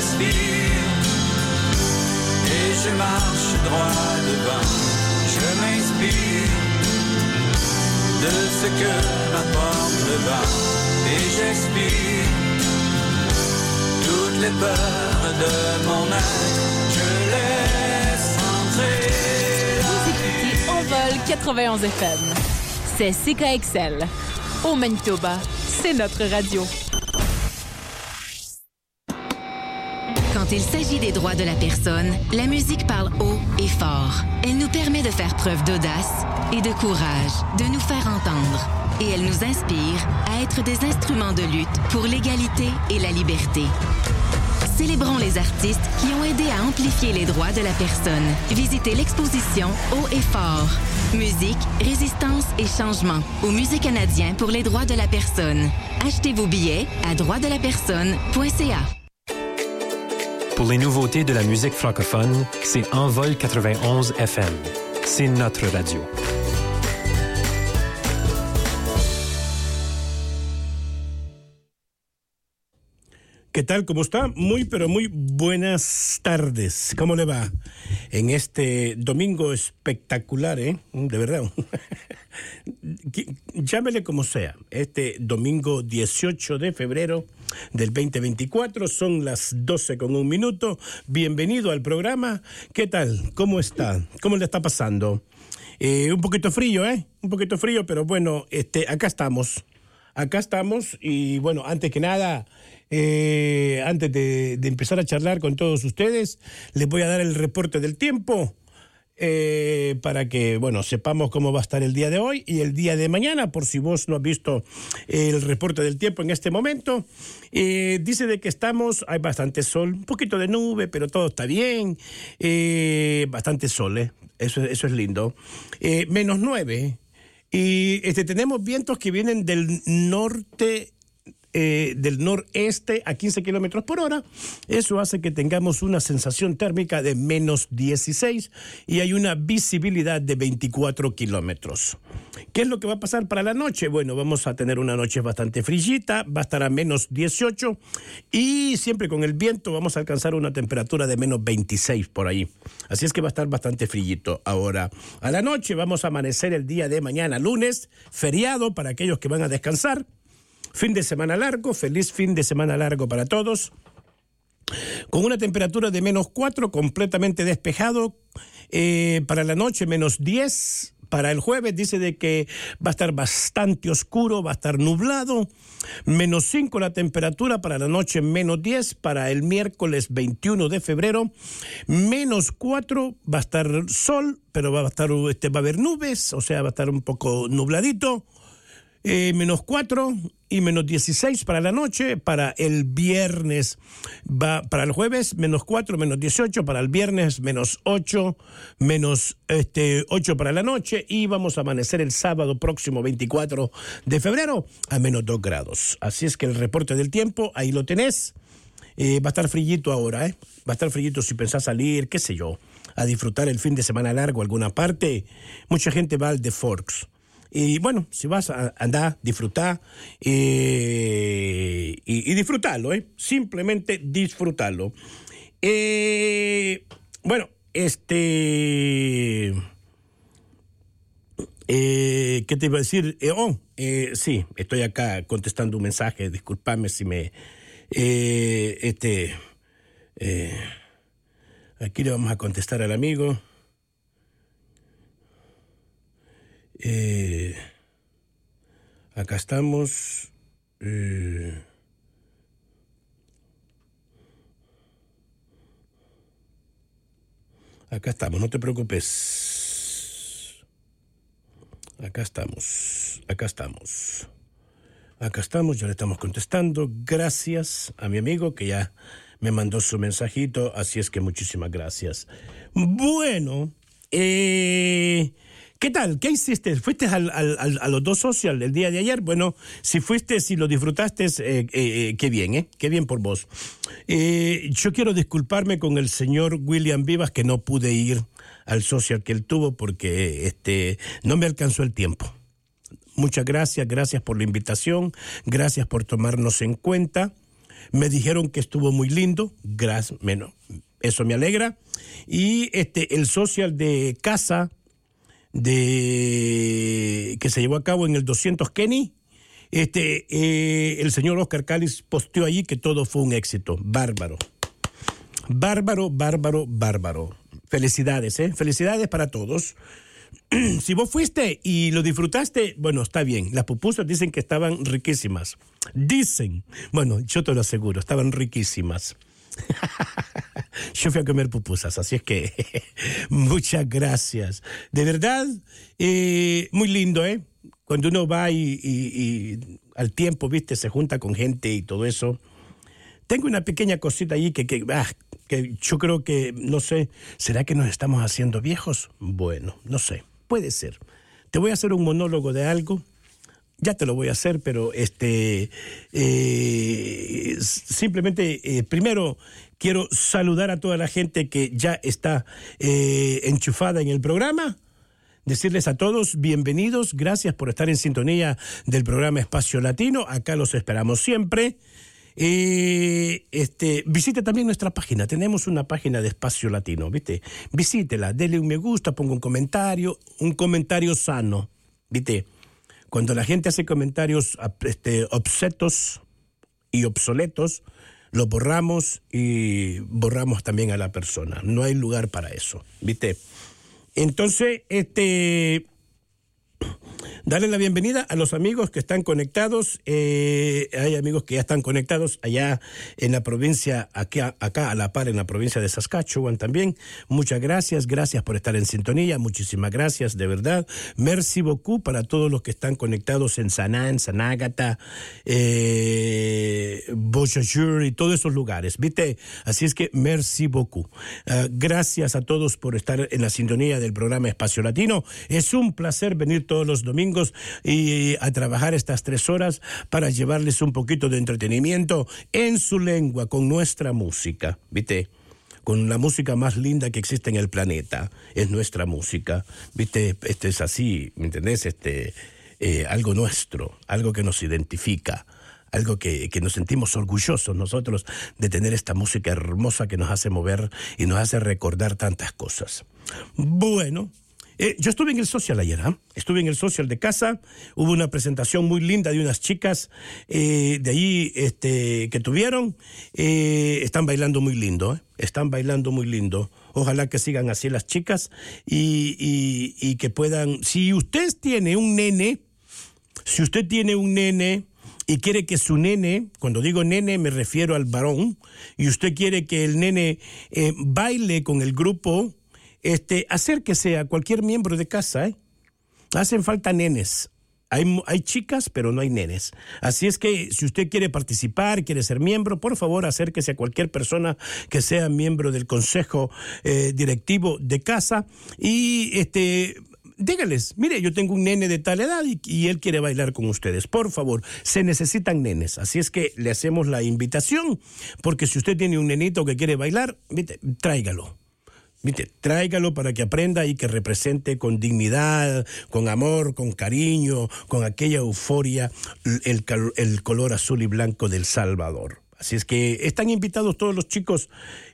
respire et je marche droit devant. Je m'inspire de ce que m'apporte le vent et j'expire toutes les peurs de mon être. Je laisse entrer. Vous écoutez Envol 91 FM. C'est CKXL. Au Manitoba, c'est notre radio. Quand il s'agit des droits de la personne, la musique parle haut et fort. Elle nous permet de faire preuve d'audace et de courage, de nous faire entendre. Et elle nous inspire à être des instruments de lutte pour l'égalité et la liberté. Célébrons les artistes qui ont aidé à amplifier les droits de la personne. Visitez l'exposition Haut et fort. Musique, résistance et changement au Musée canadien pour les droits de la personne. Achetez vos billets à droitsdelapersonne.ca. Pour les nouveautés de la musique francophone, c'est Envol 91 FM. C'est notre radio. ¿Qué tal? ¿Cómo está? Muy, pero muy buenas tardes. ¿Cómo le va en este domingo espectacular, de verdad? Llámele como sea. Este domingo 18 de febrero del 2024, son las 12:01. Bienvenido al programa. ¿Qué tal? ¿Cómo está? ¿Cómo le está pasando? Un poquito frío, Un poquito frío, pero bueno, acá estamos. Acá estamos y bueno, antes que nada... antes de empezar a charlar con todos ustedes, les voy a dar el reporte del tiempo para que, bueno, sepamos cómo va a estar el día de hoy y el día de mañana, por si vos no has visto el reporte del tiempo en este momento. Dice de que hay bastante sol, un poquito de nube, pero todo está bien, bastante sol, eso es lindo. -9, y tenemos vientos que vienen del norte, del noreste a 15 kilómetros por hora. Eso hace que tengamos una sensación térmica de -16 y hay una visibilidad de 24 kilómetros. ¿Qué es lo que va a pasar para la noche? Bueno, vamos a tener una noche bastante frillita, va a estar a -18 y siempre con el viento vamos a alcanzar una temperatura de -26 por ahí. Así es que va a estar bastante frillito. Ahora, a la noche vamos a amanecer el día de mañana, lunes, feriado para aquellos que van a descansar. Fin de semana largo, feliz fin de semana largo para todos. Con una temperatura de -4, completamente despejado. Para la noche, -10. Para el jueves dice de que va a estar bastante oscuro, va a estar nublado. -5 la temperatura, para la noche -10. Para el miércoles 21 de febrero, -4, va a estar sol, pero va a haber nubes, o sea, va a estar un poco nubladito. -4 y -16 para la noche. Para el viernes para el jueves -4, -18, para el viernes -8, -8 para la noche, y vamos a amanecer el sábado próximo 24 de febrero a -2 grados. Así es que el reporte del tiempo, ahí lo tenés. Va a estar frillito ahora, va a estar frillito si pensás salir, qué sé yo, a disfrutar el fin de semana largo a alguna parte. Mucha gente va al The Forks. Y bueno, si vas a andar, disfrutar y disfrutarlo, simplemente disfrutarlo. Bueno, ¿qué te iba a decir? Sí, estoy acá contestando un mensaje, discúlpame si me... aquí le vamos a contestar al amigo. Acá estamos. Acá estamos, no te preocupes. Acá estamos, ya le estamos contestando. Gracias a mi amigo que ya me mandó su mensajito, así es que muchísimas gracias. Bueno, ¿qué tal? ¿Qué hiciste? ¿Fuiste a los dos social el día de ayer? Bueno, si fuiste, si lo disfrutaste, qué bien, qué bien por vos. Yo quiero disculparme con el señor William Vivas que no pude ir al social que él tuvo porque no me alcanzó el tiempo. Muchas gracias por la invitación, gracias por tomarnos en cuenta. Me dijeron que estuvo muy lindo. Gracias, bueno, eso me alegra. Y el social de casa que se llevó a cabo en el 200 Kenny, el señor Oscar Cáliz posteó allí que todo fue un éxito. Bárbaro. Bárbaro, bárbaro, bárbaro. Felicidades, felicidades para todos. Si vos fuiste y lo disfrutaste, bueno, está bien. Las pupusas dicen que estaban riquísimas. Dicen. Bueno, yo te lo aseguro, estaban riquísimas. Yo fui a comer pupusas, así es que muchas gracias. De verdad, muy lindo, Cuando uno va y al tiempo, viste, se junta con gente y todo eso. Tengo una pequeña cosita ahí que yo creo que, no sé, ¿será que nos estamos haciendo viejos? Bueno, no sé, puede ser. Te voy a hacer un monólogo de algo. Ya te lo voy a hacer, pero simplemente, primero quiero saludar a toda la gente que ya está enchufada en el programa. Decirles a todos, bienvenidos, gracias por estar en sintonía del programa Espacio Latino. Acá los esperamos siempre. Visite también nuestra página. Tenemos una página de Espacio Latino, ¿viste? Visítela, dele un me gusta, ponga un comentario sano, ¿viste? Cuando la gente hace comentarios obscetos y obsoletos, lo borramos y borramos también a la persona. No hay lugar para eso, ¿viste? Entonces, darle la bienvenida a los amigos que están conectados. Hay amigos que ya están conectados allá en la provincia, acá a la par, en la provincia de Saskatchewan también. Muchas gracias por estar en sintonía. Muchísimas gracias, de verdad. Merci beaucoup para todos los que están conectados en Sanán, San Ágata, Beausejour y todos esos lugares, ¿viste? Así es que merci beaucoup. Gracias a todos por estar en la sintonía del programa Espacio Latino. Es un placer venir todos los domingos y a trabajar estas 3 horas para llevarles un poquito de entretenimiento en su lengua, con nuestra música, ¿viste? Con la música más linda que existe en el planeta, es nuestra música, ¿viste? Es así, ¿me entendés? Algo nuestro, algo que nos identifica, algo que nos sentimos orgullosos nosotros de tener esta música hermosa que nos hace mover y nos hace recordar tantas cosas. Bueno, yo estuve en el social ayer, estuve en el social de casa, hubo una presentación muy linda de unas chicas de allí que tuvieron, están bailando muy lindo, están bailando muy lindo. Ojalá que sigan así las chicas y que puedan, si usted tiene un nene y quiere que su nene, cuando digo nene me refiero al varón, y usted quiere que el nene baile con el grupo, acérquese a cualquier miembro de casa, Hacen falta nenes. Hay chicas, pero no hay nenes. Así es que si usted quiere participar, quiere ser miembro, por favor acérquese a cualquier persona que sea miembro del consejo directivo de casa y dígales, mire, yo tengo un nene de tal edad y él quiere bailar con ustedes. Por favor, se necesitan nenes. Así es que le hacemos la invitación, porque si usted tiene un nenito que quiere bailar, tráigalo. Tráigalo para que aprenda y que represente con dignidad, con amor, con cariño, con aquella euforia, el color azul y blanco del Salvador. Así es que están invitados todos los chicos,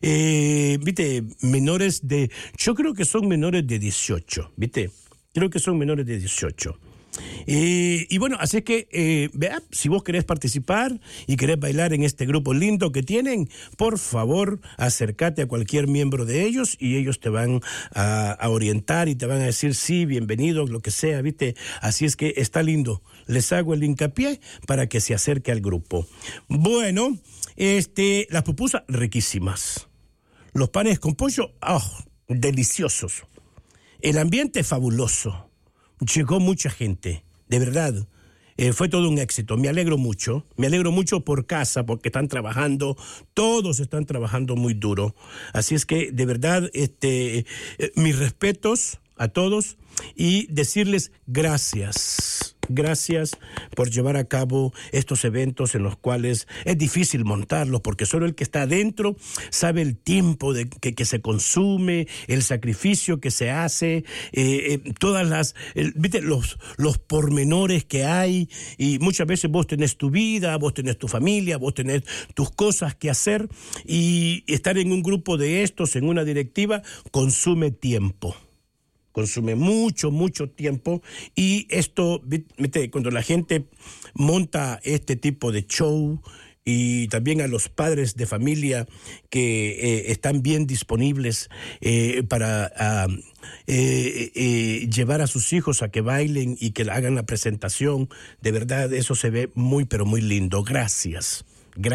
menores de, yo creo que son menores de 18, creo que son menores de 18. Y bueno, así es que, si vos querés participar y querés bailar en este grupo lindo que tienen, por favor, acércate a cualquier miembro de ellos y ellos te van a orientar y te van a decir sí, bienvenido, lo que sea, Así es que está lindo. Les hago el hincapié para que se acerque al grupo. Bueno, las pupusas riquísimas. Los panes con pollo, deliciosos. El ambiente fabuloso. Llegó mucha gente, de verdad, fue todo un éxito. Me alegro mucho por casa, porque están trabajando, todos están trabajando muy duro. Así es que, de verdad, mis respetos a todos y decirles gracias. Gracias por llevar a cabo estos eventos en los cuales es difícil montarlos, porque solo el que está adentro sabe el tiempo que se consume, el sacrificio que se hace, ¿viste? Los pormenores que hay, y muchas veces vos tenés tu vida, vos tenés tu familia, vos tenés tus cosas que hacer, y estar en un grupo de estos, en una directiva, consume tiempo. Consume mucho tiempo, y esto, ¿viste? Cuando la gente monta este tipo de show, y también a los padres de familia que están bien disponibles para llevar a sus hijos a que bailen y que hagan la presentación, de verdad eso se ve muy, pero muy lindo. Gracias.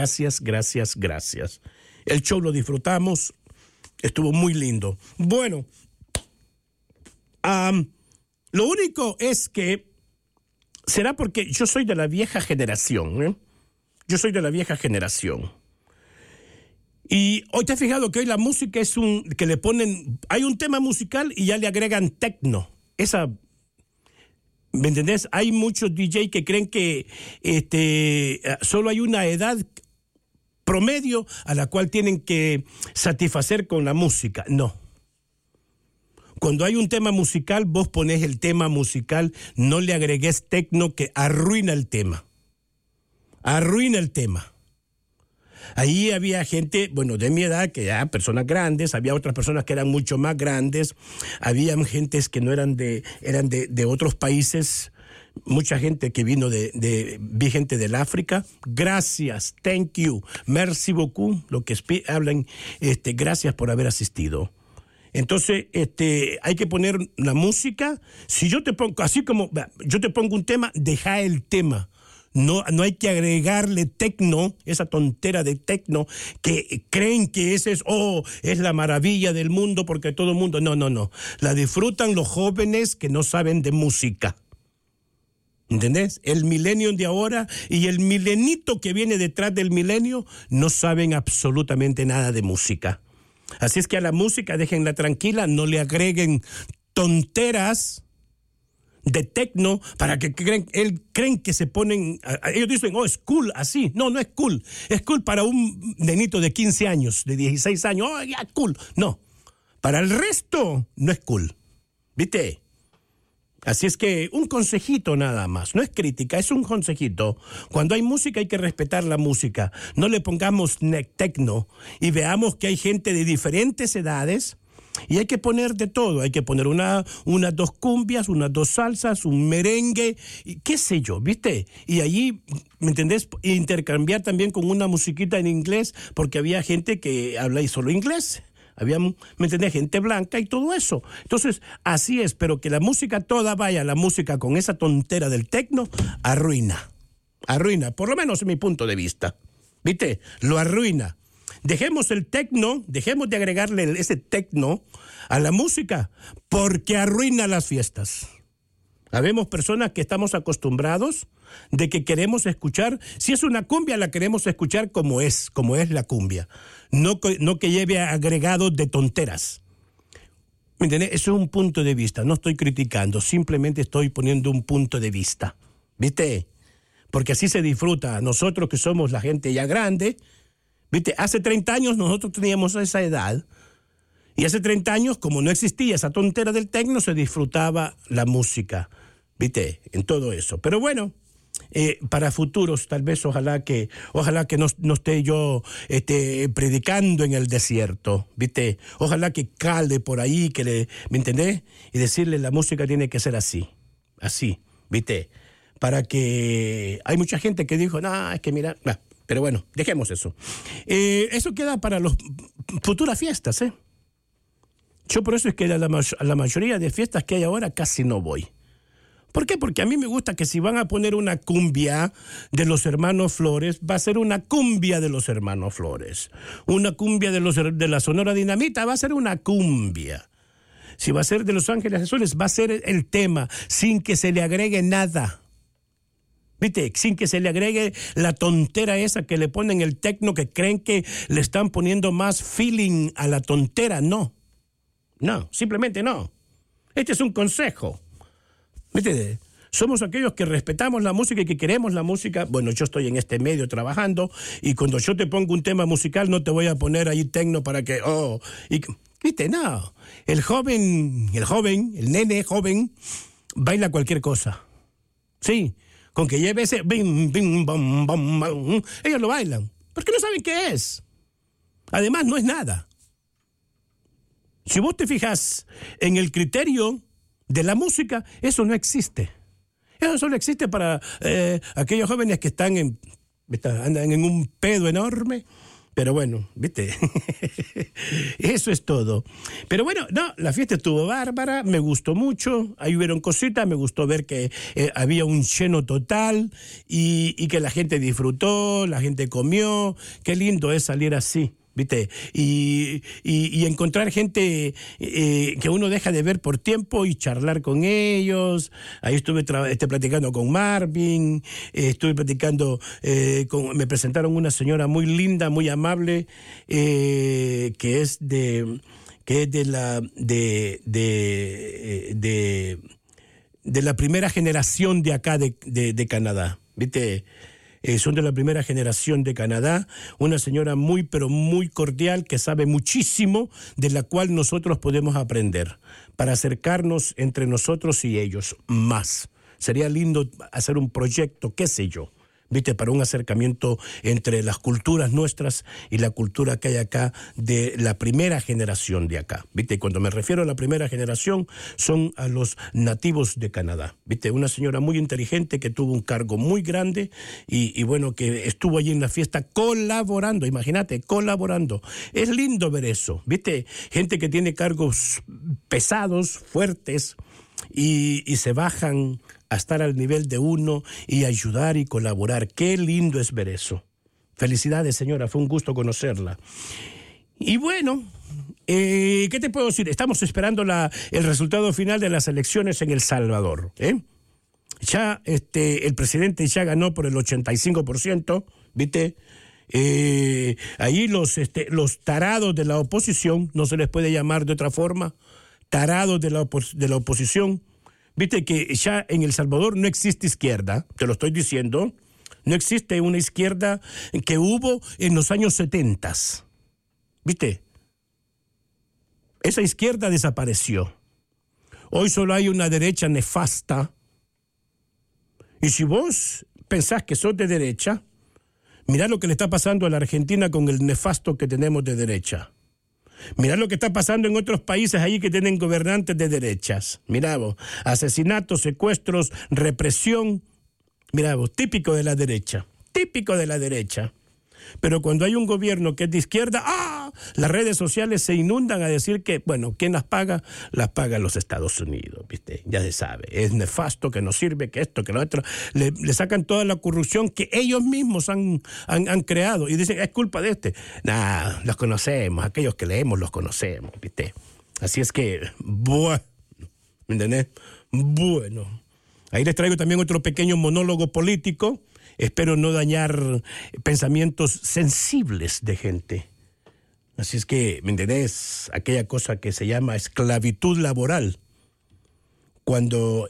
El show lo disfrutamos, estuvo muy lindo. Bueno, lo único es que será porque yo soy de la vieja generación, ¿eh? Yo soy de la vieja generación. Y hoy te has fijado que hoy la música es que le ponen, hay un tema musical y ya le agregan techno. ¿Me entendés? Hay muchos DJ que creen que solo hay una edad promedio a la cual tienen que satisfacer con la música. No. Cuando hay un tema musical, vos ponés el tema musical, no le agregues techno que arruina el tema. Ahí había gente, bueno, de mi edad, que ya personas grandes, había otras personas que eran mucho más grandes, había gentes que no eran eran de otros países, mucha gente que vino vi gente del África. Gracias, thank you, merci beaucoup, lo que hablan, gracias por haber asistido. Entonces, hay que poner la música. Si yo te pongo, así como yo te pongo un tema, deja el tema. No hay que agregarle techno, esa tontera de techno, que creen que ese es la maravilla del mundo porque todo el mundo... No. La disfrutan los jóvenes que no saben de música. ¿Entendés? El milenio de ahora y el milenito que viene detrás del milenio no saben absolutamente nada de música. Así es que a la música déjenla tranquila, no le agreguen tonteras de techno para que creen que se ponen, ellos dicen, es cool así. No es cool. Es cool para un nenito de 15 años, de 16 años, ya cool. No, para el resto no es cool. ¿Viste? Así es que un consejito nada más, no es crítica, es un consejito. Cuando hay música hay que respetar la música. No le pongamos techno y veamos que hay gente de diferentes edades. Y hay que poner de todo, hay que poner unas 2 cumbias, unas 2 salsas, un merengue, y qué sé yo, ¿viste? Y allí, ¿me entendés? Intercambiar también con una musiquita en inglés, porque había gente que habla solo inglés. Había, ¿me entendés? Gente blanca y todo eso. Entonces, así es, pero que la música toda vaya, la música con esa tontera del techno, arruina, por lo menos en mi punto de vista, ¿viste? Lo arruina. Dejemos el techno, dejemos de agregarle ese techno a la música porque arruina las fiestas. Habemos personas que estamos acostumbrados de que queremos escuchar, si es una cumbia la queremos escuchar como es la cumbia, no que lleve agregados de tonteras. ¿Me entiendes? Eso es un punto de vista, no estoy criticando, simplemente estoy poniendo un punto de vista, ¿viste? Porque así se disfruta. Nosotros que somos la gente ya grande, ¿viste? Hace 30 años nosotros teníamos esa edad y hace 30 años, como no existía esa tontera del techno, se disfrutaba la música, ¿viste? En todo eso. Pero bueno, para futuros tal vez ojalá que no esté yo predicando en el desierto, ¿viste? Ojalá que cale por ahí, ¿me entendés? Y decirle la música tiene que ser así, ¿viste? Para que... Hay mucha gente que dijo, es que mira... Pero bueno, dejemos eso. Eso queda para las futuras fiestas, ¿eh? Yo por eso es que a la mayoría de fiestas que hay ahora casi no voy. ¿Por qué? Porque a mí me gusta que si van a poner una cumbia de los Hermanos Flores, va a ser una cumbia de los Hermanos Flores. Una cumbia de la Sonora Dinamita, va a ser una cumbia. Si va a ser de Los Ángeles Azules, va a ser el tema, sin que se le agregue nada. ¿Viste? Sin que se le agregue la tontera esa que le ponen el techno, que creen que le están poniendo más feeling a la tontera. No, simplemente no. Este es un consejo. ¿Viste? Somos aquellos que respetamos la música y que queremos la música. Bueno, yo estoy en este medio trabajando y cuando yo te pongo un tema musical no te voy a poner ahí tecno para que... ¿Viste? No. El nene joven, baila cualquier cosa. Sí, con que lleve ese... Bim, bim, bam, bam, bam, ellos lo bailan, porque no saben qué es. Además, no es nada. Si vos te fijas en el criterio de la música, eso no existe. Eso solo existe para aquellos jóvenes que andan en un pedo enorme. Pero bueno, ¿viste? Eso es todo. Pero bueno, no, la fiesta estuvo bárbara, me gustó mucho, ahí hubieron cositas, me gustó ver que había un lleno total y que la gente disfrutó, la gente comió. Qué lindo es salir así, ¿viste? Y encontrar gente que uno deja de ver por tiempo y charlar con ellos. Ahí estuve platicando con Marvin, estuve platicando me presentaron una señora muy linda, muy amable, que es de la primera generación de acá de Canadá, ¿viste? Son de la primera generación de Canadá, una señora muy, pero muy cordial, que sabe muchísimo, de la cual nosotros podemos aprender, para acercarnos entre nosotros y ellos más. Sería lindo hacer un proyecto, qué sé yo, ¿viste? Para un acercamiento entre las culturas nuestras y la cultura que hay acá de la primera generación de acá, ¿viste? Cuando me refiero a la primera generación, son a los nativos de Canadá, ¿viste? Una señora muy inteligente que tuvo un cargo muy grande y bueno, que estuvo allí en la fiesta colaborando, imagínate, colaborando. Es lindo ver eso, ¿viste? Gente que tiene cargos pesados, fuertes, y se bajan a estar al nivel de uno y ayudar y colaborar. Qué lindo es ver eso. Felicidades, señora, fue un gusto conocerla. Y bueno, ¿qué te puedo decir? Estamos esperando el resultado final de las elecciones en El Salvador. Ya el presidente ya ganó por el 85%, ¿viste? Ahí los tarados de la oposición, no se les puede llamar de otra forma, tarados de la oposición. Viste que ya en El Salvador no existe izquierda, te lo estoy diciendo, no existe una izquierda que hubo en los años 70. Viste, esa izquierda desapareció. Hoy solo hay una derecha nefasta. Y si vos pensás que sos de derecha, mirá lo que le está pasando a la Argentina con el nefasto que tenemos de derecha. Mirá lo que está pasando en otros países ahí que tienen gobernantes de derechas. Mirá vos, asesinatos, secuestros, represión. Mirá vos, típico de la derecha. Pero cuando hay un gobierno que es de izquierda, las redes sociales se inundan a decir que, bueno, ¿quién las paga? Las pagan los Estados Unidos, ¿viste? Ya se sabe, es nefasto, que no sirve, que esto, que lo otro. Le sacan toda la corrupción que ellos mismos han creado y dicen, es culpa de este. Nah, los conocemos, aquellos que leemos los conocemos, ¿viste? Así es que, bueno, ¿me entendés? Bueno, ahí les traigo también otro pequeño monólogo político. Espero no dañar pensamientos sensibles de gente. Así es que, ¿me entendés? Aquella cosa que se llama esclavitud laboral. Cuando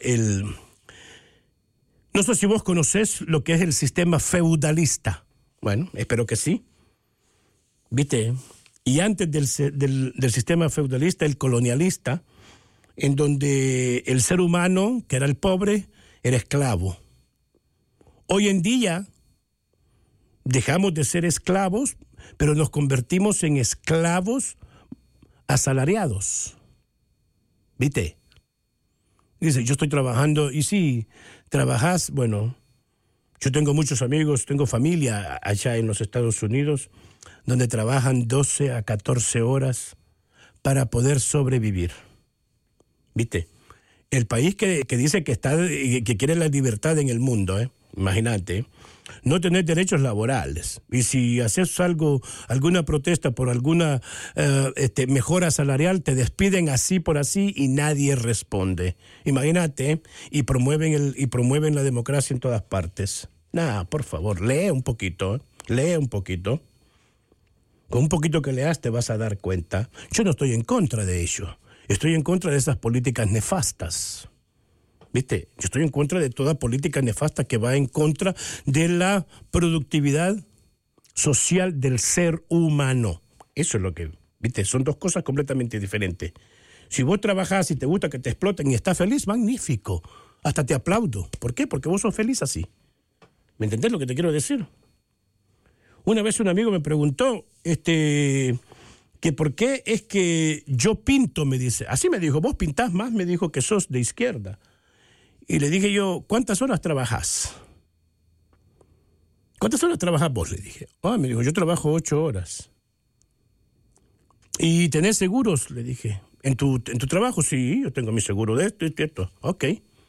no sé si vos conocés lo que es el sistema feudalista. Bueno, espero que sí. ¿Viste? Y antes del sistema feudalista, el colonialista, en donde el ser humano, que era el pobre, era esclavo. Hoy en día dejamos de ser esclavos, pero nos convertimos en esclavos asalariados. ¿Viste? Dice, yo estoy trabajando, y si trabajas, bueno, yo tengo muchos amigos, tengo familia allá en los Estados Unidos, donde trabajan 12 a 14 horas para poder sobrevivir. ¿Viste? El país que dice que quiere la libertad en el mundo, imagínate, no tener derechos laborales. Y si haces alguna protesta por alguna mejora salarial, te despiden así por así y nadie responde. Imagínate, y promueven la democracia en todas partes. Por favor, lee un poquito. Con un poquito que leas te vas a dar cuenta. Yo no estoy en contra de ello. Estoy en contra de esas políticas nefastas. ¿Viste? Yo estoy en contra de toda política nefasta que va en contra de la productividad social del ser humano. Eso es lo que, ¿viste? Son dos cosas completamente diferentes. Si vos trabajás y te gusta que te exploten y estás feliz, magnífico. Hasta te aplaudo. ¿Por qué? Porque vos sos feliz así. ¿Me entendés lo que te quiero decir? Una vez un amigo me preguntó que por qué es que yo pinto, me dice. Así me dijo, vos pintás más, me dijo, que sos de izquierda. Y le dije yo, ¿cuántas horas trabajás? ¿Cuántas horas trabajás vos? Le dije. Me dijo, yo trabajo 8 horas. ¿Y tenés seguros? Le dije. ¿En tu trabajo? Sí, yo tengo mi seguro de esto y esto. Ok.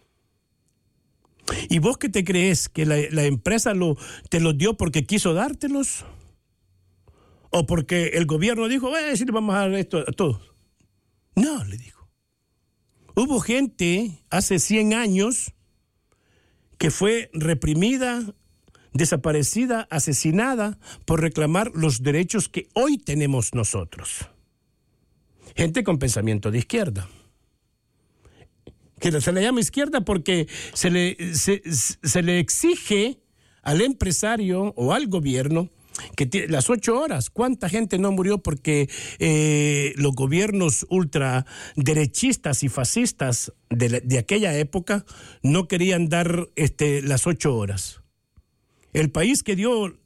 ¿Y vos qué te crees? ¿Que la empresa te los dio porque quiso dártelos? ¿O porque el gobierno dijo, sí, le vamos a dar esto a todos? No, le dijo. Hubo gente hace 100 años que fue reprimida, desaparecida, asesinada por reclamar los derechos que hoy tenemos nosotros. Gente con pensamiento de izquierda. Que se le llama izquierda porque se le exige al empresario o al gobierno que las 8 horas. ¿Cuánta gente no murió porque los gobiernos ultraderechistas y fascistas de aquella época no querían dar las 8 horas? El país que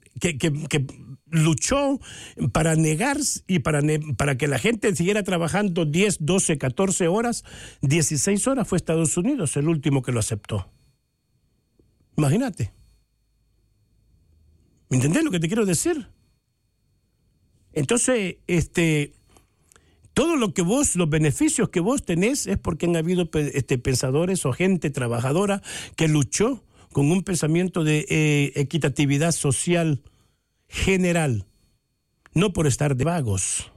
luchó para negar y para que la gente siguiera trabajando 10, 12, 14 horas, 16 horas fue Estados Unidos, el último que lo aceptó. Imagínate. ¿Me entendés lo que te quiero decir? Entonces, todo lo que los beneficios que vos tenés es porque han habido pensadores o gente trabajadora que luchó con un pensamiento de equitatividad social general, no por estar de vagos,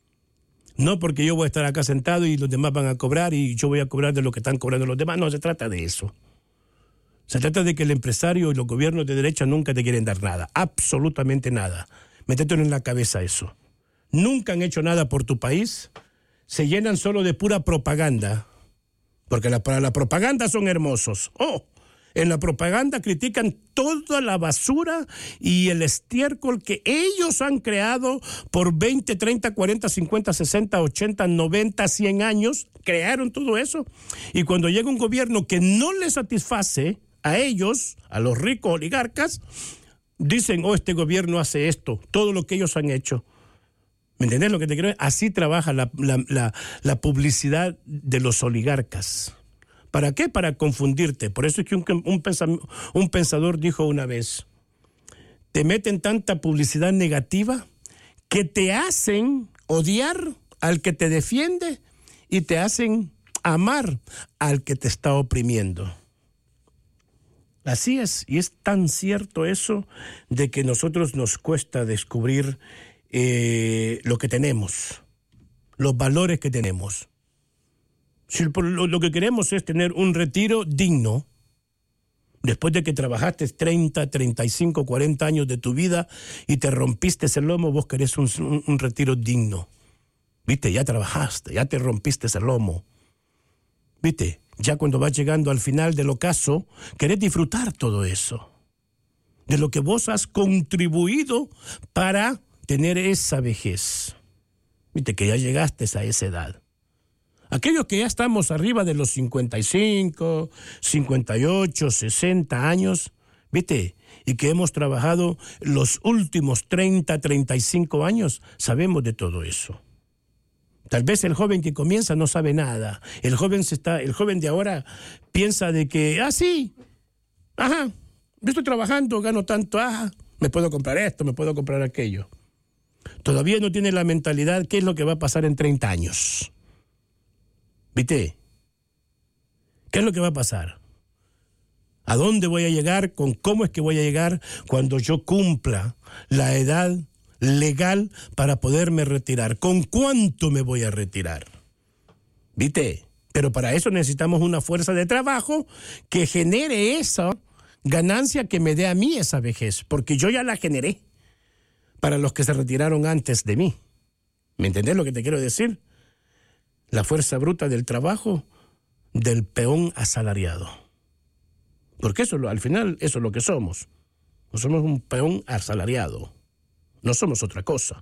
no porque yo voy a estar acá sentado y los demás van a cobrar y yo voy a cobrar de lo que están cobrando los demás. No se trata de eso. Se trata de que el empresario y los gobiernos de derecha nunca te quieren dar nada, absolutamente nada. Métetelo en la cabeza eso. Nunca han hecho nada por tu país, se llenan solo de pura propaganda, porque para la propaganda son hermosos. En la propaganda critican toda la basura y el estiércol que ellos han creado por 20, 30, 40, 50, 60, 80, 90, 100 años. Crearon todo eso. Y cuando llega un gobierno que no les satisface a ellos, a los ricos oligarcas, dicen, este gobierno hace esto, todo lo que ellos han hecho. ¿Me entendés lo que te quiero decir? Así trabaja la publicidad de los oligarcas. ¿Para qué? Para confundirte. Por eso es que un pensador dijo una vez, te meten tanta publicidad negativa que te hacen odiar al que te defiende y te hacen amar al que te está oprimiendo. Así es, y es tan cierto eso de que nosotros nos cuesta descubrir lo que tenemos, los valores que tenemos. Si lo que queremos es tener un retiro digno, después de que trabajaste 30, 35, 40 años de tu vida y te rompiste el lomo, vos querés un retiro digno. ¿Viste? Ya trabajaste, ya te rompiste el lomo. ¿Viste? Ya cuando vas llegando al final del ocaso, querés disfrutar todo eso. De lo que vos has contribuido para tener esa vejez. ¿Viste? Que ya llegaste a esa edad. Aquellos que ya estamos arriba de los 55, 58, 60 años, ¿viste? Y que hemos trabajado los últimos 30, 35 años, sabemos de todo eso. Tal vez el joven que comienza no sabe nada. El joven de ahora piensa de que, sí, yo estoy trabajando, gano tanto, me puedo comprar esto, me puedo comprar aquello. Todavía no tiene la mentalidad, ¿qué es lo que va a pasar en 30 años? ¿Viste? ¿Qué es lo que va a pasar? ¿A dónde voy a llegar? ¿Con cómo es que voy a llegar cuando yo cumpla la edad legal para poderme retirar? ¿Con cuánto me voy a retirar? ¿Viste? Pero para eso necesitamos una fuerza de trabajo que genere esa ganancia que me dé a mí esa vejez, porque yo ya la generé para los que se retiraron antes de mí. ¿Me entendés lo que te quiero decir? La fuerza bruta del trabajo del peón asalariado. Porque al final eso es lo que somos. No somos un peón asalariado. No somos otra cosa.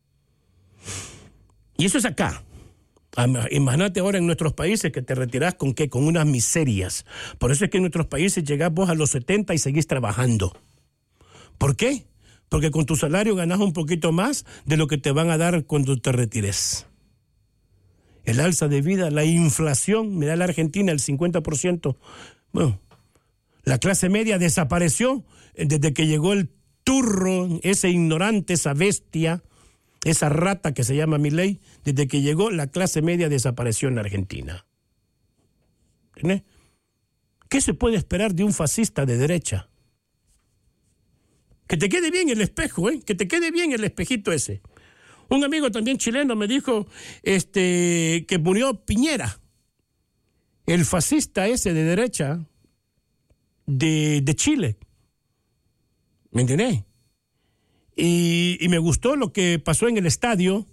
Y eso es acá. Imagínate ahora en nuestros países que te retirás con ¿qué? Con unas miserias. Por eso es que en nuestros países llegás vos a los 70 y seguís trabajando. ¿Por qué? Porque con tu salario ganás un poquito más de lo que te van a dar cuando te retires. El alza de vida, la inflación, mirá la Argentina, el 50%. Bueno, la clase media desapareció desde que llegó el turro, ese ignorante, esa bestia, esa rata que se llama Milei. Desde que llegó, la clase media desapareció en la Argentina. ¿Entiendes? ¿Qué se puede esperar de un fascista de derecha? Que te quede bien el espejo, que te quede bien el espejito ese. Un amigo también chileno me dijo que murió Piñera, el fascista ese de derecha de Chile. ¿Me entendés? Y me gustó lo que pasó en el estadio,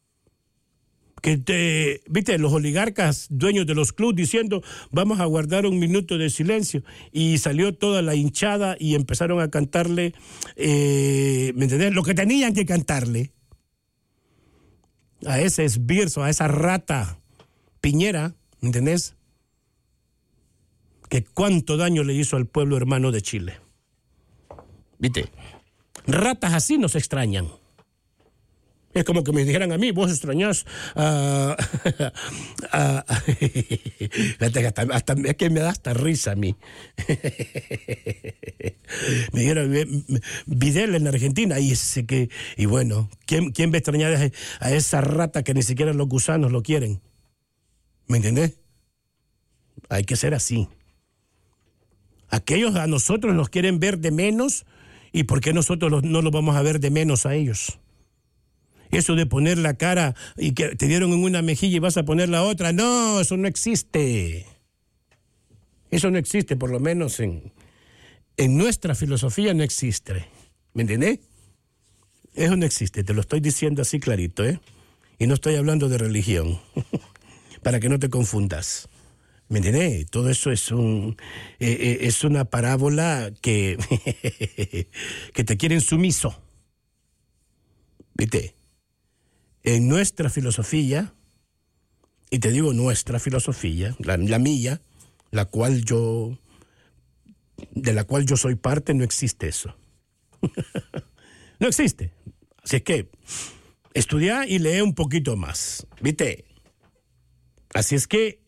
que viste, los oligarcas dueños de los clubes diciendo vamos a guardar un minuto de silencio, y salió toda la hinchada y empezaron a cantarle, ¿me entendés? Lo que tenían que cantarle a ese esbirzo, a esa rata Piñera, ¿me entendés? Que cuánto daño le hizo al pueblo hermano de Chile. ¿Viste? Ratas así nos extrañan. Es como que me dijeran a mí, vos extrañás hasta es que me da hasta risa a mí. Me dijeron Vidal en Argentina y bueno, ¿quién va a extrañar a esa rata que ni siquiera los gusanos lo quieren? ¿Me entendés? Hay que ser así. Aquellos a nosotros nos quieren ver de menos, ¿y por qué nosotros no los vamos a ver de menos a ellos? Eso de poner la cara y que te dieron en una mejilla y vas a poner la otra, no, eso no existe. Eso no existe, por lo menos en nuestra filosofía no existe. ¿Me entendés? Eso no existe, te lo estoy diciendo así clarito, Y no estoy hablando de religión, para que no te confundas. ¿Me entendés? Todo eso es una parábola que te quieren sumiso. ¿Viste? En nuestra filosofía, y te digo nuestra filosofía, la mía, de la cual yo soy parte, no existe eso. No existe. Así es que estudia y lee un poquito más. ¿Viste? Así es que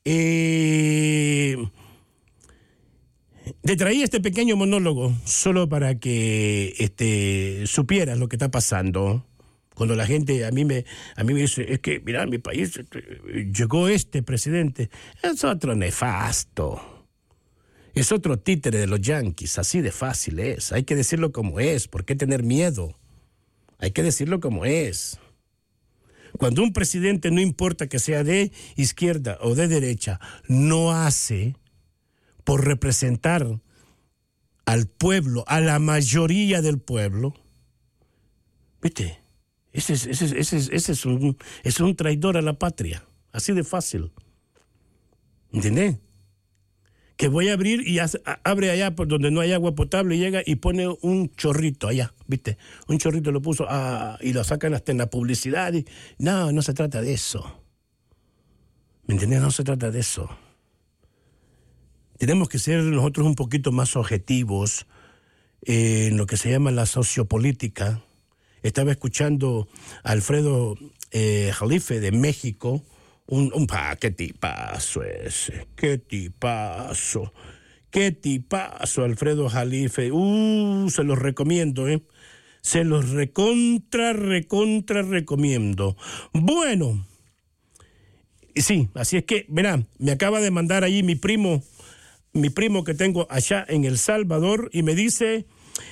te traí este pequeño monólogo solo para que supieras lo que está pasando. Cuando la gente a mí me dice, es que, mira, mi país llegó este presidente, es otro nefasto, es otro títere de los yanquis, así de fácil es. Hay que decirlo como es, ¿por qué tener miedo? Hay que decirlo como es. Cuando un presidente, no importa que sea de izquierda o de derecha, no hace por representar al pueblo, a la mayoría del pueblo, ¿viste? Ese es un traidor a la patria, así de fácil. ¿Entendés? Que voy a abrir y abre allá por donde no hay agua potable, y llega y pone un chorrito allá, ¿viste? Un chorrito lo puso y lo sacan hasta en la publicidad. No se trata de eso. ¿Me entendés? No se trata de eso. Tenemos que ser nosotros un poquito más objetivos en lo que se llama la sociopolítica. Estaba escuchando a Alfredo Jalife de México, qué tipazo ese, qué tipazo, Alfredo Jalife, se los recomiendo, se los recontra recomiendo. Bueno, sí, así es que, verá, me acaba de mandar allí mi primo que tengo allá en El Salvador, y me dice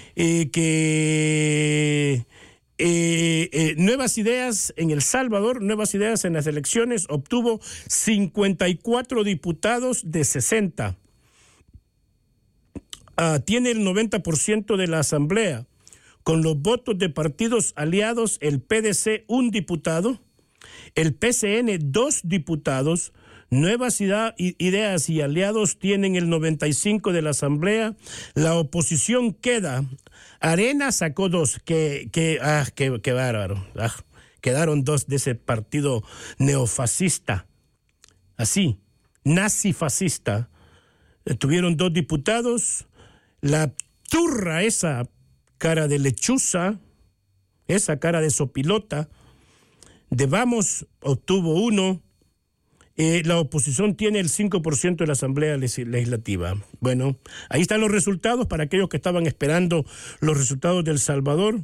que Nuevas Ideas en El Salvador, Nuevas Ideas en las elecciones, obtuvo 54 diputados de 60. Tiene el 90% de la asamblea. Con los votos de partidos aliados, el PDC 1 diputado, el PCN 2 diputados, Nuevas Ideas y aliados tienen el 95 de la Asamblea. La oposición queda. Arena sacó 2. Qué bárbaro. Quedaron 2 de ese partido neofascista. Así, nazifascista. Tuvieron 2 diputados. La turra, esa cara de lechuza, esa cara de sopilota, de Vamos obtuvo 1. La oposición tiene el 5% de la Asamblea Legislativa. Bueno, ahí están los resultados para aquellos que estaban esperando los resultados de El Salvador.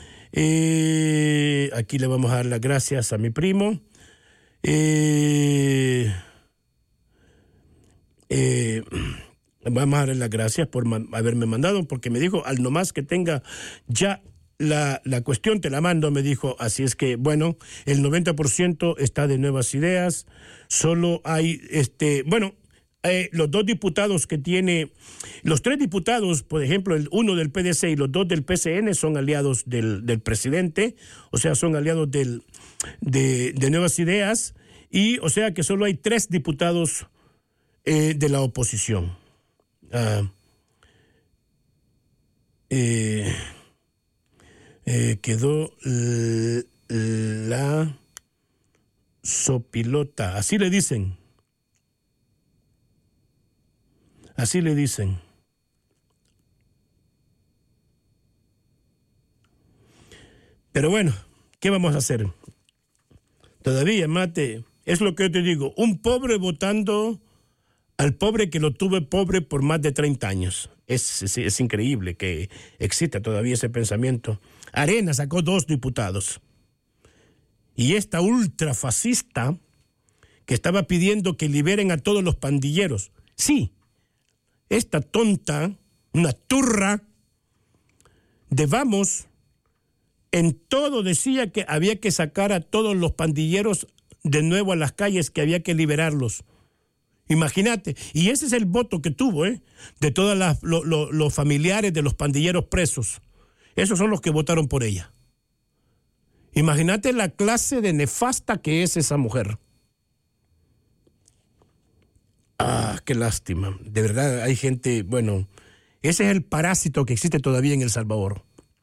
Aquí le vamos a dar las gracias a mi primo. Vamos a darle las gracias por haberme mandado, porque me dijo, al nomás que tenga ya la cuestión, te la mando, me dijo. Así es que, bueno, el 90% está de Nuevas Ideas. Solo hay, los 2 diputados que tiene, los 3 diputados, por ejemplo, el 1 del PDC y los 2 del PCN son aliados del presidente, o sea, son aliados de Nuevas Ideas, y o sea que solo hay 3 diputados de la oposición. Quedó la sopilota, así le dicen. Así le dicen. Pero bueno, ¿qué vamos a hacer? Todavía, Mate, es lo que yo te digo, un pobre votando al pobre que lo tuve pobre por más de 30 años. Es increíble que exista todavía ese pensamiento. Arena sacó 2 diputados. Y esta ultrafascista que estaba pidiendo que liberen a todos los pandilleros. Sí, esta tonta, una turra de Vamos, en todo decía que había que sacar a todos los pandilleros de nuevo a las calles, que había que liberarlos. Imagínate, y ese es el voto que tuvo, de todos los familiares de los pandilleros presos. Esos son los que votaron por ella. Imagínate la clase de nefasta que es esa mujer. Qué lástima. De verdad hay gente, bueno, ese es el parásito que existe todavía en El Salvador.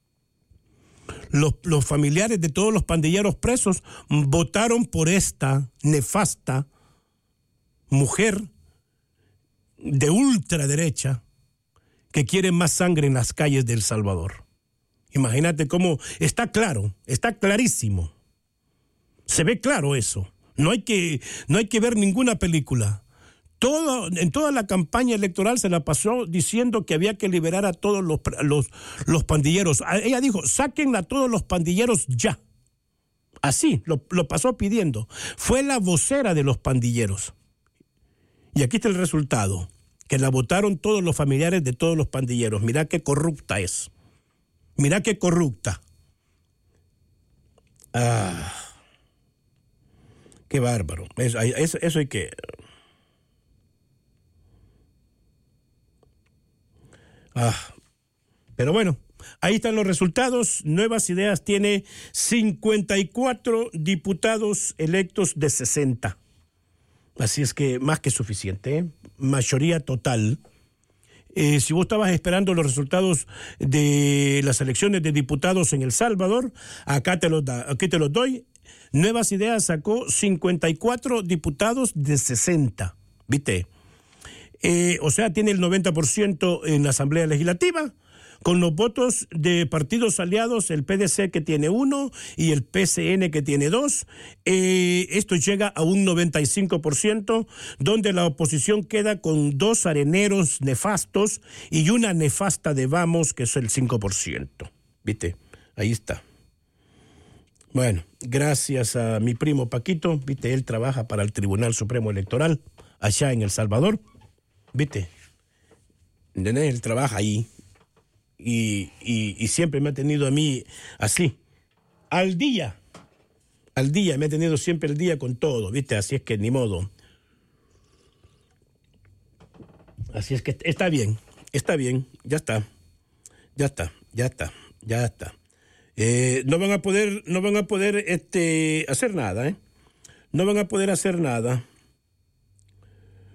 Los familiares de todos los pandilleros presos votaron por esta nefasta mujer de ultraderecha que quiere más sangre en las calles de El Salvador. Imagínate cómo está claro, está clarísimo. Se ve claro eso. No hay que ver ninguna película. En toda la campaña electoral se la pasó diciendo que había que liberar a todos los pandilleros. Ella dijo, saquen a todos los pandilleros ya. Así, lo pasó pidiendo. Fue la vocera de los pandilleros. Y aquí está el resultado, que la votaron todos los familiares de todos los pandilleros. Mirá qué corrupta es. Mirá qué corrupta. Qué bárbaro. Eso hay que... Pero bueno, ahí están los resultados. Nuevas Ideas tiene 54 diputados electos de 60. Así es que más que suficiente, mayoría total. Si vos estabas esperando los resultados de las elecciones de diputados en El Salvador, aquí te los doy. Nuevas Ideas sacó 54 diputados de 60, ¿viste? O sea, tiene el 90% en la Asamblea Legislativa, con los votos de partidos aliados, el PDC que tiene 1 y el PCN que tiene 2. Esto llega a un 95%, donde la oposición queda con 2 areneros nefastos y una nefasta de Vamos, que es el 5%. ¿Viste? Ahí está. Bueno, gracias a mi primo Paquito, ¿viste? Él trabaja para el Tribunal Supremo Electoral allá en El Salvador. ¿Viste? Él trabaja ahí. Y siempre me ha tenido a mí así, al día, me ha tenido siempre el día con todo, ¿viste? Así es que ni modo. Así es que está bien, ya está. No van a poder hacer nada, No van a poder hacer nada.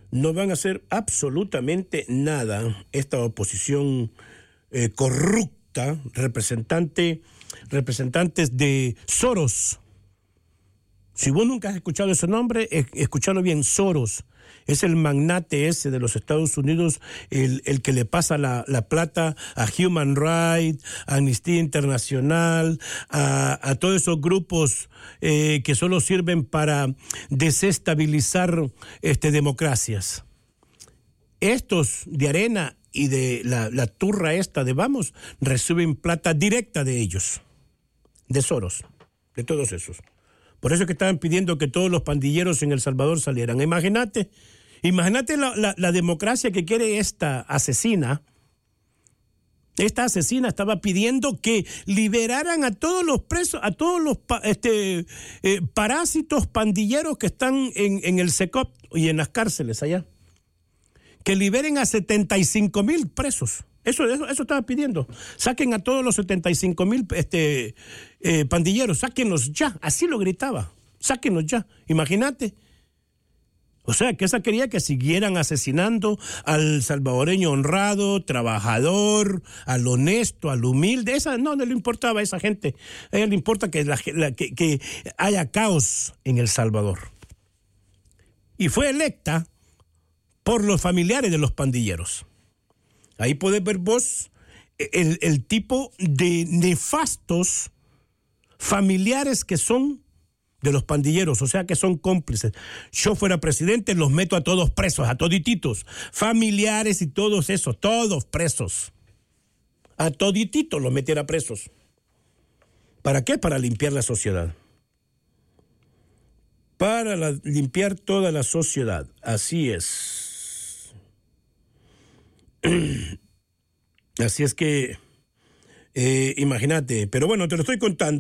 no van a hacer absolutamente nada esta oposición corrupta, representantes de Soros. Si vos nunca has escuchado ese nombre, escuchalo bien, Soros. Es el magnate ese de los Estados Unidos, el que le pasa la plata a Human Rights, a Amnistía Internacional, a todos esos grupos que solo sirven para desestabilizar democracias. Estos de Arena y de la turra esta de Vamos reciben plata directa de ellos, de Soros, de todos esos. Por eso es que estaban pidiendo que todos los pandilleros en El Salvador salieran. Imagínate la democracia que quiere esta asesina. Esta asesina estaba pidiendo que liberaran a todos los presos, a todos los parásitos pandilleros que están en el SECOP y en las cárceles allá. Que liberen a 75,000 presos. Eso estaba pidiendo. Saquen a todos los 75,000 pandilleros, sáquenlos ya. Así lo gritaba. Sáquenlos ya. Imagínate. O sea, que esa quería que siguieran asesinando al salvadoreño honrado, trabajador, al honesto, al humilde. Esa no le importaba a esa gente. A ella le importa que haya caos en El Salvador. Y fue electa por los familiares de los pandilleros. Ahí podés ver vos el tipo de nefastos familiares que son de los pandilleros, o sea que son cómplices. Yo fuera presidente, los meto a todos presos, a todititos, familiares y todos esos, todos presos. A todititos los metiera presos. ¿Para qué? Para limpiar la sociedad. Para limpiar toda la sociedad. Así es. Así es que, imagínate, pero bueno, te lo estoy contando,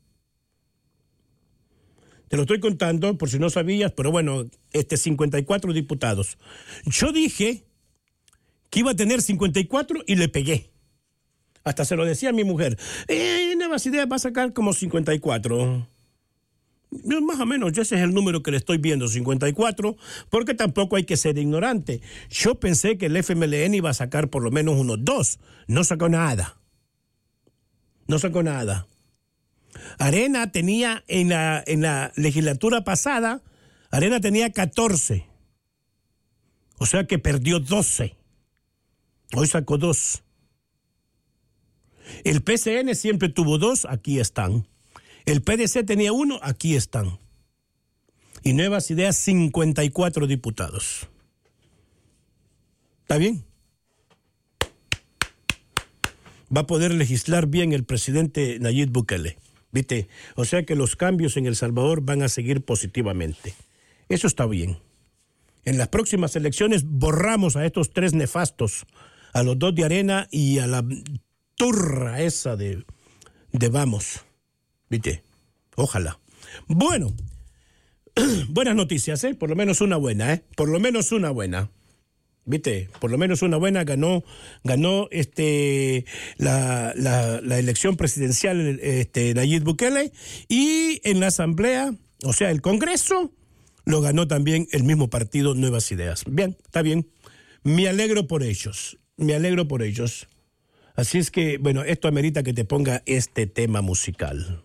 Te lo estoy contando por si no sabías, pero bueno, 54 diputados. Yo dije que iba a tener 54 y le pegué. Hasta se lo decía a mi mujer. Nuevas Ideas va a sacar como 54. Más o menos, ese es el número que le estoy viendo, 54, porque tampoco hay que ser ignorante. Yo pensé que el FMLN iba a sacar por lo menos unos 2. No sacó nada. No sacó nada. Arena tenía en la legislatura pasada, Arena tenía 14. O sea que perdió 12. Hoy sacó 2. El PCN siempre tuvo 2, aquí están. El PDC tenía 1, aquí están. Y Nuevas Ideas, 54 diputados. ¿Está bien? Va a poder legislar bien el presidente Nayib Bukele. ¿Viste? O sea que los cambios en El Salvador van a seguir positivamente. Eso está bien. En las próximas elecciones borramos a estos 3 nefastos, a los 2 de Arena y a la turra esa de Vamos. ¿Viste? Ojalá. Bueno, buenas noticias, por lo menos una buena, por lo menos una buena. ¿Viste? Por lo menos una buena. Ganó la elección presidencial Nayib Bukele, y en la asamblea, o sea, el Congreso, lo ganó también el mismo partido Nuevas Ideas. Bien, está bien. Me alegro por ellos. Así es que, bueno, esto amerita que te ponga este tema musical.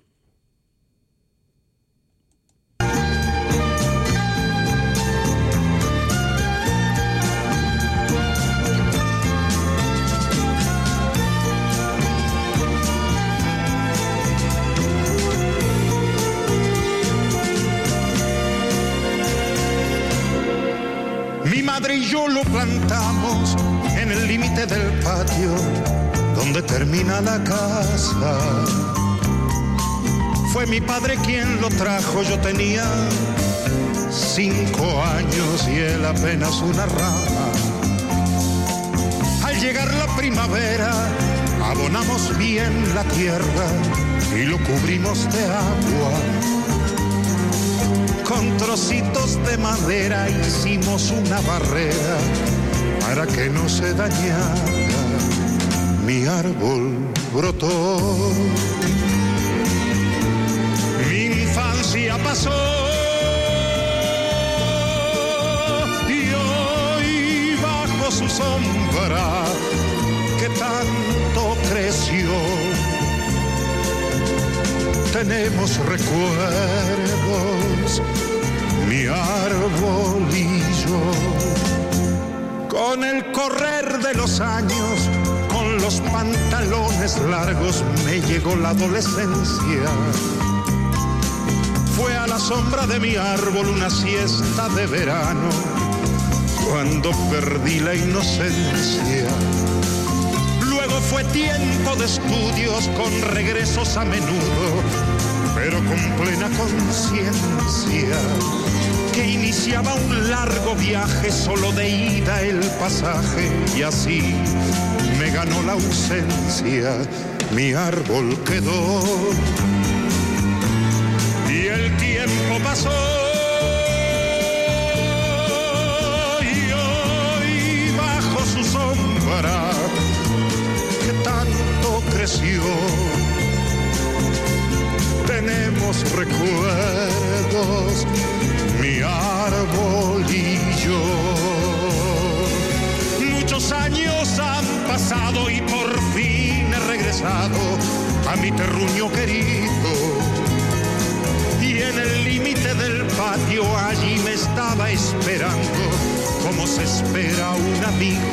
Mi madre y yo lo plantamos en el límite del patio donde termina la casa. Fue mi padre quien lo trajo, yo tenía 5 años y él apenas una rama. Al llegar la primavera, abonamos bien la tierra y lo cubrimos de agua. Con trocitos de madera hicimos una barrera para que no se dañara. Mi árbol brotó, mi infancia pasó y sombra que tanto creció. Tenemos recuerdos, mi árbol y yo. Con el correr de los años, con los pantalones largos, me llegó la adolescencia. Fue a la sombra de mi árbol una siesta de verano, cuando perdí la inocencia. Luego fue tiempo de estudios con regresos a menudo, pero con plena conciencia que iniciaba un largo viaje, solo de ida el pasaje, y así me ganó la ausencia. Mi árbol quedó y el tiempo pasó. Y hoy bajo su sombra que tanto creció, tenemos recuerdos, mi árbol y yo. Muchos años han pasado y por fin he regresado a mi terruño querido. Y en el límite del patio allí me estaba esperando, como se espera un amigo.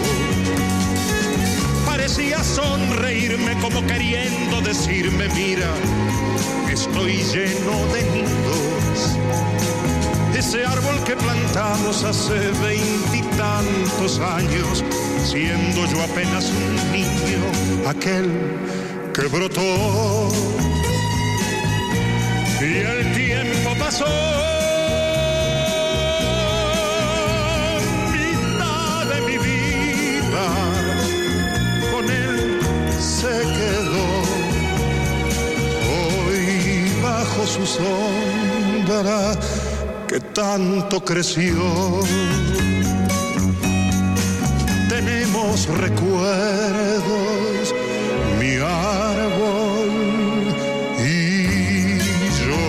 Parecía sonreírme como queriendo decirme: mira, estoy lleno de nidos. Ese árbol que plantamos hace 20 y tantos años, siendo yo apenas un niño, aquel que brotó. Y el tiempo pasó, mitad de mi vida con él se quedó. Hoy bajo su sombra que tanto creció, tenemos recuerdos, mi árbol y yo.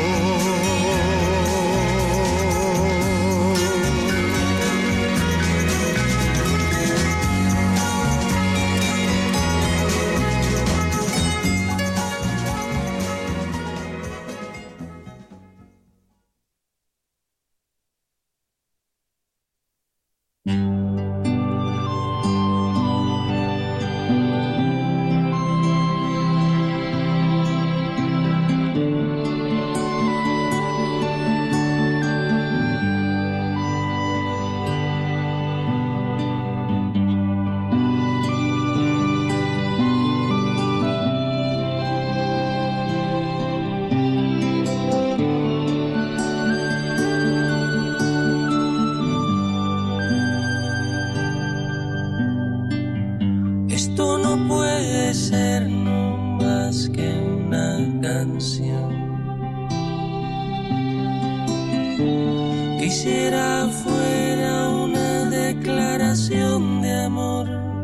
Quisiera fuera una declaración de amor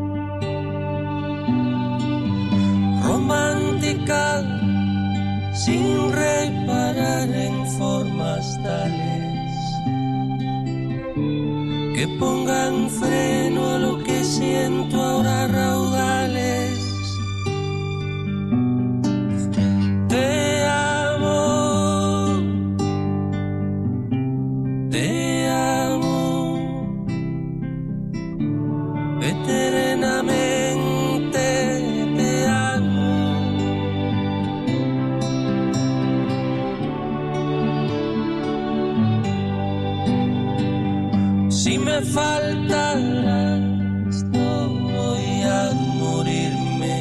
romántica, sin reparar en formas tales que pongan freno a lo que siento ahora raudales. Faltarás, no voy a morirme.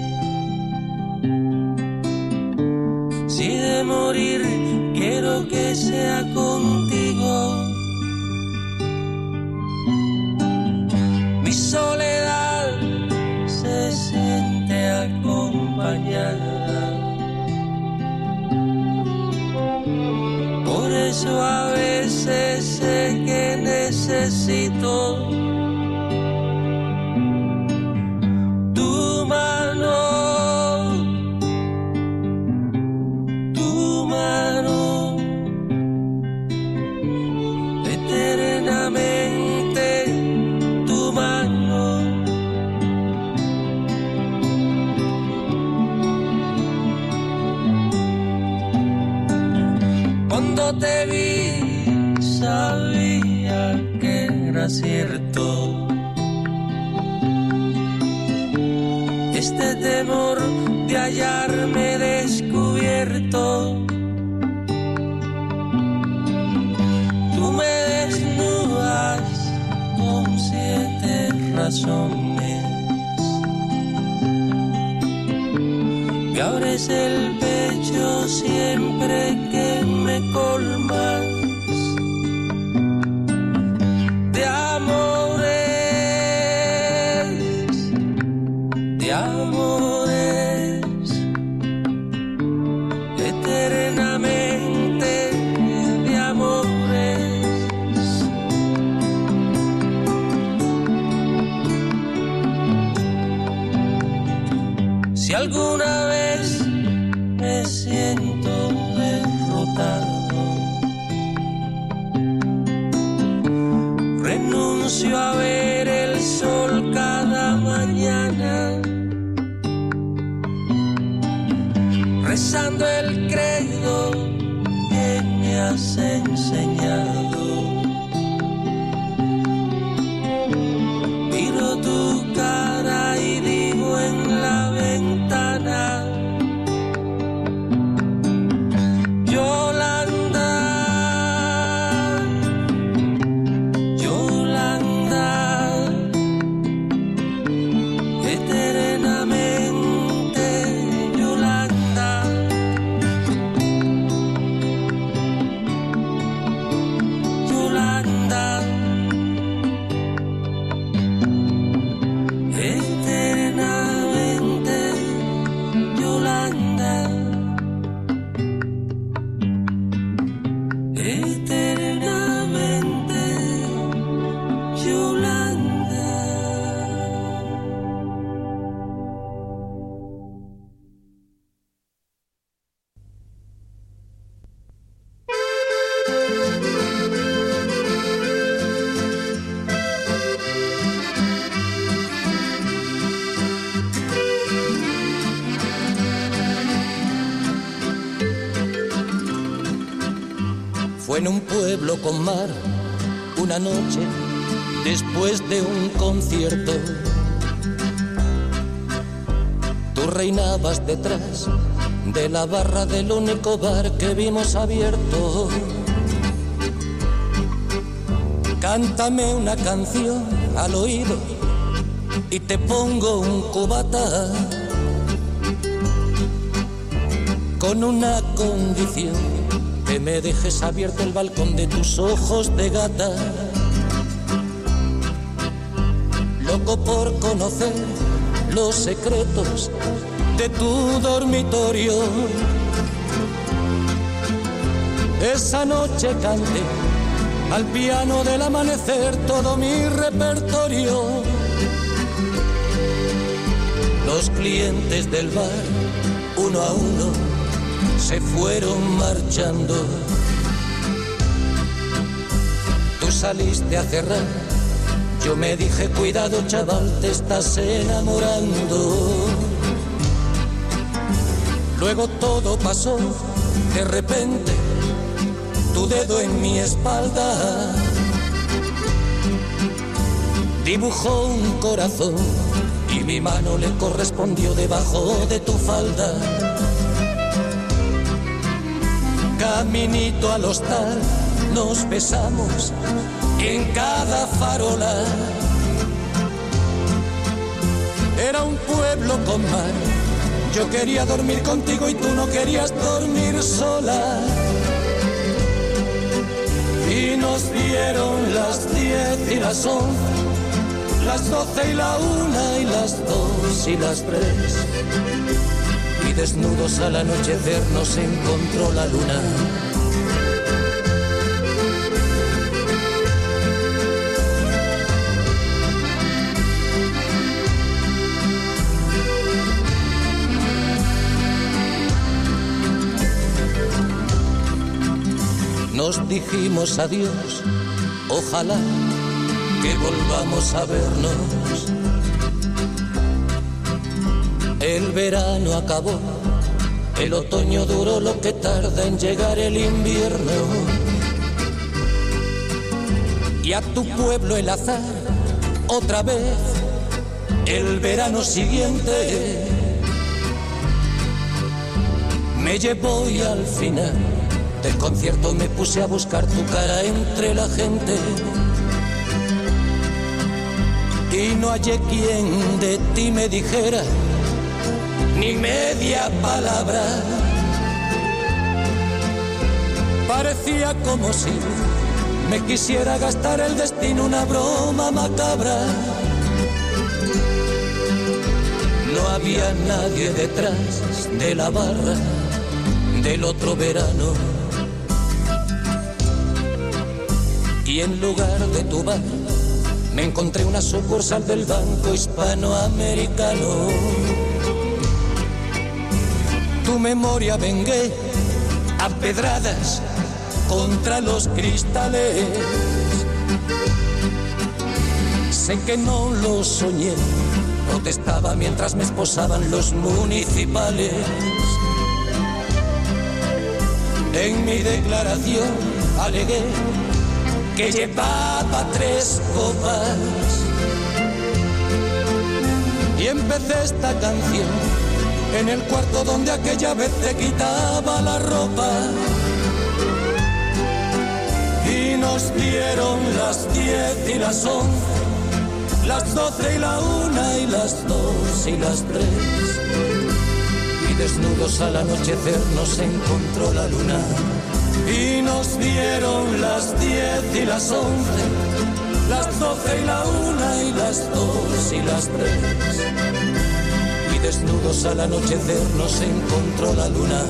Si de morir quiero que sea contigo. Mi soledad se siente acompañada. Por eso a veces sé que necesito tu mano, eternamente tu mano. Cuando te vi sabía que era cierto este temor de hallarme descubierto. Tú me desnudas con 7 razones, me abres el pecho siempre que me colmas de amores, de amores, eternamente de amores. Si alguna vez me siento derrotado, renuncio a ver el sol cada mañana, rezando el credo que me has enseñado. Miro tu cara y digo en la ventana: Yolanda, Yolanda, eternamente Yolanda, Yolanda, eternamente Yolanda, eternamente Yolanda. Fue en un pueblo con mar, una noche después de un concierto. Tú reinabas detrás de la barra del único bar que vimos abierto. Cántame una canción al oído y te pongo un cubata, con una condición: que me dejes abierto el balcón de tus ojos de gata. Loco por conocer los secretos de tu dormitorio. Esa noche canté al piano del amanecer todo mi repertorio. Los clientes del bar, uno a uno, se fueron marchando. Tú saliste a cerrar, yo me dije: cuidado chaval, te estás enamorando. Luego todo pasó, de repente, tu dedo en mi espalda dibujó un corazón y mi mano le correspondió debajo de tu falda. Caminito al hostal nos besamos en cada farola. Era un pueblo con mar, yo quería dormir contigo y tú no querías dormir sola. Y nos dieron las 10 y las 11, las 12 y la 1 y las 2 y las 3. Y desnudos al anochecer nos encontró la luna. Nos dijimos adiós, ojalá que volvamos a vernos. El verano acabó El otoño duró lo que tarda en llegar el invierno. Y a tu pueblo el azar, otra vez, el verano siguiente, me llevó y al final del concierto me puse a buscar tu cara entre la gente. Y no hallé quien de ti me dijera ni media palabra. Parecía como si me quisiera gastar el destino una broma macabra. No había nadie detrás de la barra del otro verano. Y en lugar de tu bar me encontré una sucursal del Banco Hispanoamericano. Tu memoria vengué a pedradas contra los cristales. Sé que no lo soñé, protestaba mientras me esposaban los municipales. En mi declaración alegué que llevaba 3 copas y empecé esta canción en el cuarto donde aquella vez te quitaba la ropa. Y nos dieron las 10 y las 11, las 12 y la 1 y las 2 y las 3. Y desnudos al anochecer nos encontró la luna. Y nos dieron las 10 y las 11, las 12 y la 1 y las 2 y las 3. Y desnudos al anochecer nos encontró la luna.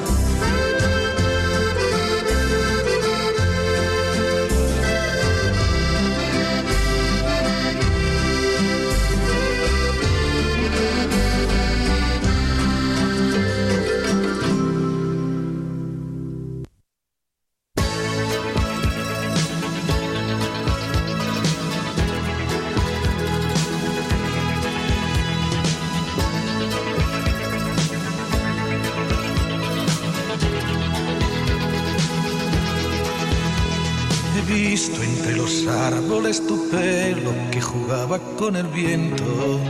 Entre los árboles tu pelo que jugaba con el viento.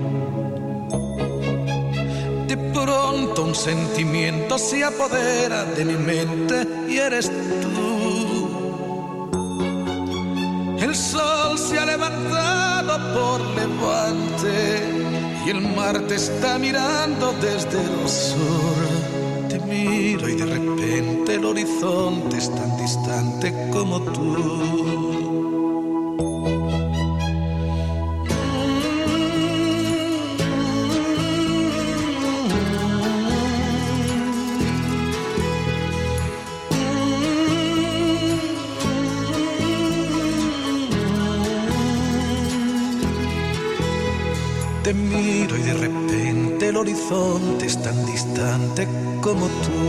De pronto un sentimiento se apodera de mi mente y eres tú. El sol se ha levantado por levante y el mar te está mirando desde el sur. Te miro y de repente el horizonte es tan distante como tú. Te miro y de repente el horizonte es tan distante como tú.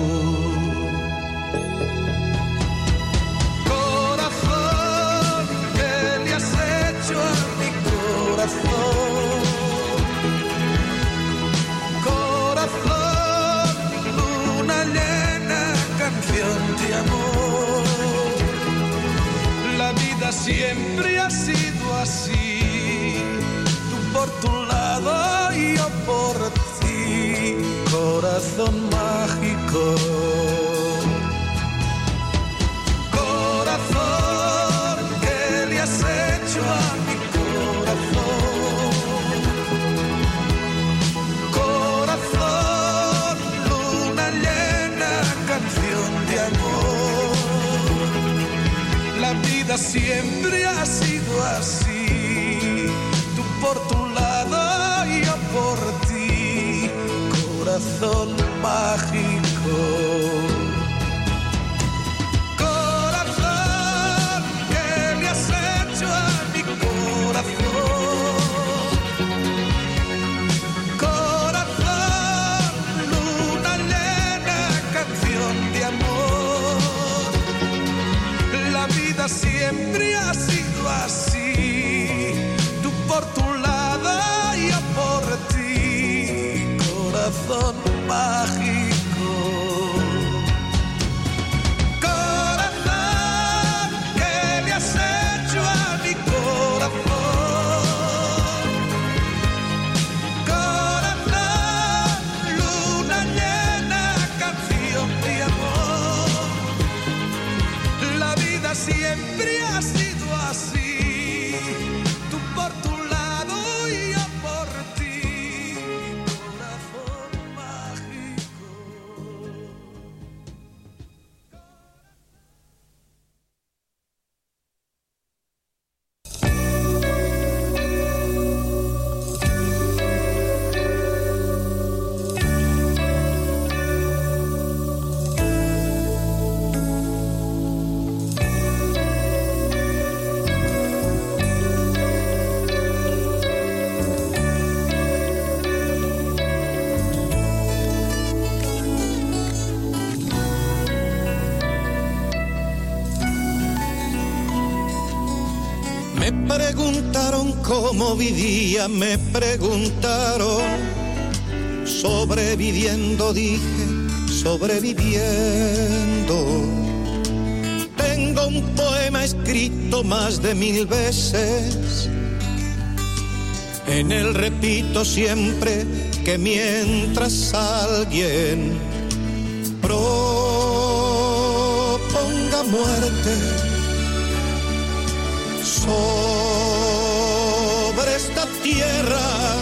Corazón, ¿qué le has hecho a mi corazón? Corazón, luna llena, canción de amor. La vida siempre ha sido así, tú por tu lado y yo por ti, corazón mágico. Corazón, ¿qué le has hecho a mi corazón? Corazón, luna llena, canción de amor. La vida siempre ha sido así, tú por tu lado y yo por ti, corazón mágico. Corazón, ¿qué le has hecho a mi corazón? Corazón, luna llena, canción de amor. La vida siempre ha sido así, tú por tu lado y yo por ti, corazón mágico. siempre ha sido así. Tú por tu lado y yo por ti, mi corazón mágico. Me preguntaron cómo vivía, me preguntaron. Sobreviviendo, dije, sobreviviendo. Tengo un poema escrito más de 1000 veces. En él repito siempre que mientras alguien proponga muerte sobre esta tierra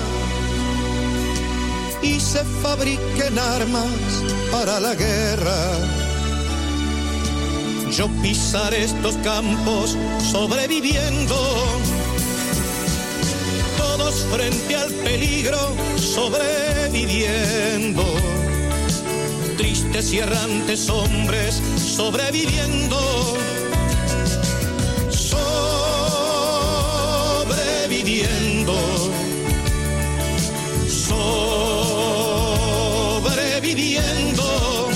y se fabriquen armas para la guerra, yo pisaré estos campos sobreviviendo, todos frente al peligro sobreviviendo, tristes y errantes hombres sobreviviendo. Sobreviviendo, sobreviviendo,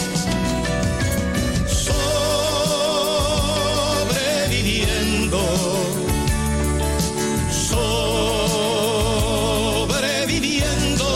sobreviviendo, sobreviviendo.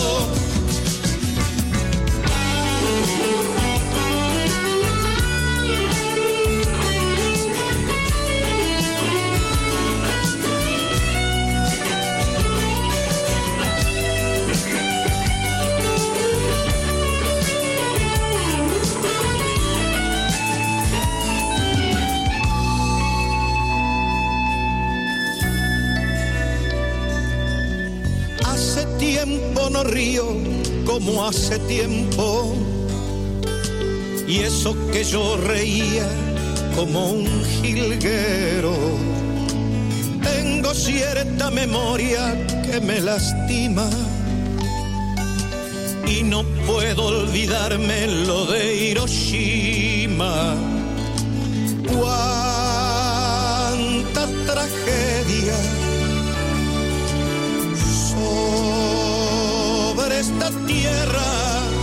Hace tiempo no río como hace tiempo, y eso que yo reía como un jilguero. Tengo cierta memoria que me lastima y no puedo olvidarme lo de Hiroshima. Cuánta tragedia sobre esta tierra.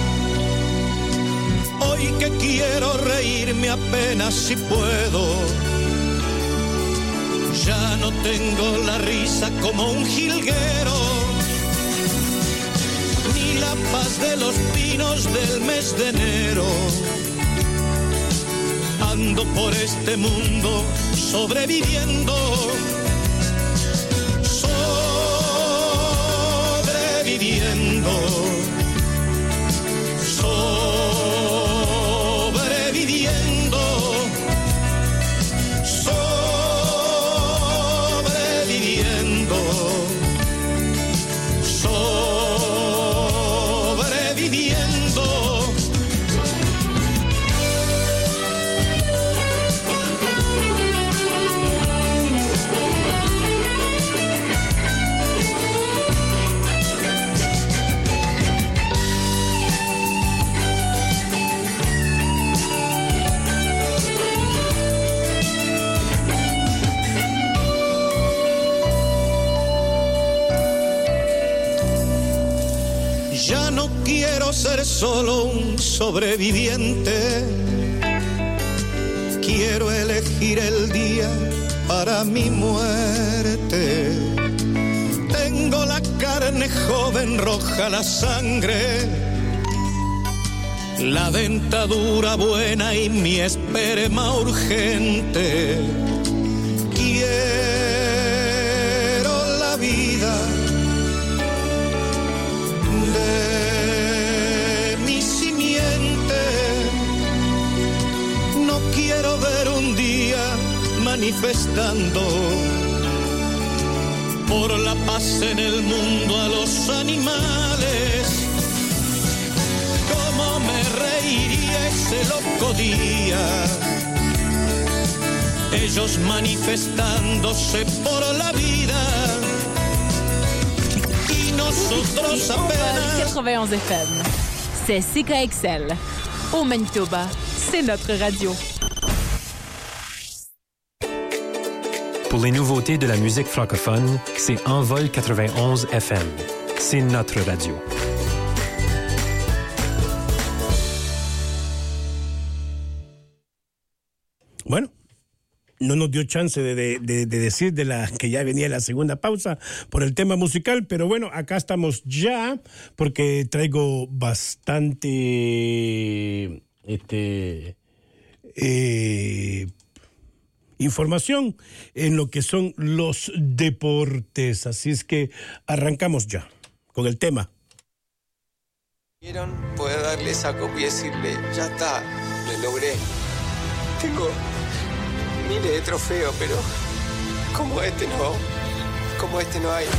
Hoy que quiero reírme apenas si puedo, ya no tengo la risa como un jilguero, ni la paz de los pinos del mes de enero. Ando por este mundo sobreviviendo, sobreviviendo, sobreviviendo, sobreviviendo, sobreviviendo. Ya no quiero ser solo un sobreviviente, quiero elegir el día para mi muerte. Tengo la carne joven, roja la sangre, la dentadura buena y mi esperma urgente. Quiero la vida de mi simiente. No quiero ver un día manifestando por la paz en el mundo a los animales. Cómo me reiría ese loco día, ellos manifestándose por la vida y nosotros apenas. 91 FM, c'est CKXL. Au Manitoba, c'est notre radio. Pour les nouveautés de la musique francophone, c'est Envol 91 FM. C'est notre radio. Bueno, no nos dio chance de decir de la que ya venía la segunda pausa por el tema musical, pero bueno, acá estamos ya porque traigo bastante información en lo que son los deportes, así es que arrancamos ya con el tema. ¿Vieron? Poder darle esa copia y decirle, ya está, lo logré. Tengo miles de trofeos, pero como este no hay.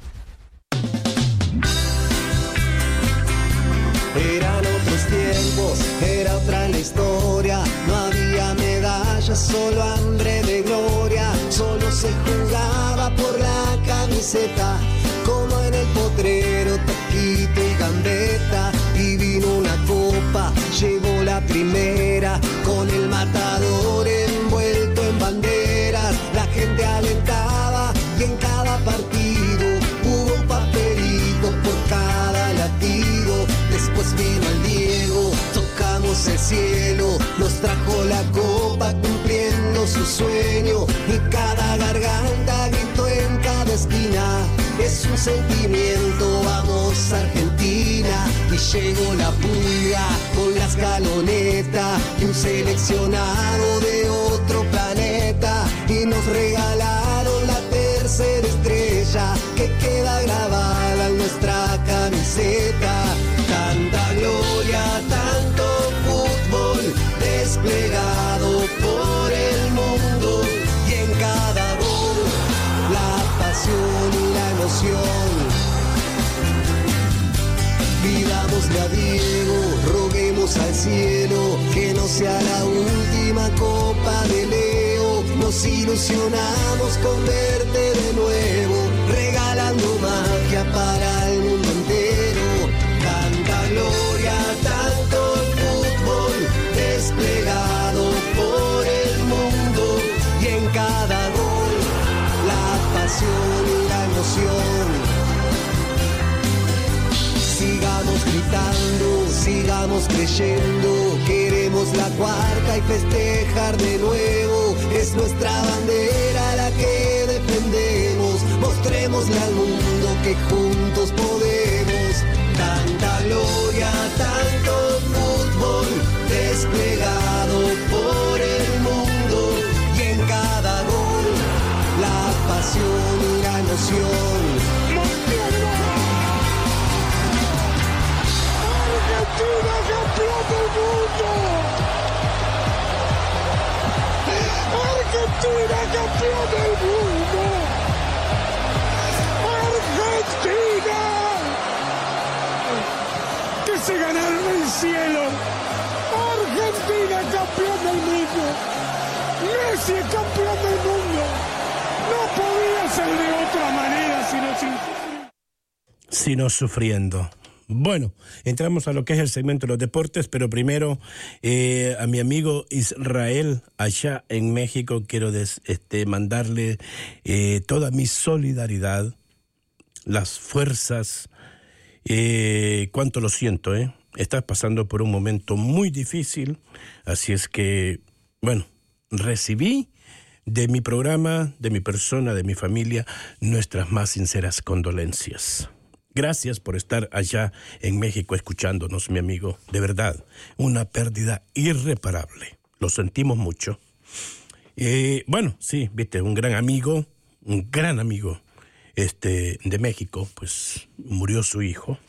Eran otros tiempos, era otra la historia. No había medallas, solo hambre de gloria. Solo se jugaba por la camiseta, como en el potrero, taquito y gambeta. Y vino una copa, llegó la primera, con el matador envuelto en banderas. La gente alentaba y en cada partido hubo un papelito por cada latido. Después vino el Diego, tocamos el cielo, nos trajo la copa cumpliendo su sueño. Y cada garganta gritó en cada esquina, es un sentimiento, vamos Argentina. Y llegó la pulga con la escaloneta y un seleccionado de otro planeta. Y nos regalaron la tercera estrella que queda grabada en nuestra camiseta. Tanta gloria, tanto fútbol desplegado por el mundo. Y en cada gol, la pasión y la emoción. Pidámosle a Diego, roguemos al cielo que no sea la última Copa de Leo. Nos ilusionamos con verte de nuevo, regalando magia para el mundo entero. Tanta gloria, tanto fútbol desplegado por el mundo. Y en cada gol, la pasión y la emoción. Sigamos gritando, sigamos creyendo, queremos la cuarta y festejar de nuevo. Es nuestra bandera la que defendemos, mostrémosle al mundo que juntos podemos. Tanta gloria, tanto fútbol desplegado por el mundo. Y en cada gol, la pasión y la emoción. Argentina campeón del mundo. Argentina campeón del mundo. Argentina. Que se ganaron el cielo. Argentina campeón del mundo. Messi es campeón del mundo. No podía ser de otra manera sino sufriendo. Bueno, entramos a lo que es el segmento de los deportes, pero primero a mi amigo Israel allá en México quiero mandarle toda mi solidaridad, las fuerzas, cuánto lo siento, estás pasando por un momento muy difícil, así es que, bueno, recibí de mi programa, de mi persona, de mi familia, nuestras más sinceras condolencias. Gracias por estar allá en México escuchándonos, mi amigo. De verdad, una pérdida irreparable. Lo sentimos mucho. Bueno, sí, viste, un gran amigo de México, pues murió su hijo.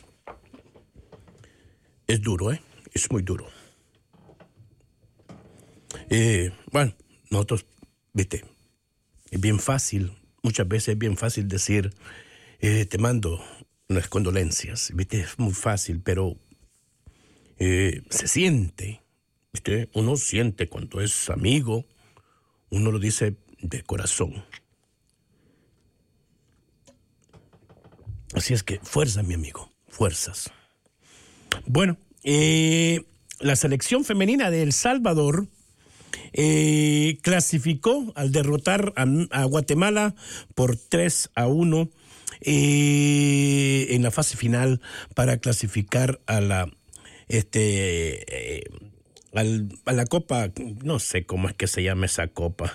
Es duro, es muy duro. Bueno, nosotros, viste, Es bien fácil, muchas veces es bien fácil decir, te mando unas condolencias, ¿viste? Es muy fácil, pero se siente, ¿viste? Uno siente cuando es amigo, uno lo dice de corazón. Así es que fuerzas, mi amigo, fuerzas. Bueno, la selección femenina de El Salvador clasificó al derrotar a Guatemala por 3-1 en la fase final para clasificar a la a la Copa, no sé cómo es que se llama esa copa,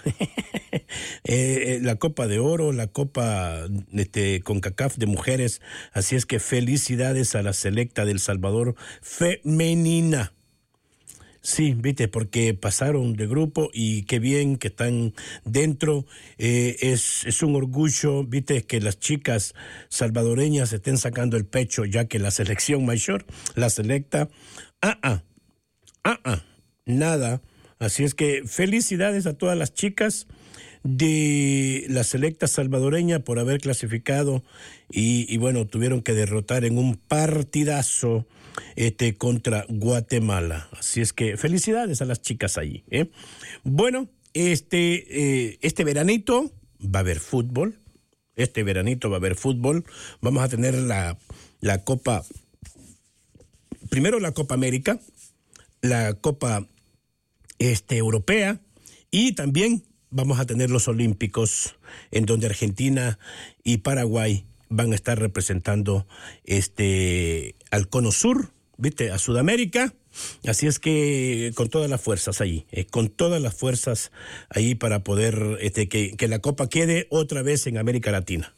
la Copa de Oro, la Copa CONCACAF de mujeres. Así es que felicidades a la selecta del Salvador femenina. Sí, viste, porque pasaron de grupo y qué bien que están dentro. Es un orgullo, viste, que las chicas salvadoreñas estén sacando el pecho, ya que la selección mayor, la selecta, nada. Así es que felicidades a todas las chicas de la selecta salvadoreña por haber clasificado y bueno, tuvieron que derrotar en un partidazo contra Guatemala. Así es que felicidades a las chicas allí. Bueno, este veranito va a haber fútbol. Vamos a tener la Copa, primero la Copa América, la Copa Europea, y también vamos a tener los Olímpicos, en donde Argentina y Paraguay van a estar representando al Cono Sur, ¿viste? A Sudamérica. Así es que con todas las fuerzas ahí, para poder que la Copa quede otra vez en América Latina.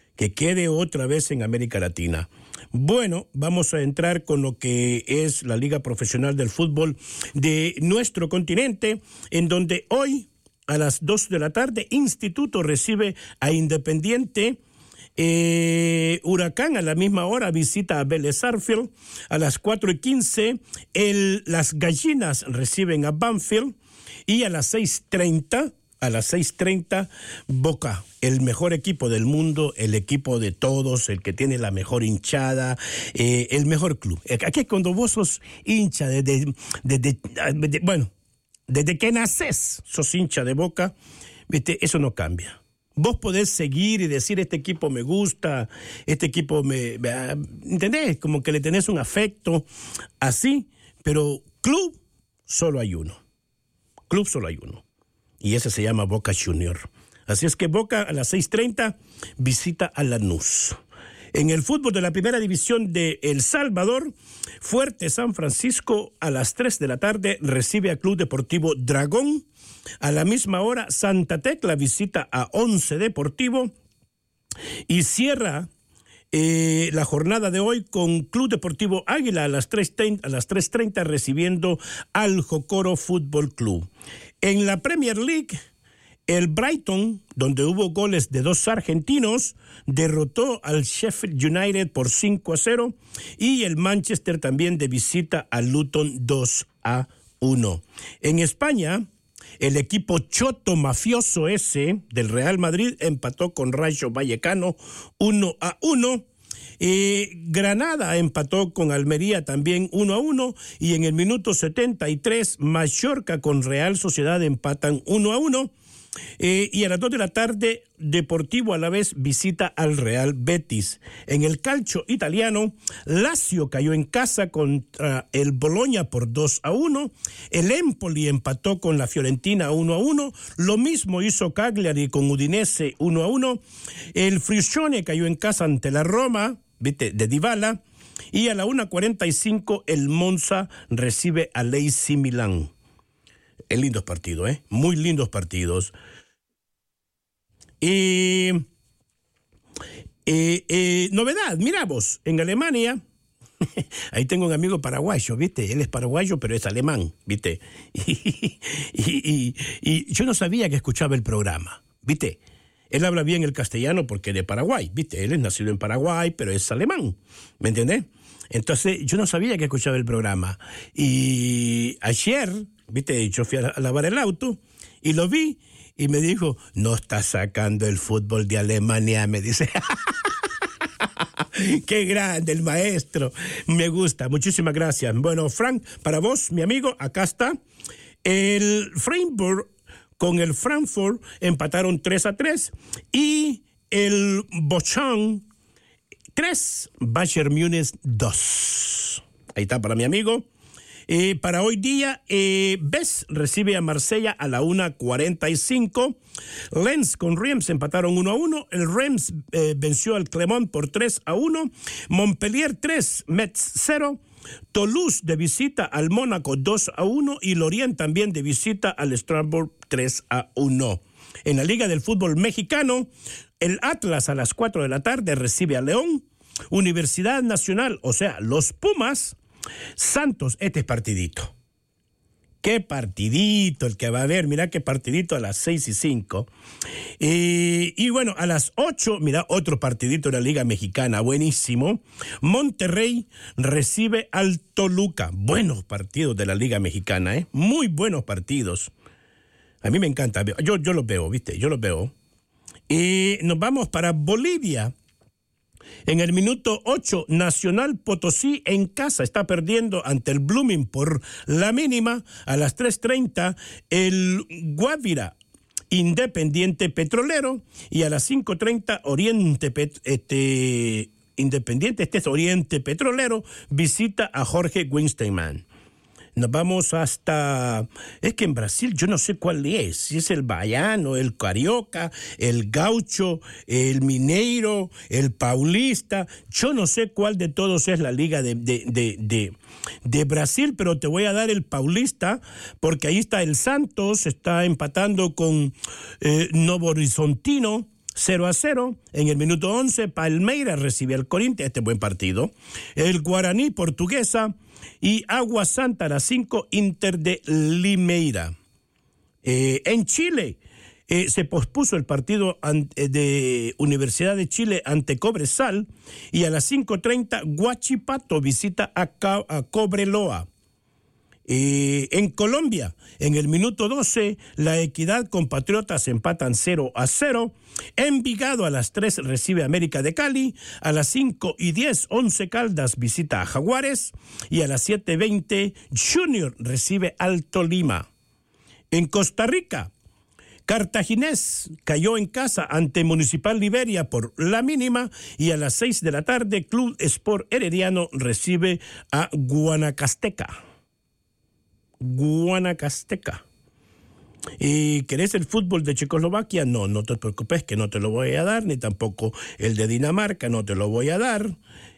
Bueno, vamos a entrar con lo que es la Liga Profesional del Fútbol de nuestro continente, en donde hoy a las 2 de la tarde Instituto recibe a Independiente. Huracán a la misma hora visita a Vélez Sarsfield. A las 4:15 las Gallinas reciben a Banfield, y a las 6:30 Boca, el mejor equipo del mundo, el equipo de todos, el que tiene la mejor hinchada, el mejor club. Aquí cuando vos sos hincha desde que naces, sos hincha de Boca, ¿viste? Eso no cambia. Vos podés seguir y decir, este equipo me gusta, este equipo ¿entendés? Como que le tenés un afecto así, pero club solo hay uno. Y ese se llama Boca Junior. Así es que Boca a las 6:30 visita a Lanús. En el fútbol de la primera división de El Salvador, Fuerte San Francisco a las 3 de la tarde recibe a Club Deportivo Dragón. A la misma hora, Santa Tecla visita a Once Deportivo y cierra la jornada de hoy con Club Deportivo Águila a las 3:30 recibiendo al Jocoro Fútbol Club. En la Premier League, el Brighton, donde hubo goles de 2 argentinos, derrotó al Sheffield United por 5-0, y el Manchester también de visita al Luton 2-1. En España, el equipo choto mafioso ese del Real Madrid empató con Rayo Vallecano 1-1. Granada empató con Almería también 1-1, y en el minuto 73 Mallorca con Real Sociedad empatan 1-1. Y a las 2 de la tarde, Deportivo Alavés visita al Real Betis. En el calcio italiano, Lazio cayó en casa contra el Bologna por 2-1. El Empoli empató con la Fiorentina 1-1. Lo mismo hizo Cagliari con Udinese 1-1. El Frigione cayó en casa ante la Roma, ¿viste? De Dybala. Y a la 1:45 el Monza recibe a AC Milán. Es lindos partidos, muy lindos partidos. Novedad, mira vos, en Alemania, ahí tengo un amigo paraguayo, ¿viste? Él es paraguayo, pero es alemán, ¿viste? Y yo no sabía que escuchaba el programa, ¿viste? Él habla bien el castellano porque es de Paraguay, ¿viste? Él es nacido en Paraguay, pero es alemán, ¿me entendés? Entonces, yo no sabía que escuchaba el programa. Y ayer, ¿viste? Yo fui a lavar el auto Y lo vi y me dijo, no está sacando el fútbol de Alemania, me dice. Qué grande el maestro. Me gusta. Muchísimas gracias. Bueno, Frank, para vos, mi amigo, acá está. El Freiburg con el Frankfurt empataron 3-3 y el Bochum 3, Bayern Múnich 2. Ahí está para mi amigo. Para hoy día, Bes recibe a Marsella a la 1:45. Lens con Reims empataron 1-1. El Reims venció al Clermont por 3-1. Montpellier 3, Metz 0. Toulouse de visita al Mónaco 2-1. Y Lorient también de visita al Strasbourg 3-1. En la Liga del Fútbol Mexicano, el Atlas a las 4 de la tarde recibe a León. Universidad Nacional, o sea, los Pumas. Santos, este es partidito. Qué partidito el que va a haber. Mira qué partidito a las 6:05. Y bueno, a las 8, mira, otro partidito de la Liga Mexicana, buenísimo. Monterrey recibe al Toluca. Buenos partidos de la Liga Mexicana, muy buenos partidos. A mí me encanta. Yo los veo, ¿viste? Yo los veo. Y nos vamos para Bolivia. En el minuto 8, Nacional Potosí en casa está perdiendo ante el Blooming por la mínima. A las 3:30, el Guavira Independiente Petrolero. Y a las 5:30, Independiente Oriente Petrolero visita a Jorge Winsteinman. Nos vamos hasta... Es que en Brasil yo no sé cuál es. Si es el baiano, el carioca, el gaucho, el mineiro, el paulista. Yo no sé cuál de todos es la liga de Brasil, pero te voy a dar el paulista, porque ahí está el Santos, está empatando con Novo Horizontino. 0-0, en el minuto 11, Palmeiras recibe al Corinthians, este buen partido. El Guaraní Portuguesa y Agua Santa a las 5, Inter de Limeira. En Chile se pospuso el partido de Universidad de Chile ante Cobresal y a las 5:30 Huachipato visita a Cobreloa. En Colombia, en el minuto 12, La Equidad con Patriotas empatan 0-0. Envigado a las 3 recibe América de Cali. A las 5:10, Once Caldas visita a Jaguares. Y a las 7:20, Junior recibe al Tolima. En Costa Rica, Cartaginés cayó en casa ante Municipal Liberia por la mínima. Y a las 6 de la tarde, Club Sport Herediano recibe a Guanacasteca. ¿Y querés el fútbol de Checoslovaquia? No te preocupes, que no te lo voy a dar, ni tampoco el de Dinamarca, no te lo voy a dar.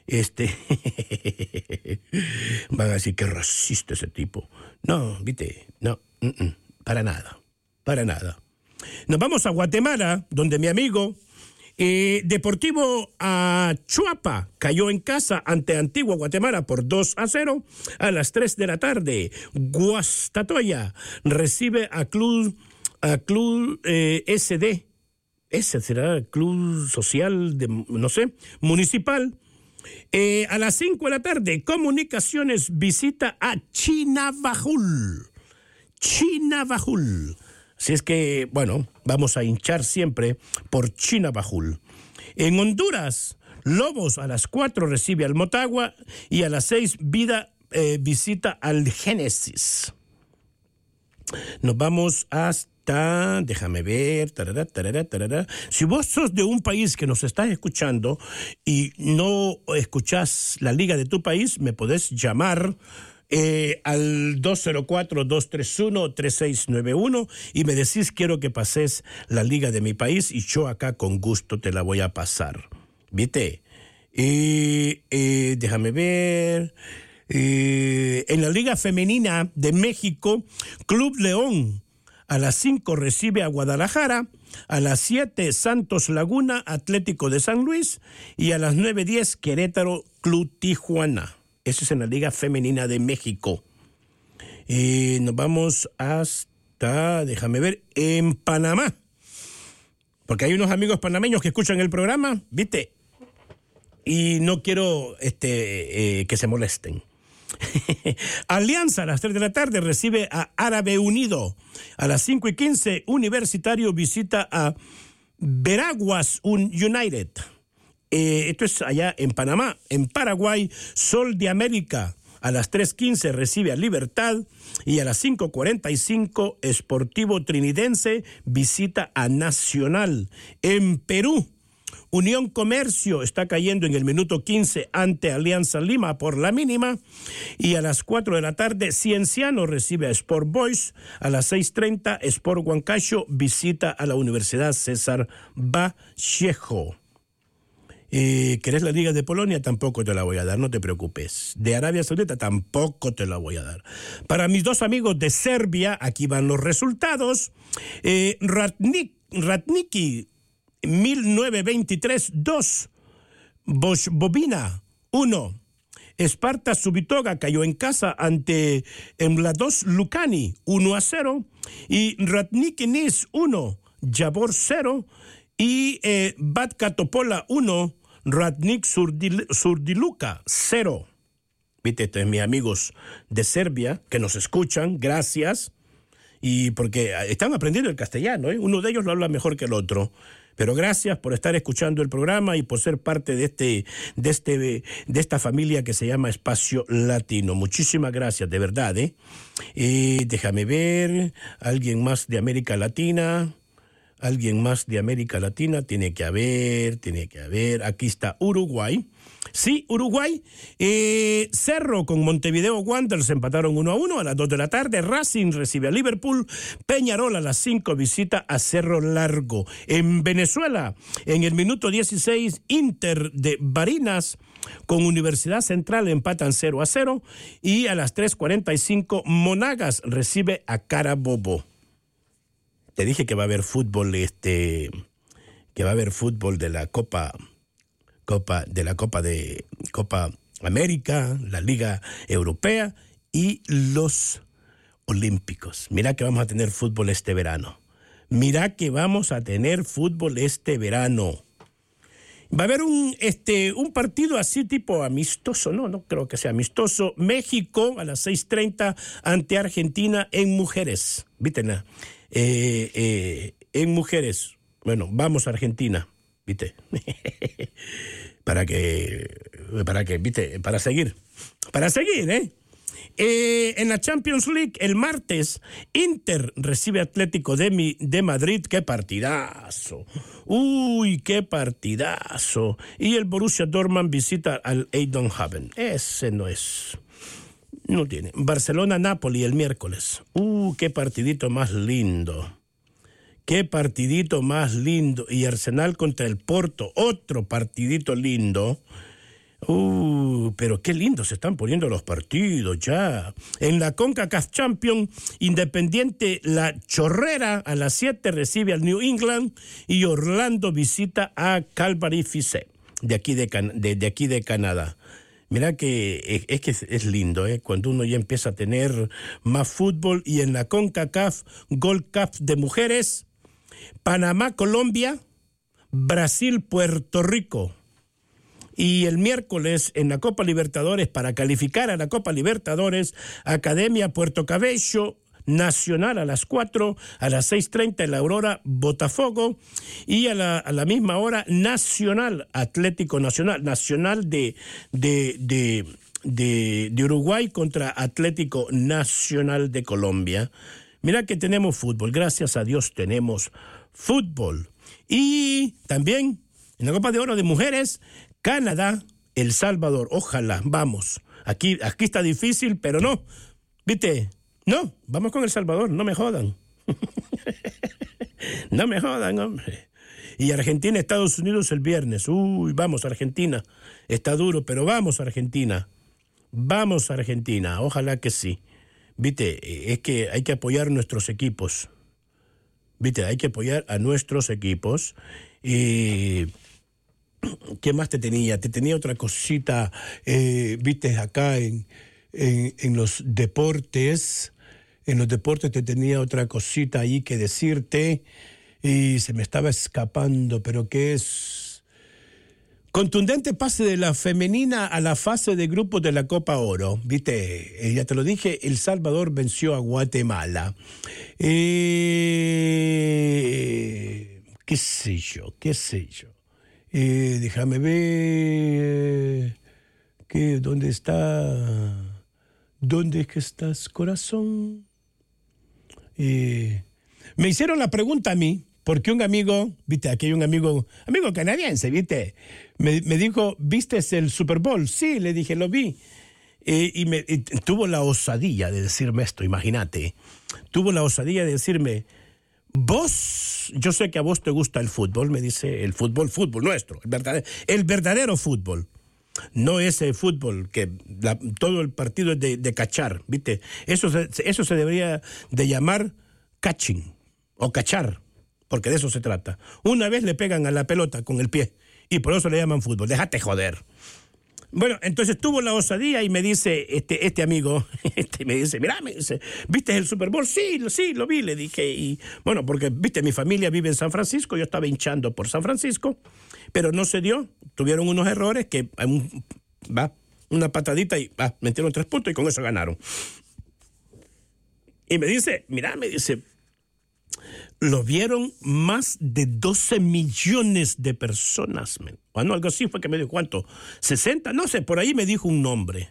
Van a decir que racista ese tipo. No, viste, no, para nada. Nos vamos a Guatemala, donde mi amigo Deportivo Achuapa cayó en casa ante Antigua Guatemala por 2-0. A las 3 de la tarde, Guastatoya recibe a Club SD. Ese será el Club Social, Municipal. A las 5 de la tarde, Comunicaciones visita a Chinabajul. Así es que, bueno, vamos a hinchar siempre por Chinabajul. En Honduras, Lobos a las 4 recibe al Motagua y a las 6 Vida visita al Génesis. Nos vamos hasta, déjame ver, Si vos sos de un país que nos estás escuchando y no escuchás la liga de tu país, me podés llamar al 204-231-3691 y me decís quiero que pases la liga de mi país y yo acá con gusto te la voy a pasar. ¿Viste? Déjame ver. En la Liga Femenina de México, Club León a las 5 recibe a Guadalajara. A las 7, Santos Laguna, Atlético de San Luis. Y a las 9:10, Querétaro, Club Tijuana. Eso es en la Liga Femenina de México. Nos vamos hasta, déjame ver, en Panamá. Porque hay unos amigos panameños que escuchan el programa, ¿viste? Y no quiero que se molesten. Alianza a las 3 de la tarde recibe a Árabe Unido. A las 5:15, Universitario visita a Veraguas United. Esto es allá en Panamá. En Paraguay, Sol de América a las 3:15 recibe a Libertad y a las 5:45 Sportivo Trinidense visita a Nacional. En Perú, Unión Comercio está cayendo en el minuto 15 ante Alianza Lima por la mínima, y a las 4 de la tarde Cienciano recibe a Sport Boys. A las 6:30 Sport Huancayo visita a la Universidad César Vallejo. ¿Querés la Liga de Polonia? Tampoco te la voy a dar, no te preocupes. De Arabia Saudita tampoco te la voy a dar. Para mis dos amigos de Serbia, aquí van los resultados. Ratniki 1923 2, Bobina 1. Sparta Subitoga cayó en casa ante Mladost Lucani 1-0, y Ratniki Nis 1, Javor 0, y Batka Topola 1, Ratnik Surdiluka 0. Viste, estos mis amigos de Serbia que nos escuchan, gracias. Y porque están aprendiendo el castellano, ¿eh? Uno de ellos lo habla mejor que el otro. Pero gracias por estar escuchando el programa y por ser parte de esta familia que se llama Espacio Latino. Muchísimas gracias, de verdad, ¿eh? Déjame ver, alguien más de América Latina. Alguien más de América Latina, tiene que haber, aquí está Uruguay. Sí, Uruguay. Cerro con Montevideo Wanderers empataron 1-1 a las 2 de la tarde. Racing recibe a Liverpool. Peñarol a las 5 visita a Cerro Largo. En Venezuela, en el minuto 16, Inter de Barinas con Universidad Central empatan 0-0. Y a las 3:45, Monagas recibe a Carabobo. Te dije que va a haber fútbol, que va a haber fútbol de la Copa América, la Liga Europea y los Olímpicos. Mira que vamos a tener fútbol este verano. Va a haber un partido así tipo amistoso, no creo que sea amistoso. México a las 6:30 ante Argentina en mujeres. ¿Viste? En mujeres. Bueno, vamos a Argentina, ¿viste? para que, ¿viste? Para seguir, ¿eh? En la Champions League, el martes, Inter recibe Atlético de Madrid. ¡Qué partidazo! ¡Uy, qué partidazo! Y el Borussia Dortmund visita al Eindhoven. Ese no tiene. Barcelona-Napoli el miércoles. ¡Qué partidito más lindo! ¡Qué partidito más lindo! Y Arsenal contra el Porto, otro partidito lindo. Pero qué lindo se están poniendo los partidos ya. En la CONCACAF Champions, Independiente La Chorrera a las 7 recibe al New England, y Orlando visita a Calgary FC de aquí de Canadá. Mira que es lindo, cuando uno ya empieza a tener más fútbol. Y en la CONCACAF Gold Cup de mujeres, Panamá, Colombia, Brasil, Puerto Rico. Y el miércoles en la Copa Libertadores, para calificar a la Copa Libertadores, Academia Puerto Cabello, Nacional a las 4, a las 6:30 en la Aurora, Botafogo, y a la misma hora Nacional, Atlético Nacional de Uruguay contra Atlético Nacional de Colombia. Mira que tenemos fútbol, gracias a Dios tenemos fútbol. Y también en la Copa de Oro de mujeres, Canadá, El Salvador, ojalá, vamos. Aquí está difícil, pero no, ¿viste? No, vamos con El Salvador, no me jodan. No me jodan, hombre. Y Argentina, Estados Unidos el viernes. Vamos Argentina. Está duro, pero vamos Argentina. Vamos Argentina, ojalá que sí. Viste, es que hay que apoyar nuestros equipos. Viste, hay que apoyar a nuestros equipos. ¿Qué más te tenía? Te tenía otra cosita, viste, acá en los deportes. En los deportes te tenía otra cosita ahí que decirte y se me estaba escapando, pero que es Contundente pase de la femenina a la fase de grupos de la Copa Oro. Viste, ya te lo dije, El Salvador venció a Guatemala. ¿Qué sé yo? Déjame ver. ¿Dónde está? ¿Dónde es que estás, corazón? Me hicieron la pregunta a mí, porque un amigo, viste, aquí hay un amigo canadiense, viste, me dijo, ¿viste el Super Bowl? Sí, le dije, lo vi. Y tuvo la osadía de decirme esto, imagínate. Tuvo la osadía de decirme, vos, yo sé que a vos te gusta el fútbol, me dice, el fútbol nuestro, el verdadero fútbol. No ese fútbol que todo el partido es de cachar, ¿viste? Eso se debería de llamar catching o cachar, porque de eso se trata. Una vez le pegan a la pelota con el pie y por eso le llaman fútbol. Déjate joder. Bueno, entonces tuvo la osadía y me dice este amigo, me dice, mirá, ¿viste el Super Bowl? Sí, lo vi, le dije. Y bueno, porque, viste, mi familia vive en San Francisco, yo estaba hinchando por San Francisco, pero no se dio, tuvieron unos errores que, una patadita y metieron 3 puntos y con eso ganaron. Y me dice, lo vieron más de 12 millones de personas. Bueno, algo así fue que me dijo, ¿cuánto? 60, no sé, por ahí me dijo un nombre.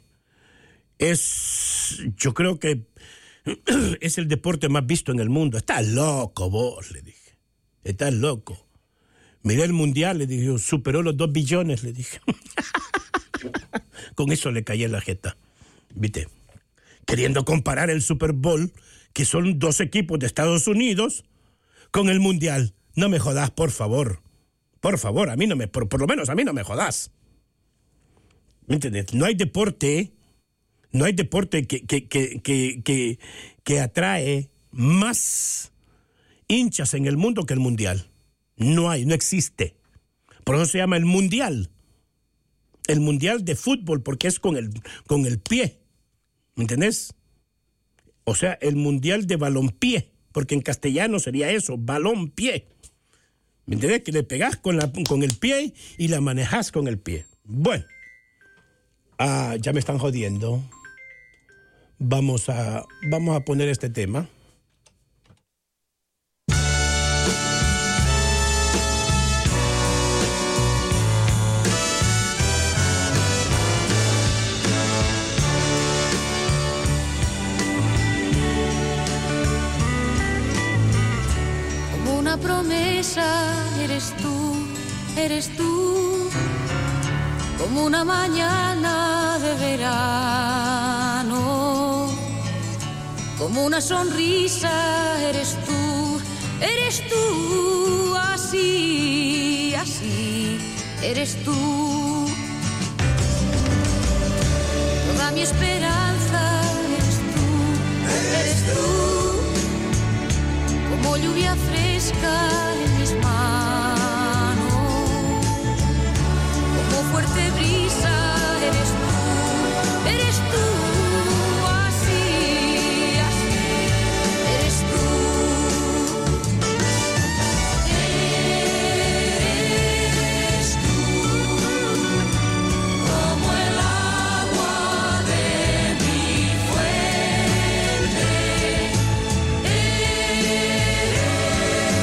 Yo creo que es el deporte más visto en el mundo. Estás loco vos, le dije. Estás loco. Miré el mundial, le dije, superó los 2 billones, le dije. Con eso le caí en la jeta. ¿Viste? Queriendo comparar el Super Bowl, que son 2 equipos de Estados Unidos, con el mundial. No me jodas, por favor. Por favor, a mí no me, por lo menos a mí no me jodas. ¿Me entiendes? No hay deporte que atrae más hinchas en el mundo que el mundial. No existe. Por eso se llama el mundial. El mundial de fútbol, porque es con el pie. ¿Me entendés? O sea, el mundial de balompié, porque en castellano sería eso, balompié. ¿Me entendés? Que le pegás con el pie y la manejás con el pie. Bueno. Ya me están jodiendo. Vamos a poner este tema. Promesa, eres tú, como una mañana de verano, como una sonrisa, eres tú, así, eres tú, toda mi esperanza, eres tú, como lluvia fresca en mis manos, como fuerte brisa, eres tú, así, eres tú, como el agua de mi fuente.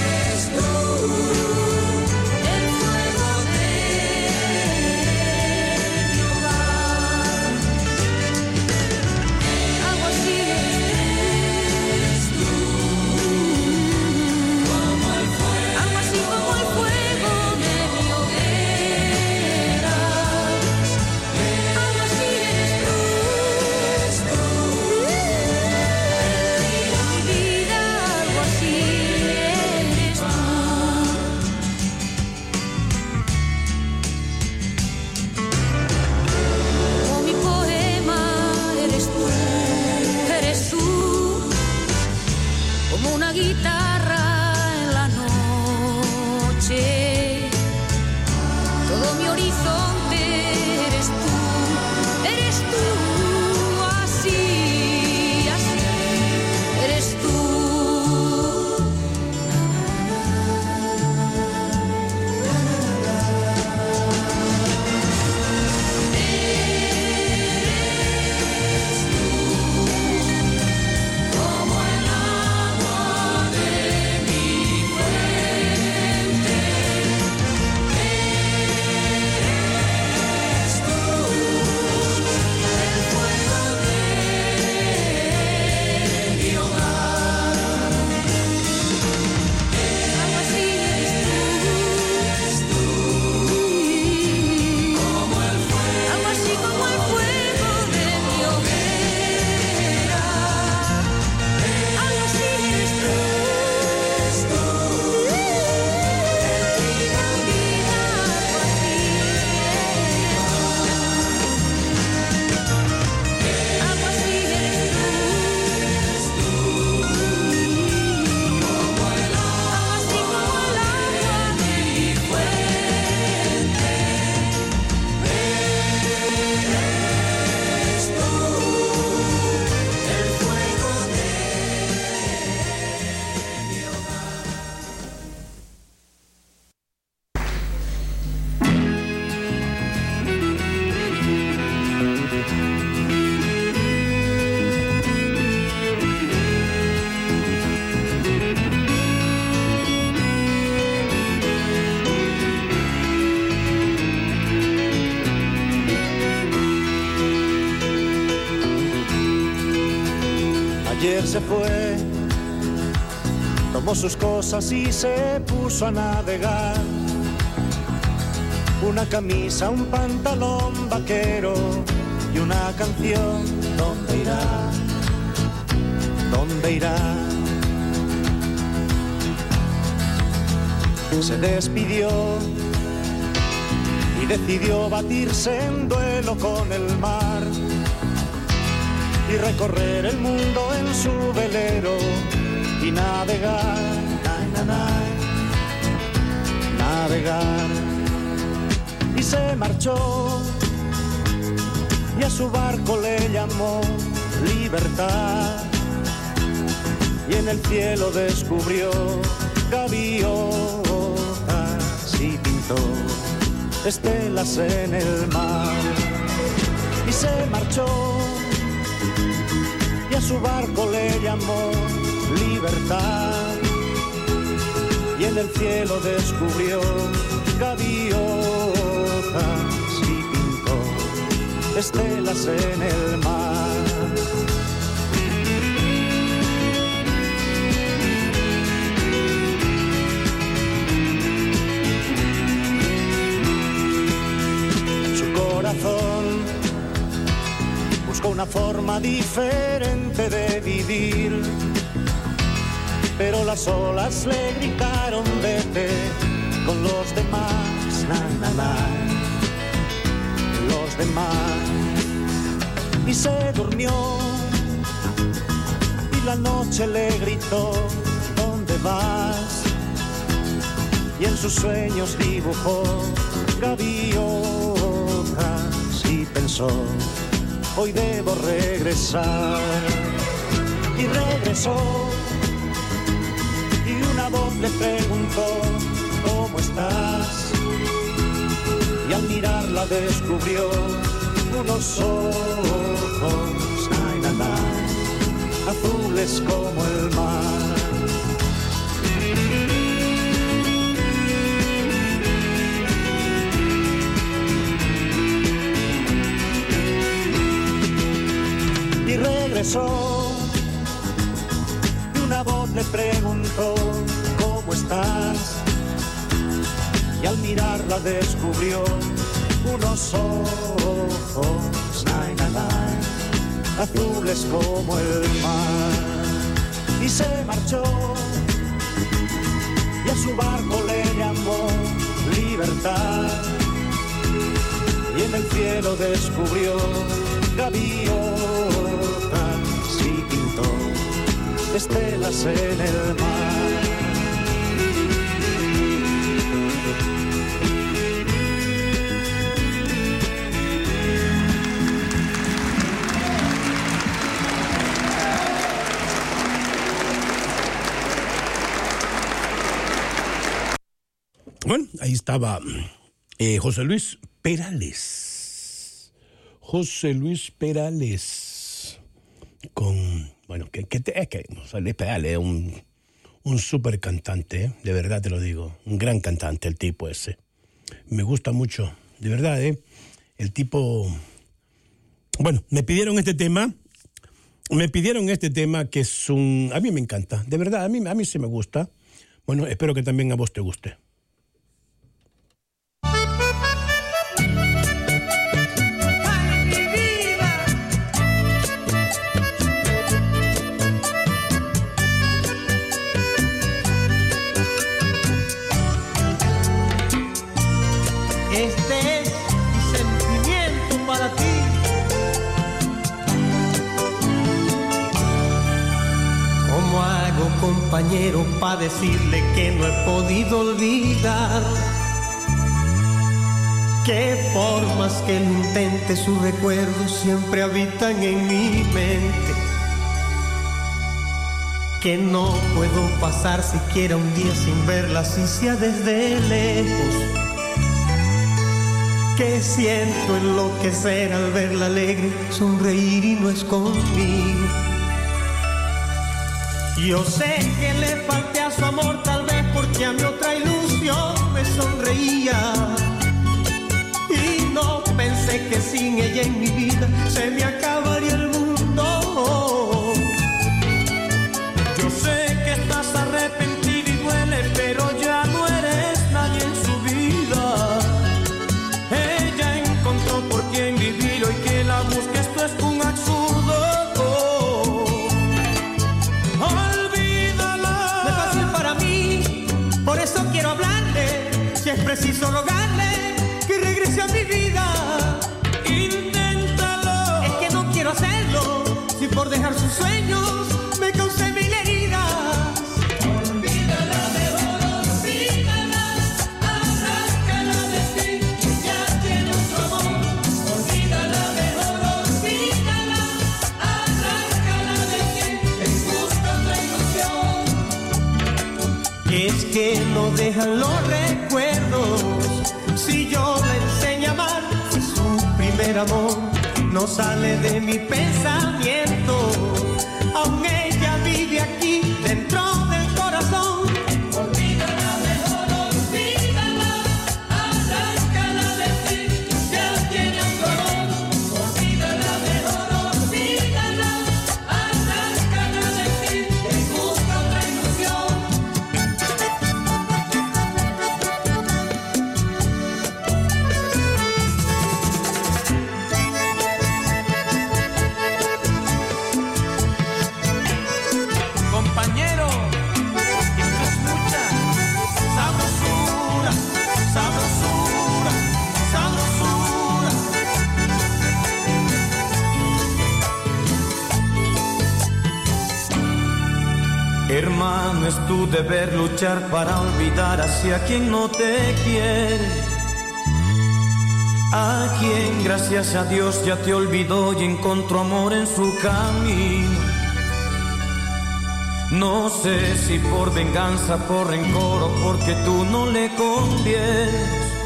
se fue, tomó sus cosas y se puso a navegar. Una camisa, un pantalón vaquero y una canción. ¿Dónde irá? ¿Dónde irá? Se despidió y decidió batirse en duelo con el mar y recorrer el mundo en su velero y navegar, navegar. Y se marchó y a su barco le llamó Libertad y en el cielo descubrió gaviotas y pintó estelas en el mar. Y se marchó y a su barco le llamó Libertad y en el cielo descubrió gaviotas y pintó estelas en el mar. Buscó una forma diferente de vivir, pero las olas le gritaron vete con los demás, los demás. Y se durmió y la noche le gritó ¿dónde vas? Y en sus sueños dibujó gaviotas y pensó hoy debo regresar. Y regresó y una voz le preguntó ¿cómo estás? Y al mirarla descubrió unos ojos azules como el mar. Y regresó y una voz le preguntó ¿cómo estás? Y al mirarla descubrió unos ojos azules como el mar. Y se marchó y a su barco le llamó Libertad y en el cielo descubrió gaviotas y pintó estelas en el mar. Bueno, ahí estaba José Luis Perales. José Luis Perales. Con, bueno, que José Luis Perales es un súper cantante, de verdad te lo digo. Un gran cantante el tipo ese. Me gusta mucho, de verdad, el tipo... Bueno, me pidieron este tema que es un... A mí me encanta, de verdad, a mí sí me gusta. Bueno, espero que también a vos te guste. Este es mi sentimiento para ti. ¿Cómo hago, compañero, para decirle que no he podido olvidar? Que por más que lo intente, sus recuerdos siempre habitan en mi mente. Que no puedo pasar siquiera un día sin verla, así sea desde lejos. Que siento enloquecer al verla alegre, sonreír y no es conmigo. Yo sé que le falté a su amor, tal vez porque a mi otra ilusión me sonreía. Y no pensé que sin ella en mi vida se me acabaría el mundo. quiero hablarle, si es preciso rogarle que regrese a mi vida. Inténtalo. Es que no quiero hacerlo, si por dejar sus sueños me causé mil heridas. Olvídala, mejor olvídala, arráncala de ti, ya tiene otro amor. Olvídala, mejor olvídala, arráncala de ti, busca otra ilusión. Es que no dejan los recuerdos, si yo la enseño a amar, si su primer amor no sale de mi pensamiento, aún ella vive aquí dentro del corazón. Olvídala, mejor olvídala, arráncala de ti, ya tiene otro amor. Olvídala, mejor olvídala, arráncala de ti, busca otra ilusión. Compañero, esto es mucha sabrosura, sabrosura, sabrosura. Hermano, es tu deber luchar para olvidar hacia quien no te quiere, a quien gracias a Dios ya te olvidó y encontró amor en su camino. No sé si por venganza, por rencor o porque tú no le convienes,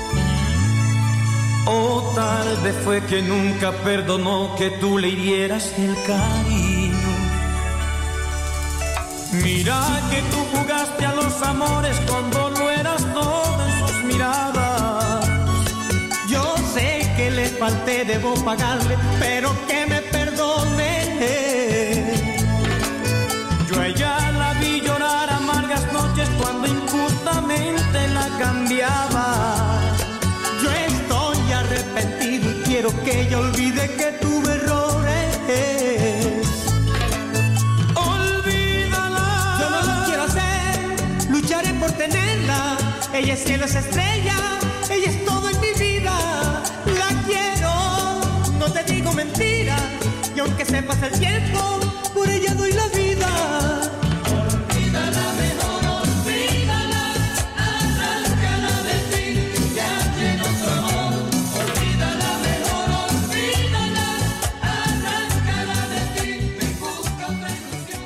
o tal vez fue que nunca perdonó que tú le hirieras el cariño. Mira que tú jugaste a los amores cuando lo eras todo en sus miradas. Yo sé que le falté, debo pagarle, pero que me perdone. Yo a ella la vi llorar amargas noches cuando injustamente la cambiaba. Yo estoy arrepentido y quiero que ella olvide que tuve errores. Olvídala. Yo no lo quiero hacer, lucharé por tenerla. Ella es cielo, es estrella, ella es todo en mi vida. La quiero, no te digo mentiras, y aunque se pase el tiempo, por ella doy la vida. Olvídala, mejor olvídala, arráncala de ti, ya tiene otro amor. Olvídala, mejor olvídala, arráncala de ti, me busca otra ilusión.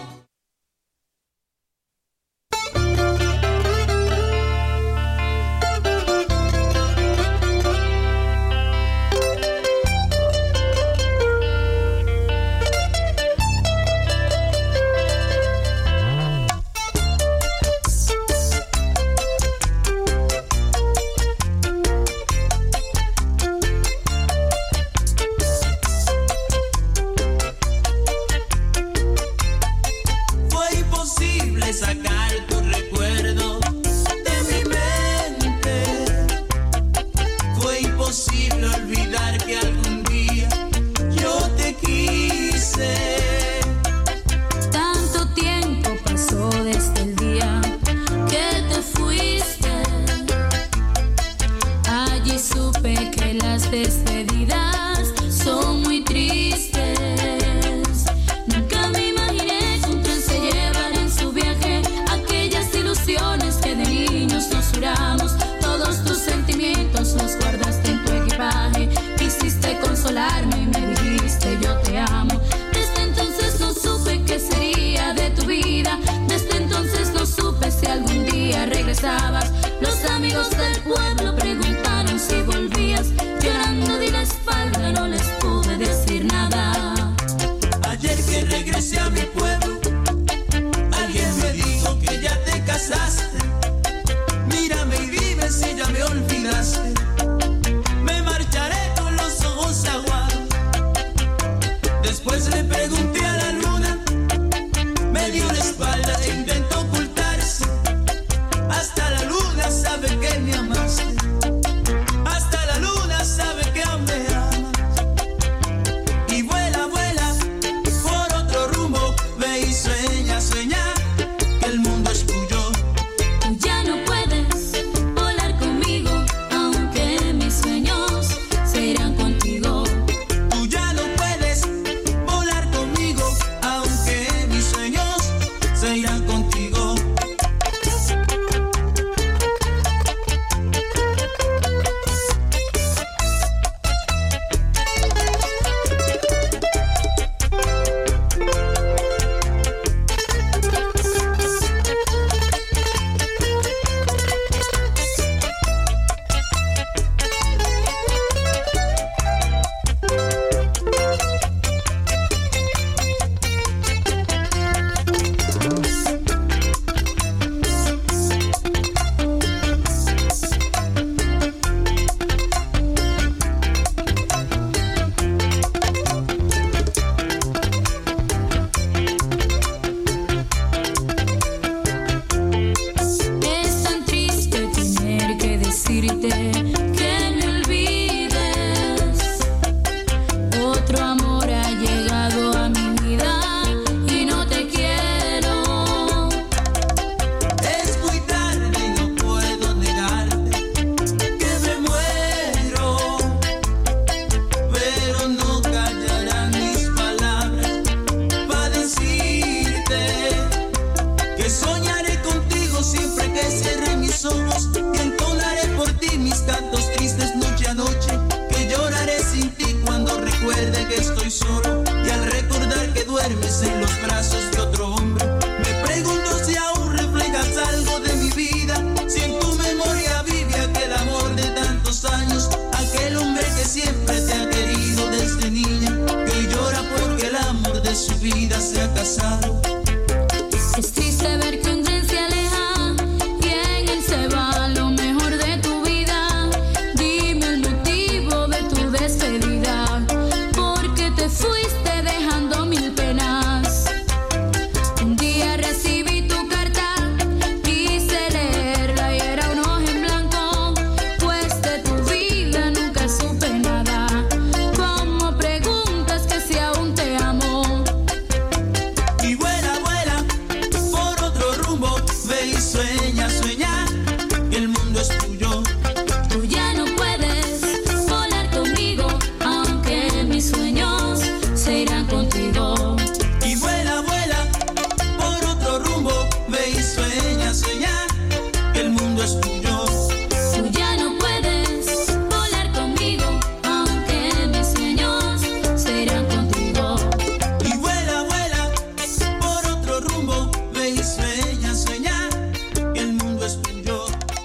mundo es tuyo. Tú ya no puedes volar conmigo, aunque mis sueños se irán contigo. Y vuela, vuela por otro rumbo, ve y sueña, sueña, que el mundo es tuyo. Tú ya no puedes volar conmigo, aunque mis sueños se irán contigo. Y vuela, vuela por otro rumbo, ve y sueña, sueña, que el mundo es tuyo.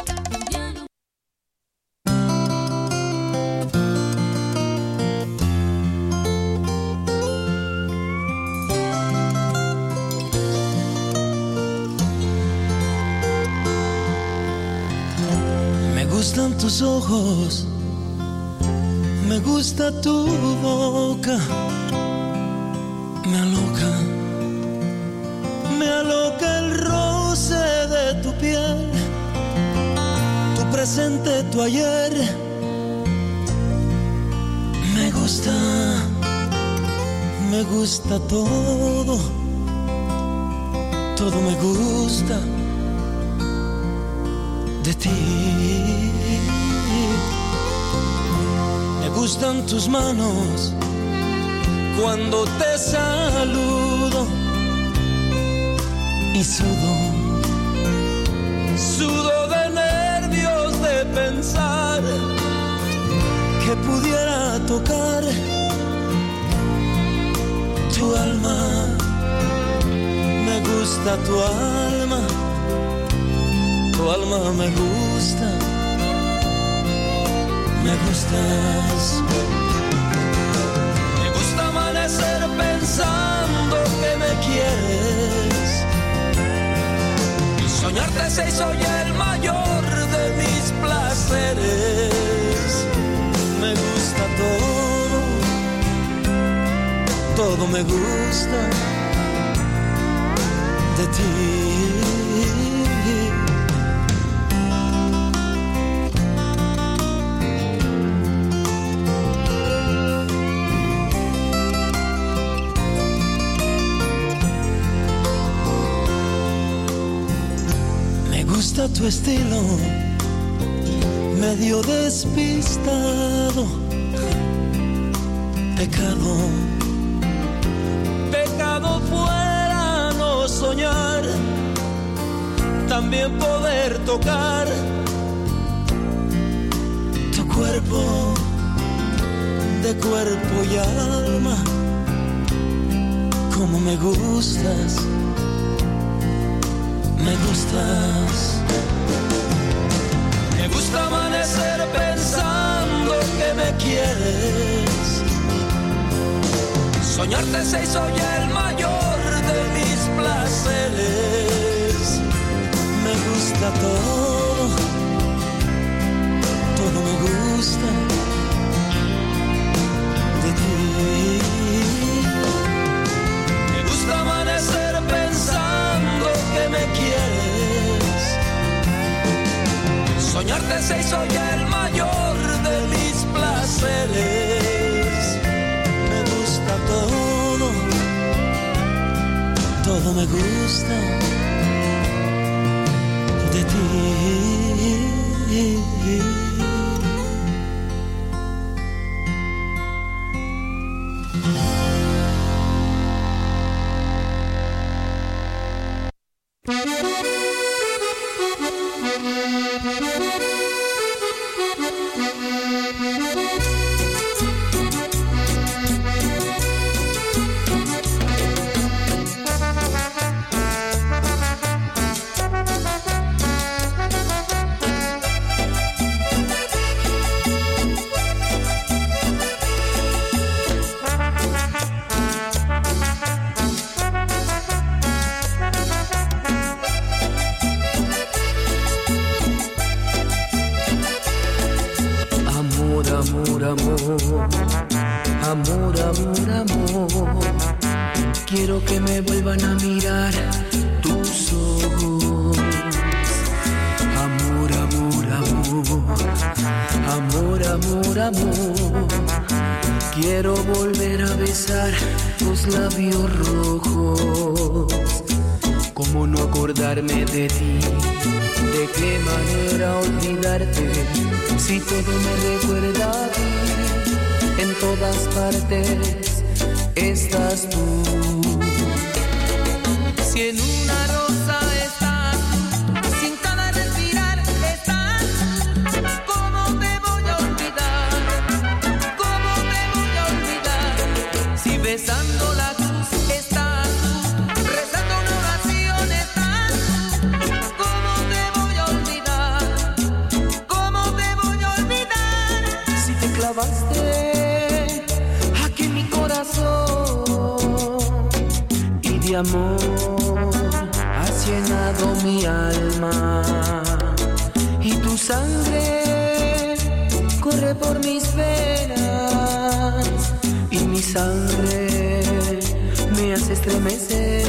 Me gustan tus ojos, me gusta tu boca, me aloca el roce de tu piel, tu presente, tu ayer. Me gusta todo, todo me gusta de ti. Me gustan tus manos cuando te saludo y sudo de nervios de pensar que pudiera tocar tu alma. Me gusta tu alma me gusta, me gustas. Me gusta amanecer pensando que me quieres y soñarte se hizo ya el mayor de mis placeres. Me gusta todo me gusta de ti. Me gusta tu estilo, medio despistado, pecado fuera no soñar, también poder tocar tu cuerpo, de cuerpo y alma, como me gustas, me gustas. Me gusta amanecer pensando que me quieres, soñarte se hizo ya el mayor de mis placeres. Me gusta todo me gusta de ti. Me gusta amanecer pensando que me quieres, soñarte se hizo ya el mayor de mis placeres. Me gusta todo me gusta de ti. Quiero que me vuelvan a mirar tus ojos. Amor, amor, amor. Amor, amor, amor. Quiero volver a besar tus labios rojos. ¿Cómo no acordarme de ti? ¿De qué manera olvidarte si todo me recuerda a ti? En todas partes estás tú. Si en una rosa estás, si en cada respirar estás, ¿cómo te voy a olvidar? ¿Cómo te voy a olvidar? Si besando la cruz estás, rezando una oración estás, ¿cómo te voy a olvidar? ¿Cómo te voy a olvidar? Si te clavaste aquí en mi corazón y de amor has llenado mi alma y tu sangre corre por mis venas y mi sangre me hace estremecer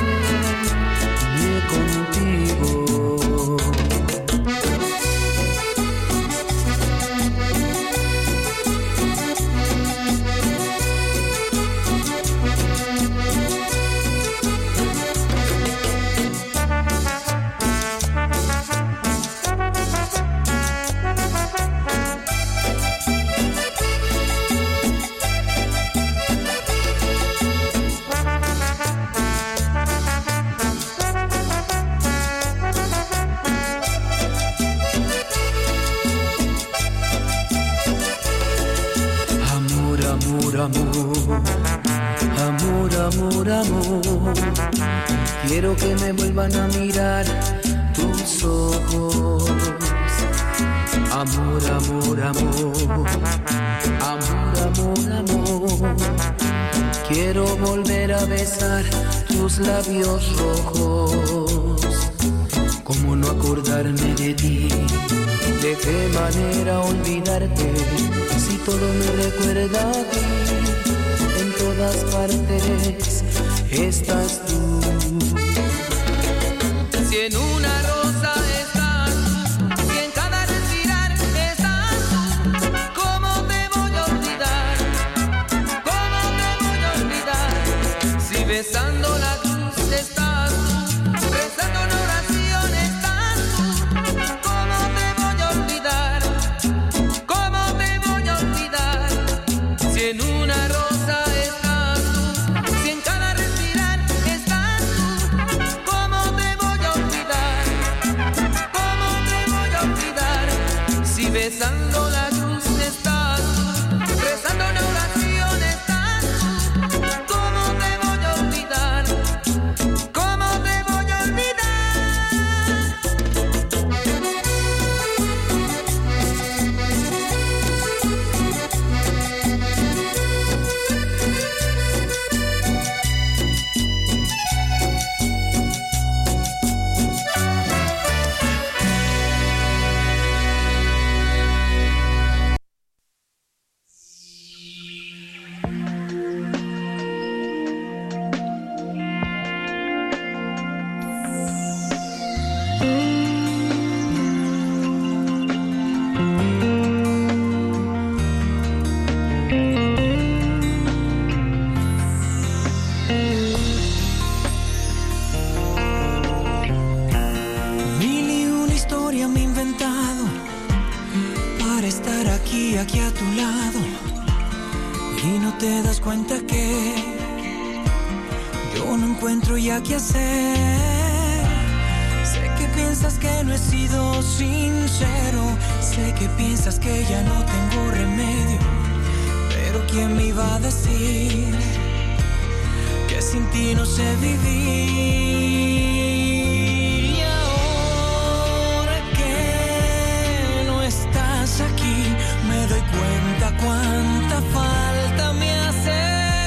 contigo. Amor, amor, quiero que me vuelvan a mirar tus ojos. Amor, amor, amor, amor, amor, amor, quiero volver a besar tus labios rojos. ¿Cómo no acordarme de ti? ¿De qué manera olvidarte si todo me recuerda a ti? En todas partes estás tú. Si en una rosa estás, si en cada respirar estás tú, ¿cómo te voy a olvidar? ¿Cómo te voy a olvidar? Si besando la cruz estás tú, rezando una oración estás tú, ¿cómo te voy a olvidar? ¿Cómo te voy a olvidar? Si en una rosa besando la cruz estás, rezando una oración estás, ¿cómo te voy a olvidar? ¿Cómo te voy a olvidar? Aquí a tu lado y no te das cuenta que yo no encuentro ya qué hacer. Sé que piensas que no he sido sincero, sé que piensas que ya no tengo remedio, pero ¿quién me iba a decir que sin ti no sé vivir? Y ahora que no estás aquí, me doy cuenta cuánta falta me hace.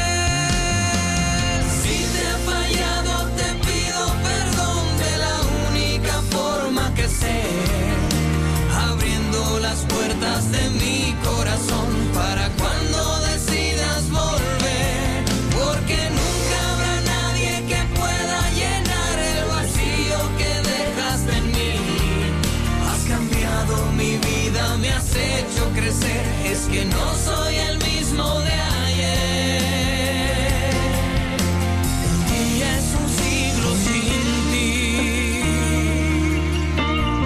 Si te he fallado, te pido perdón de la única forma que sé, abriendo las puertas de mi corazón para cuando decidas volver, porque nunca habrá nadie que pueda llenar el vacío que dejaste en mí. Has cambiado mi vida, me has hecho crecer, es que no soy el mismo de ayer. Un día es un siglo sin ti.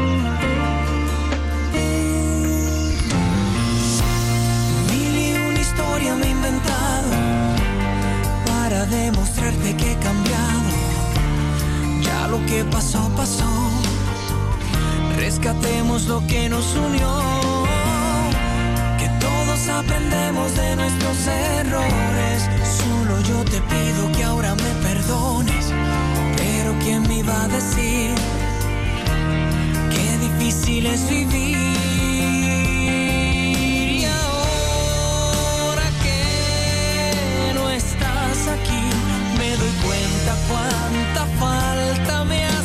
olvidemos lo que nos unió, que todos aprendemos de nuestros errores. Solo yo te pido que ahora me perdones, pero ¿quién me iba a decir qué difícil es vivir? Y ahora que no estás aquí, me doy cuenta cuánta falta me hace.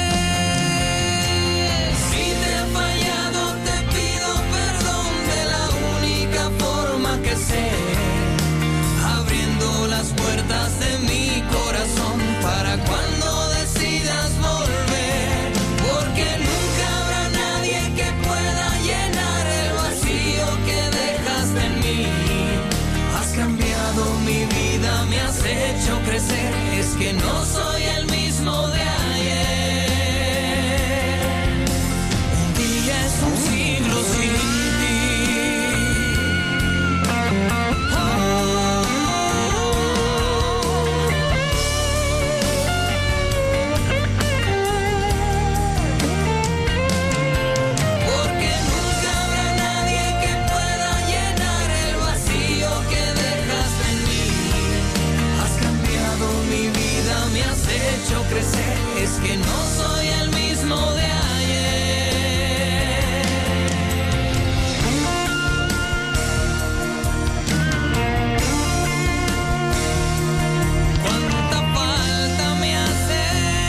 Si te he fallado, te pido perdón de la única forma que sé, abriendo las puertas de mi corazón para cuando decidas volver, porque nunca habrá nadie que pueda llenar el vacío que dejaste en mí. Has cambiado mi vida, me has hecho crecer, es que no soy el mismo de ayer. Un día es un siglo sin ti. Porque nunca habrá nadie que pueda llenar el vacío que dejaste en mí. Has cambiado mi vida, me has hecho crecer, es que no soy el mismo de ayer. Cuánta falta me hace.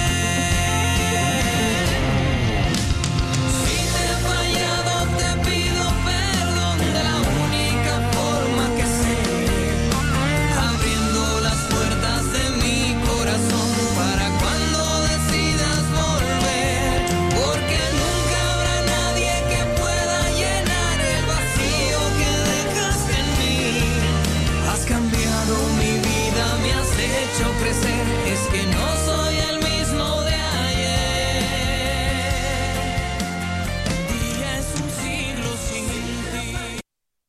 Si te he fallado, te pido perdón de la única forma que sé, abriendo las puertas de mi corazón para cuando decidas volver, porque nunca habrá nadie que pueda llenar el vacío que dejaste en mí. Has cambiado mi vida, me has hecho crecer, es que no soy el mismo de ayer. Un día es un siglo sin ti.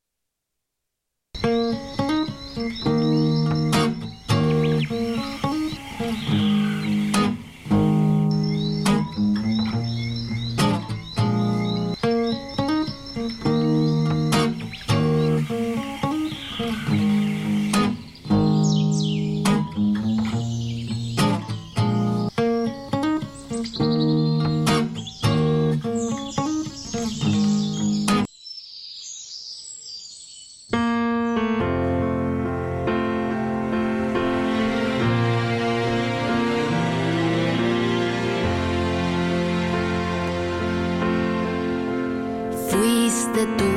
Fuiste tú.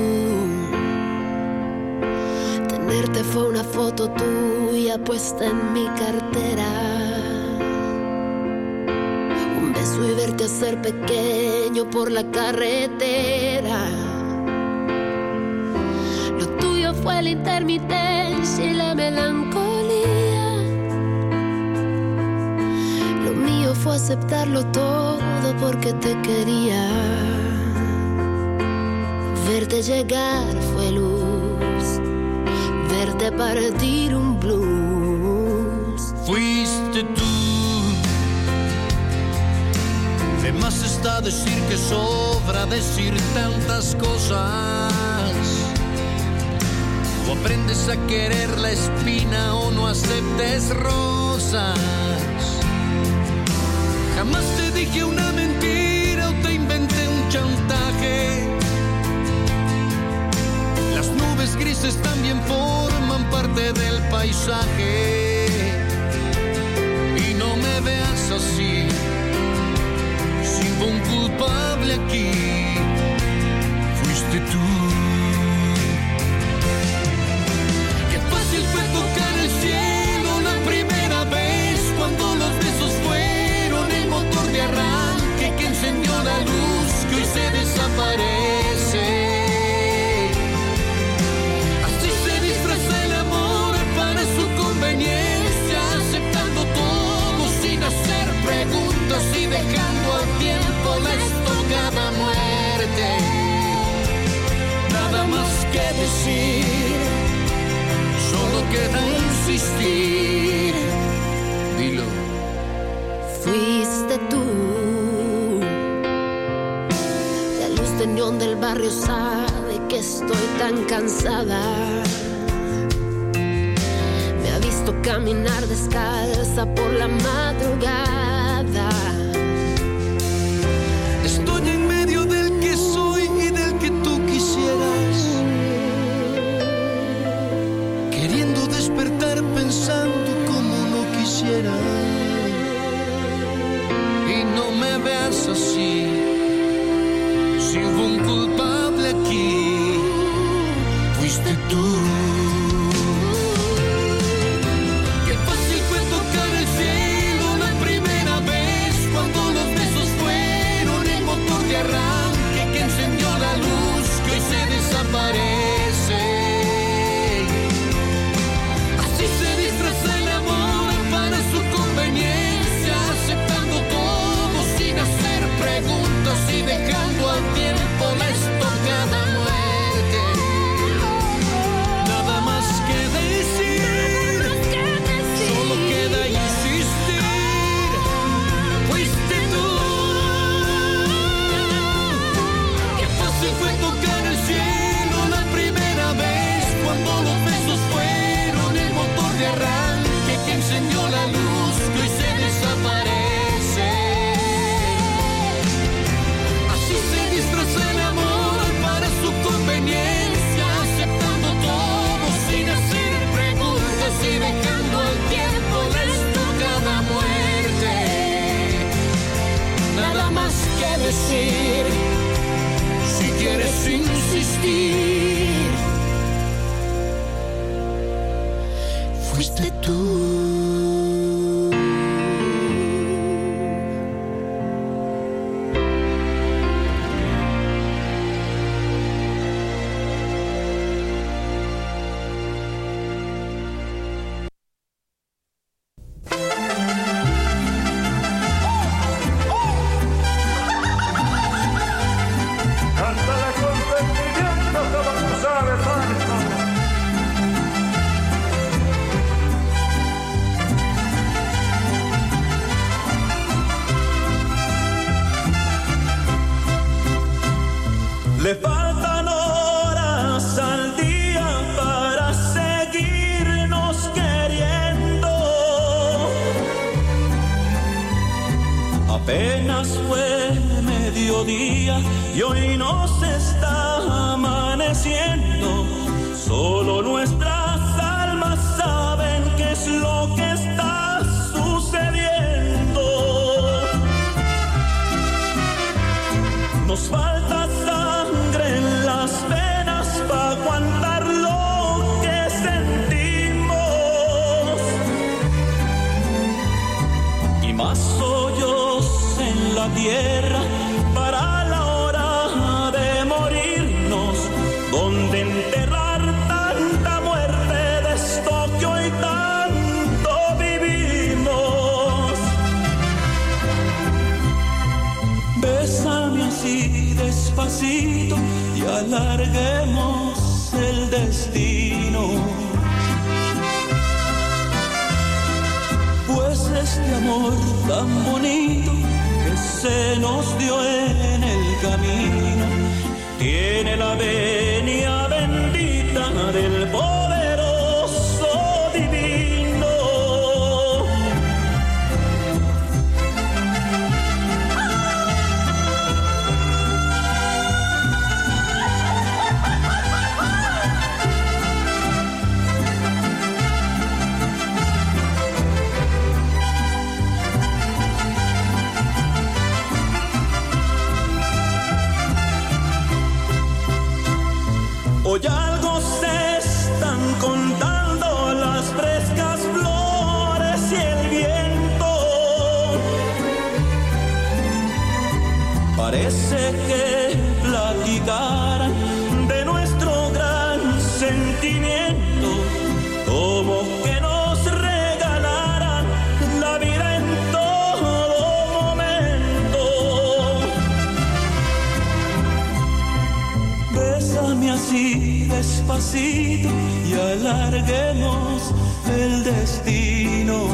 Tenerte fue una foto tuya puesta en mi cartera. Un beso y verte hacer pequeño por la carretera. Lo tuyo fue la intermitencia y la melancolía. Lo mío fue aceptarlo todo porque te quería. Verte llegar fue luz, verte partir un blues. Fuiste tú. De más está decir que sobra decir tantas cosas. O aprendes a querer la espina o no aceptes rosas. Jamás te dije una mentira o te inventé un chantaje. Las nubes grises también forman parte del paisaje. Y no me veas así, sin un culpable aquí. Fuiste tú. Qué fácil fue tocar el cielo la primera vez, cuando los besos fueron el motor de arranque que encendió la luz que hoy se desaparece. Así se disfraza el amor para su conveniencia, aceptando todo sin hacer preguntas y dejando al tiempo la estocada muerte. Nada más que decir, solo queda insistir. Dilo. Fuiste tú, la corazón del barrio sabe que estoy tan cansada. Me ha visto caminar descalza por la madrugada. Estoy en medio del que soy y del que tú quisieras, queriendo despertar pensando como no quisiera. Y no me veas así, si hubo un culpable aquí, fuiste tú. Qué fácil fue tocar el cielo la primera vez, cuando los besos fueron el motor de arranque que encendió la luz que hoy se desaparece. Así se disfraza el amor para su conveniencia, aceptando todo sin hacer preguntas y dejando al tiempo la estocada muerte. Nada más que decir, solo queda insistir, fuiste tú. Qué fácil fue tocar el cielo la primera vez, cuando los besos fueron el motor de arranque que encendió la luz que hoy se desaparece. Así se disfraza el amor para su conveniencia, aceptando todo sin hacer preguntas y dejando al tiempo la estocada muerte. Nada más que decir, si quieres insistir, fuiste tú. Cántala con sentimiento como tú sabes, Marco. Le faltan horas al día para seguirnos queriendo. Apenas fue mediodía y hoy nos está amaneciendo. Solo nuestras almas saben qué es lo que está sucediendo. Nos falta sangre en las venas para aguantar lo que sentimos, y más hoyos en la tierra para la hora de morirnos, donde enterrar tanta muerte de esto que hoy tanto vivimos. Bésame así despacito y alarguemos el destino, pues este amor tan bonito que se nos dio en el camino tiene la venia bendita del poderoso divino. Hoy algo se están contando las frescas flores y el viento. Parece que platicaran de nuestro gran sentimiento, como que nos regalaran la vida en todo momento. Bésame así despacito y alarguemos el destino,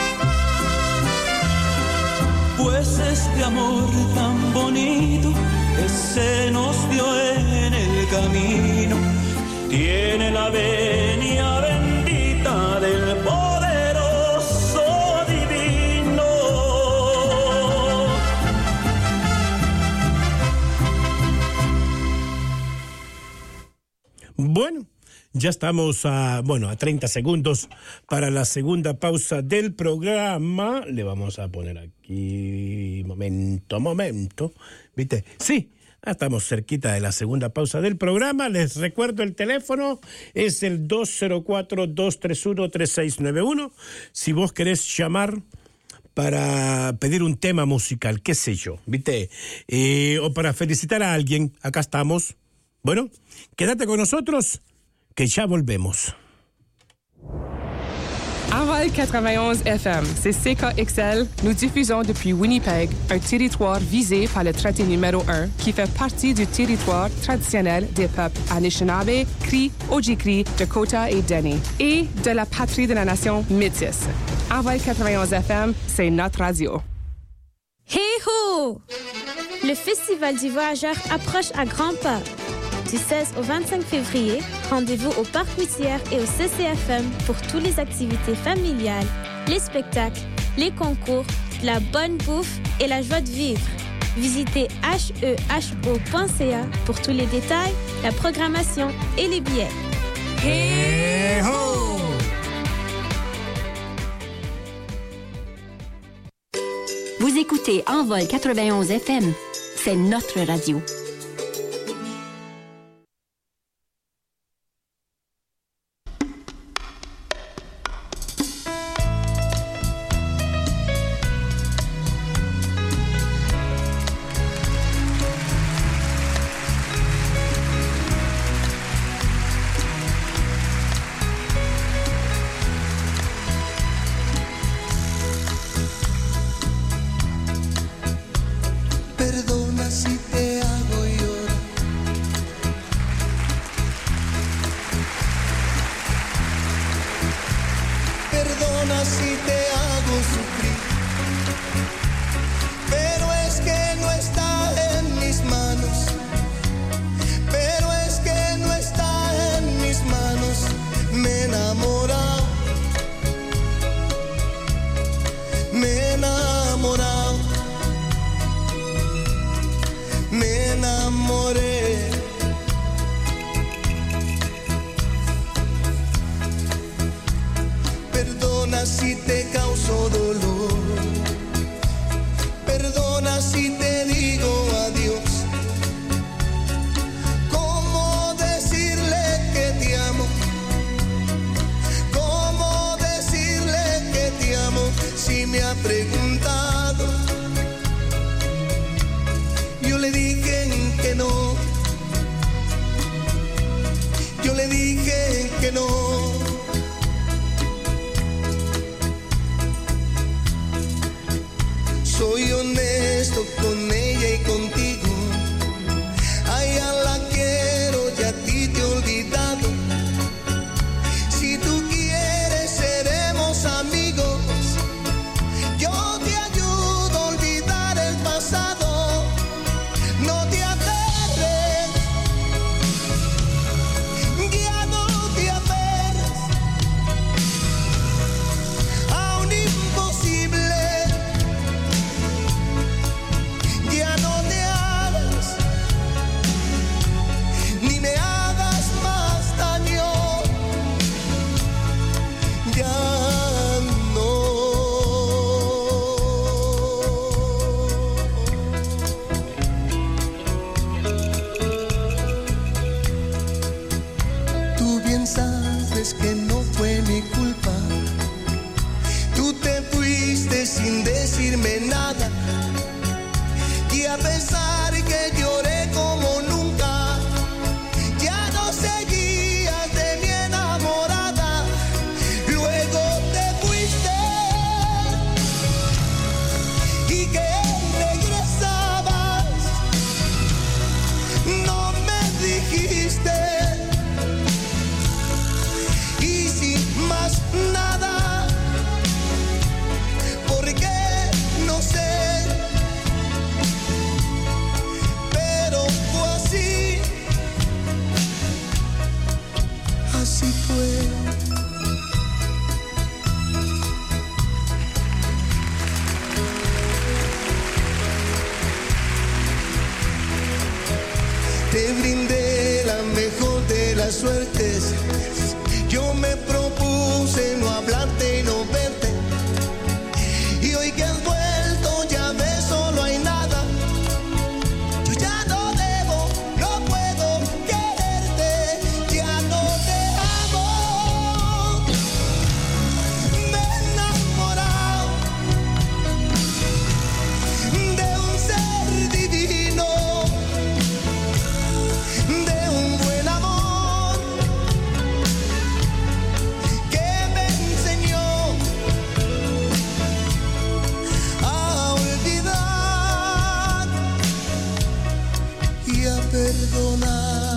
pues este amor tan bonito que se nos dio en el camino. Tiene la venia bendita del poderoso divino. Bueno, ya estamos a 30 segundos para la segunda pausa del programa. Le vamos a poner aquí, momento, ¿viste? Sí, estamos cerquita de la segunda pausa del programa. Les recuerdo el teléfono, es el 204-231-3691. Si vos querés llamar para pedir un tema musical, qué sé yo, ¿viste? O para felicitar a alguien, acá estamos. Bueno, quédate con nosotros, que ya volvemos. Envol 91 FM, c'est CKXL. Nous diffusons depuis Winnipeg, un territoire visé par le traité numéro 1 qui fait partie du territoire traditionnel des peuples Anishinaabe, Cri, Ojibwe, Dakota et Dene, et de la patrie de la nation métisse. Envol 91 FM, c'est notre radio. Hey-ho! Le Festival du Voyageur approche à grands pas. Du 16 au 25 février, rendez-vous au Parc Whittier et au CCFM pour toutes les activités familiales, les spectacles, les concours, la bonne bouffe et la joie de vivre. Visitez heho.ca pour tous les détails, la programmation et les billets. Hey-ho! Vous écoutez Envol 91 FM. C'est notre radio. Perdona si te hago llorar. Perdona si te hago sufrir. Pero es que no está en mis manos. Pero es que no está en mis manos. Me he enamorado. Me he enamorado. Me enamoré. Perdona si te causo dolor. Perdona si te digo adiós. ¿Cómo decirle que te amo? ¿Cómo decirle que te amo si me ha preguntado? Yo le dije que no. te brindé la mejor de las suertes. Yo me propuse no hablarte y no verte. Y hoy que has vuelto ya ves, solo hay nada. Yo ya no debo, no puedo quererte, ya no te amo. Me he enamorado de un ser divino, de un buen amor que me enseñó a olvidar y a perdonar.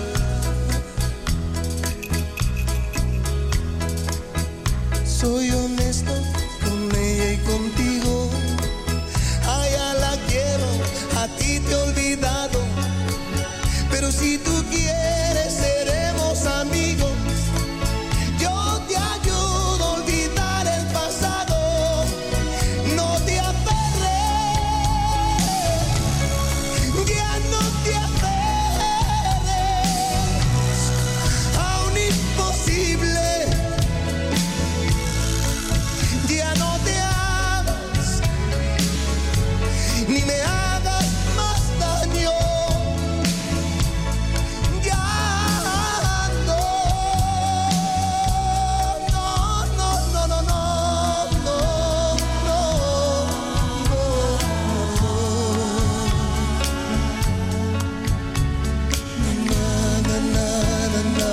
Soy honesto con ella y contigo. A ella la quiero, a ti te he olvidado. Pero si tú quieres, seremos amigos. Yo te ayudo a olvidar el pasado. No te aferres, ya no te aferres a un imposible. Ya no te hagas, ni me hagas más daño. Ya no, no, no, no, no, no, no, no, no, no,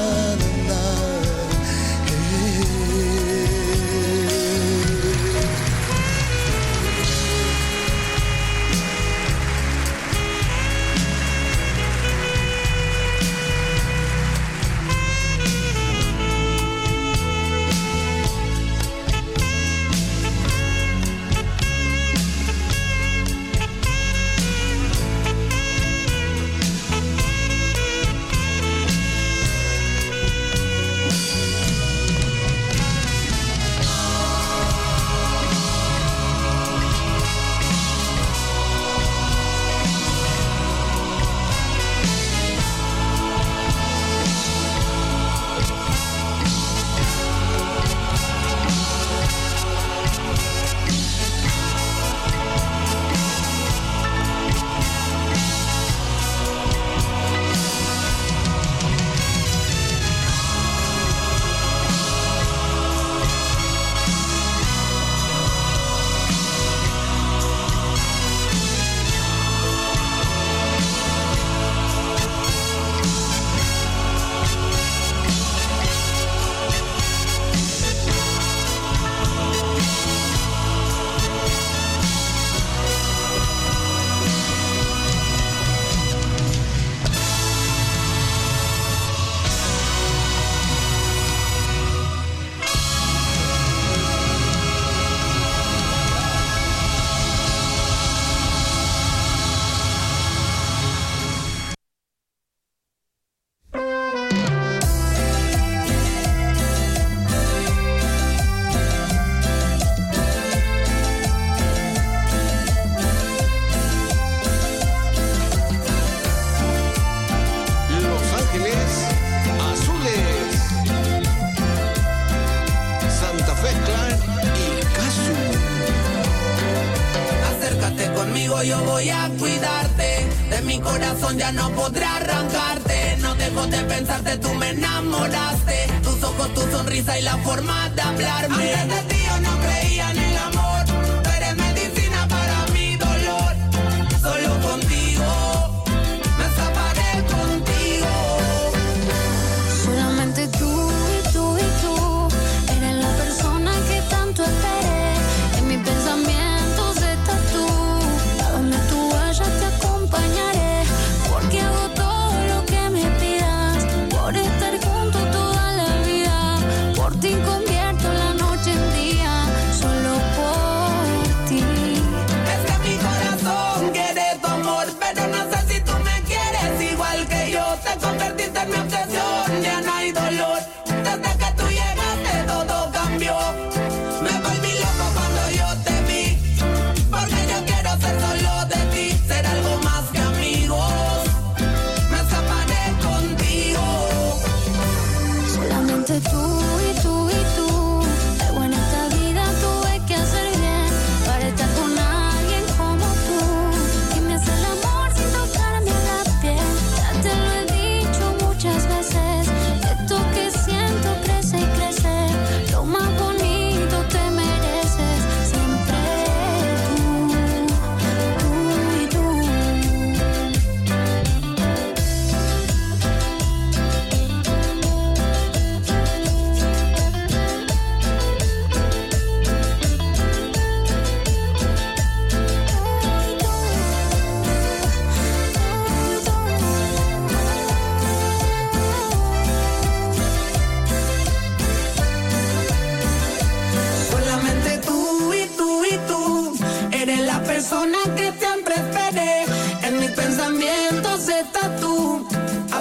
conmigo yo voy a cuidarte. De mi corazón ya no podré arrancarte. No dejo de pensarte, tú me enamoraste. Tus ojos, tu sonrisa y la forma de hablarme. Antes de ti yo no creía en el amor. Tú eres medicina para mi dolor. Solo contigo me zafaré contigo. Solamente tú y tú y tú eres la persona que tanto esperé. En mis pensamientos estás tú. A donde tú vayas te acompañaré. Porque hago todo lo que me pidas. Por estar junto toda la vida. Por ti convierto la noche en día.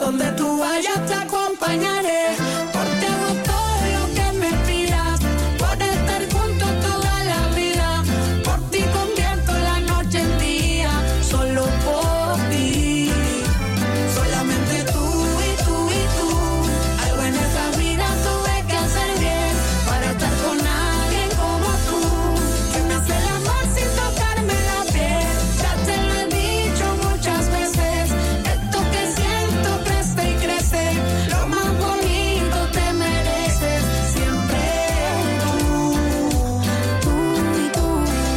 donde tú vayas te acompañaré. Por ti hago todo lo que me pidas, por estar juntos toda la vida. Por ti convierto la noche en día, solo por ti. Solamente tú y tú y tú. Algo en esta vida tuve que hacer bien para estar con alguien como tú, que me hace el amor sin tocarme la piel. Ya te lo he dicho muchas veces, esto que siento crece y crece. Lo más bonito te mereces, siempre tú y tú.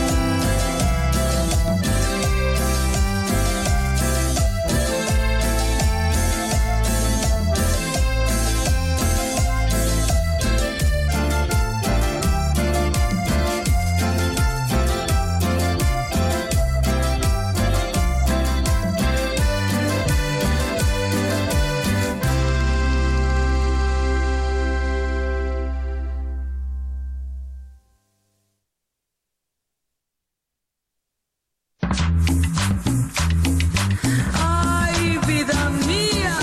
Ay, vida mía.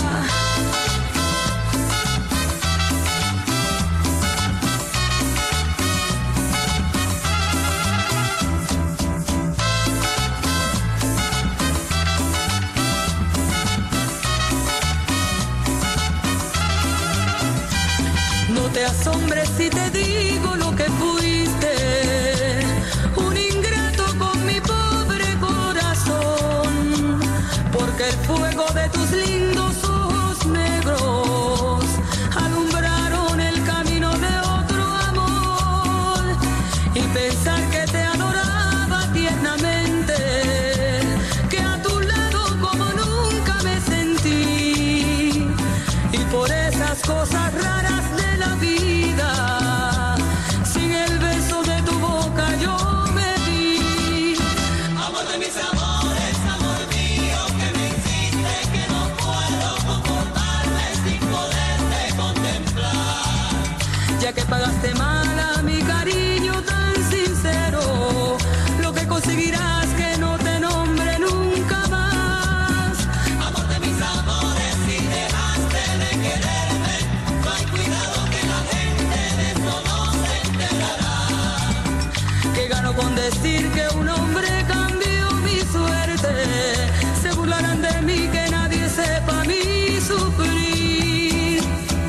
No te asombres si te digo lo que fuiste, un ingrato con mi pobre corazón, porque el fuego de tus lindos ojos negros alumbraron el camino de otro amor, y pensar que te adoraba tiernamente, que a tu lado como nunca me sentí, y por esas cosas raras de la vida, sin el beso de tu boca yo me vi. Amor de mis amores, amor mío, que me hiciste que no puedo conformarme sin poderte contemplar. Ya que pagaste mal a mi cariño tan sincero, lo que conseguirás que no te nombre nunca más. Amor de mis amores, si dejaste de quererme, no hay cuidado que la gente de eso no se enterará. Que gano con decir que un hombre cambió mi suerte, se burlarán de mí, que nadie sepa mi sufrir.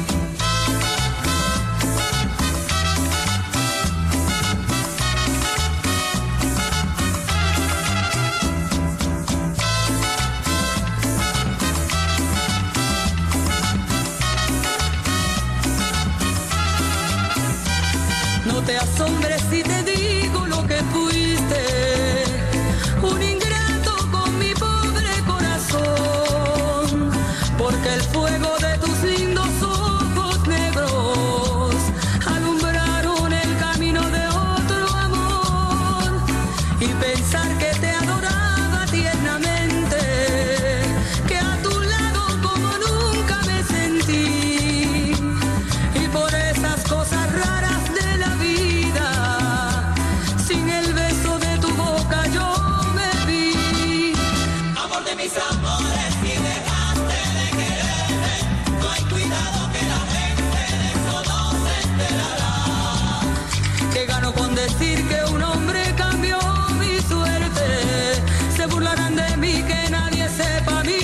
No te asombres si te digo lo que fuiste, un ingrato con mi pobre corazón, porque el fuego de tus lindos ojos negros alumbraron el camino de otro amor, y pensar que te adoraba tiernamente, que a tu lado como nunca me sentí, y por esas cosas raras de la vida, sin el beso de tu boca yo me vi. Amor de mis amores, si dejaste de quererme, no hay cuidado que la gente de eso no se enterará. Que gano con decir que un hombre cambió mi suerte, se burlarán de mí, que nadie sepa mi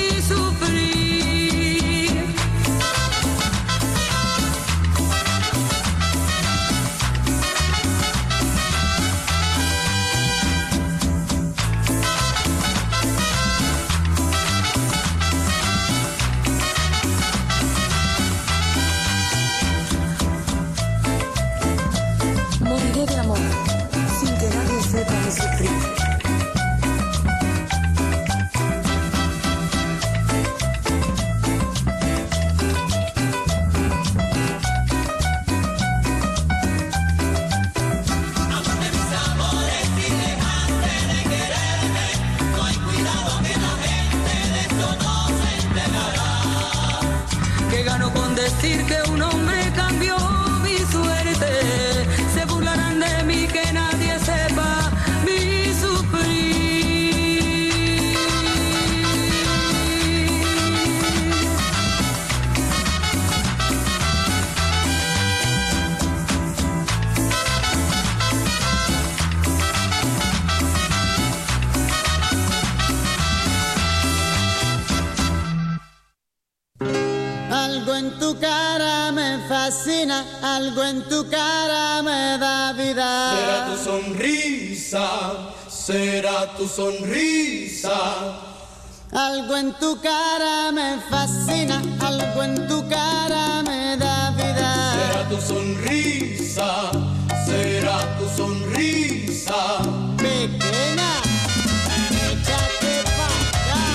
sufrir. Moriré de amor sin que nadie sepa mi sufrir. Amor de mis amores, si dejaste de quererme, no hay cuidado que la gente de eso no se enterará. Que gano con decir que un hombre cambió mi suerte, se burlarán de mí, que nadie sepa mi sufrir. Algo en tu cara me fascina, algo en tu cara me da vida. Será tu sonrisa, será tu sonrisa. Algo en tu cara me fascina, algo en tu cara me da vida. Será tu sonrisa, será tu sonrisa. Pequeña, échate pa' acá.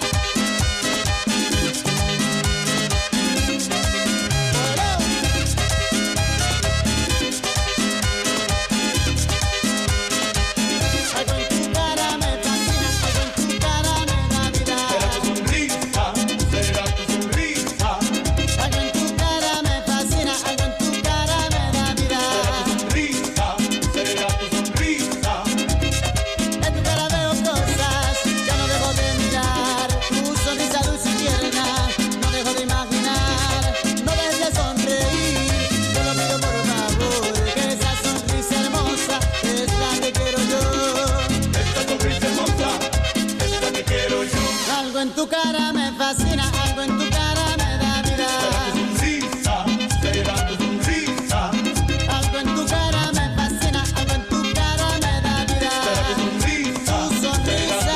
Algo en tu cara me fascina, algo en tu cara me da vida. Será tu sonrisa, será tu sonrisa. Algo en tu cara me fascina, algo en tu cara me da vida. Será tu sonrisa, En tu cara veo cosas que no dejo de mirar. Tu sonrisa dulce y tierna, no dejo de imaginar. No dejes de sonreír, te lo pido por favor. Que esa sonrisa hermosa es la que quiero yo. esta sonrisa hermosa es la que quiero yo. Algo en tu cara me fascina, algo en tu cara me da vida. Sonrisa, será tu sonrisa. Algo en tu cara me fascina, algo en tu cara me da vida. Sonrisa, Tu sonrisa,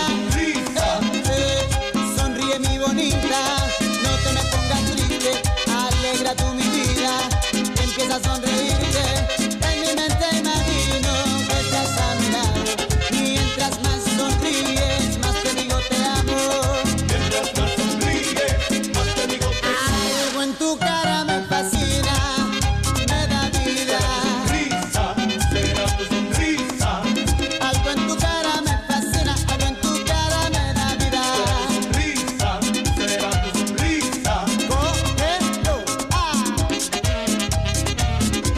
sonríe mi bonita, no te me pongas triste, alegra tú mi vida, empieza a sonreírte, en mi mente imagino que estás a mi lado, mientras más sonríes, más te digo te amo. Mientras más sonríes, más te digo que Algo en tu cara me fascina, me da vida. sonrisa, será tu sonrisa. Algo en tu cara me fascina, algo en tu cara me da vida. Sonrisa, será tu sonrisa. Cógelo,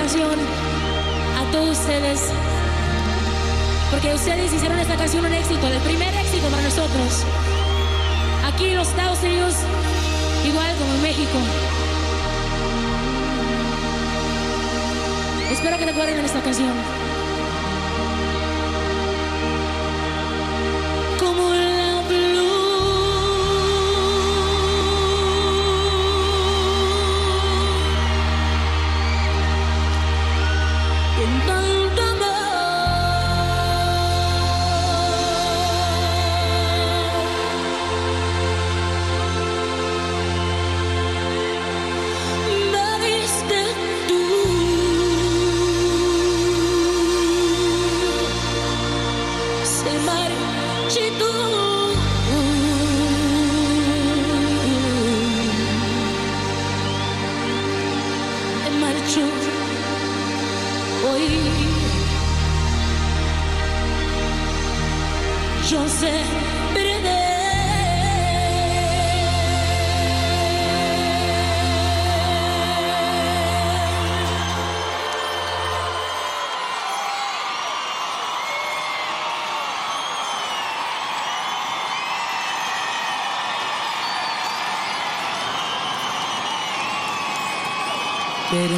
canción a todos ustedes, porque ustedes hicieron esta canción un éxito, el primer éxito para nosotros. Aquí en los Estados Unidos, igual como en México. Espero que recuerden esta canción. Como la blue. En tanto amor. Me diste tú. Se marchitó. Me marchó. Hoy yo sé perder. Pero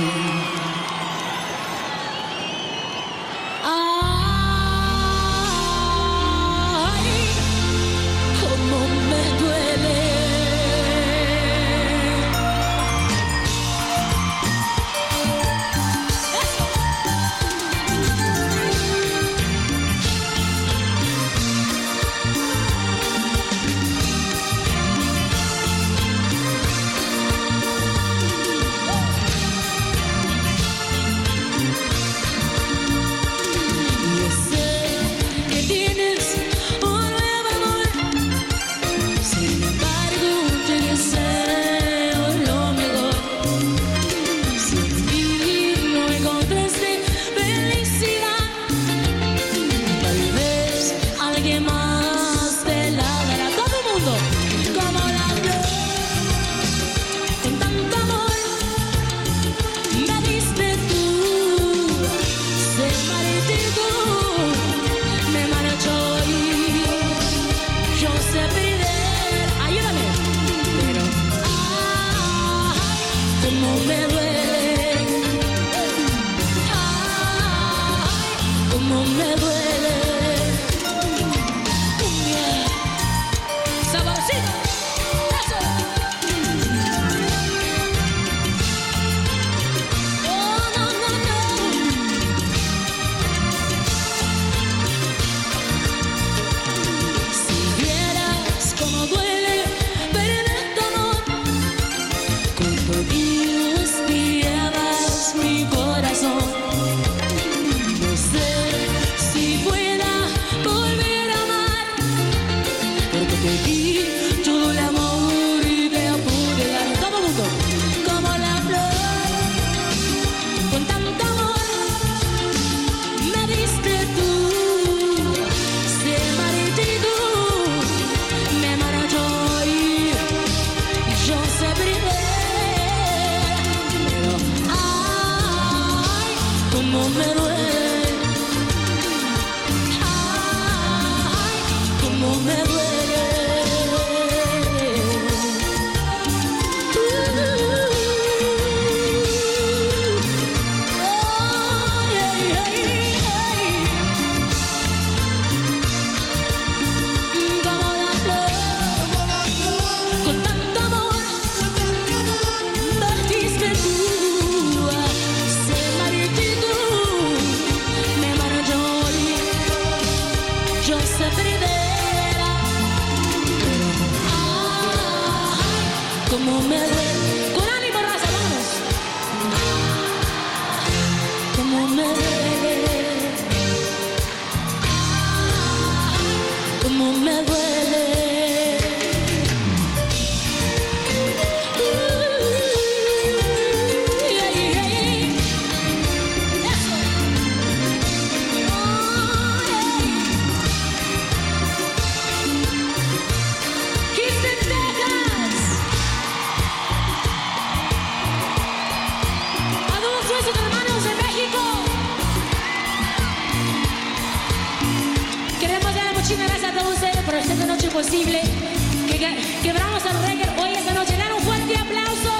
posible que quebramos el reggae hoy esta noche. Dan un fuerte aplauso.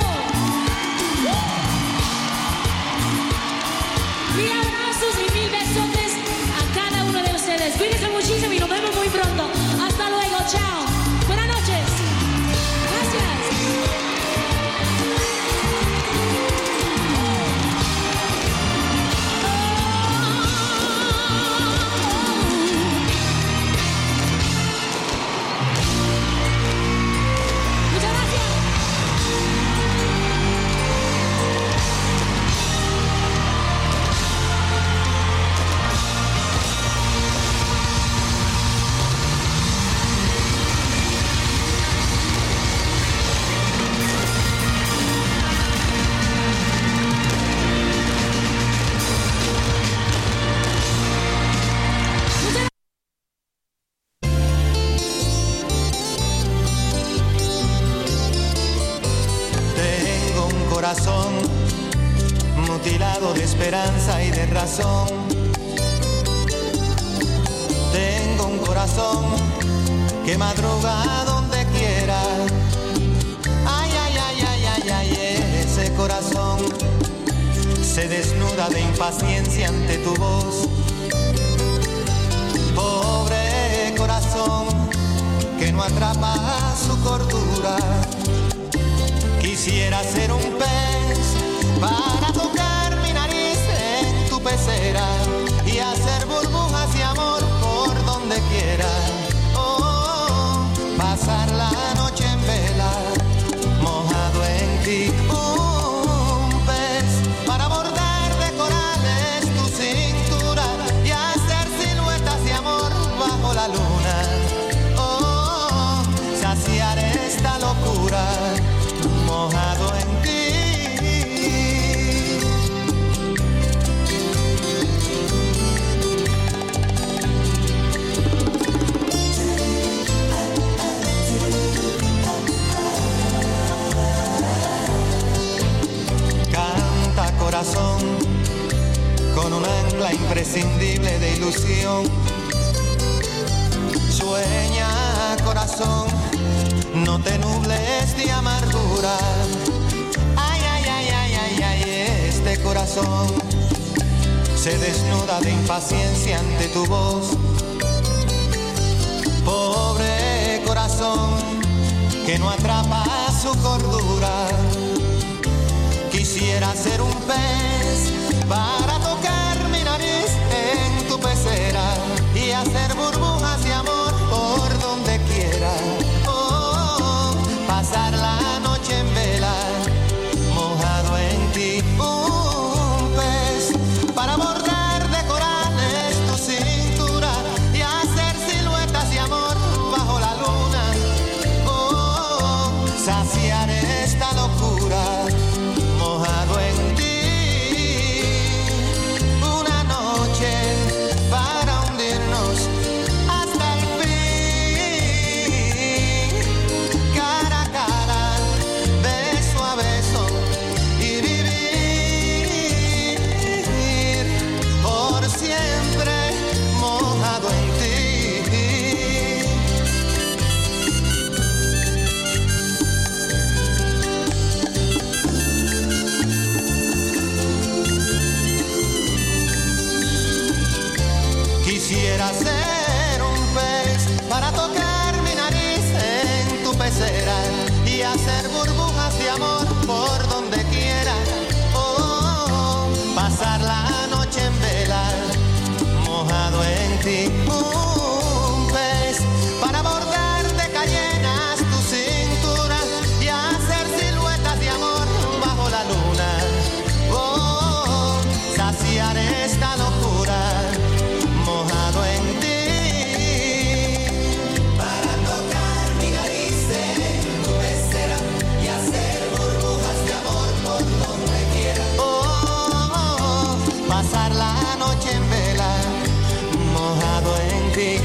Mil abrazos y mil besotes a cada uno de ustedes. Cuídense muchísimo y nos vemos muy pronto. Hasta luego, chao. Buenas noches. Gracias. Mutilado de esperanza y de razón. Tengo un corazón que madruga donde quiera. Ay, ay, ay, ay, ay, ay, ese corazón se desnuda de impaciencia ante tu voz. Pobre corazón que no atrapa su cordura. Quisiera ser un pez para tocar mi nariz en tu pecera y hacer burbujas de amor por donde quiera. Oh, pasar la noche en vela, mojado en ti. Un pez para bordar de corales tu cintura y hacer siluetas de amor bajo la luna. Oh, saciar esta locura, mojado en ti. Canta corazón con un ancla imprescindible de ilusión. Sueña corazón, no te nubles de amargura. Ay, ay, ay, ay, ay, ay, este corazón se desnuda de impaciencia ante tu voz. Pobre corazón que no atrapa su cordura. Quisiera ser un pez para tocar mi nariz en tu pecera y hacer burbujas de amor por donde quiera. Pasar la noche en vela, mojado en ti. Un pez para bordar de corales tu cintura y hacer siluetas de amor bajo la luna. Oh, saciar esta locura, mojado en ti. Una noche para hundirnos hasta el fin. Cara a cara, beso a beso y vivir por siempre mojado en ti. Quisiera ser un pez para tocar mi nariz en tu pecera y hacer burbujas de amor por donde quiera. Oh, pasar la noche en vela, mojado en ti. Un pez para bordar de cayenas tu cintura y hacer siluetas de amor bajo la luna. Oh, saciar esta locura, mojado en ti. Para tocar mi nariz en tu pecera y hacer burbujas de amor por donde quiera. Oh, pasar la noche en vela, mojado en ti.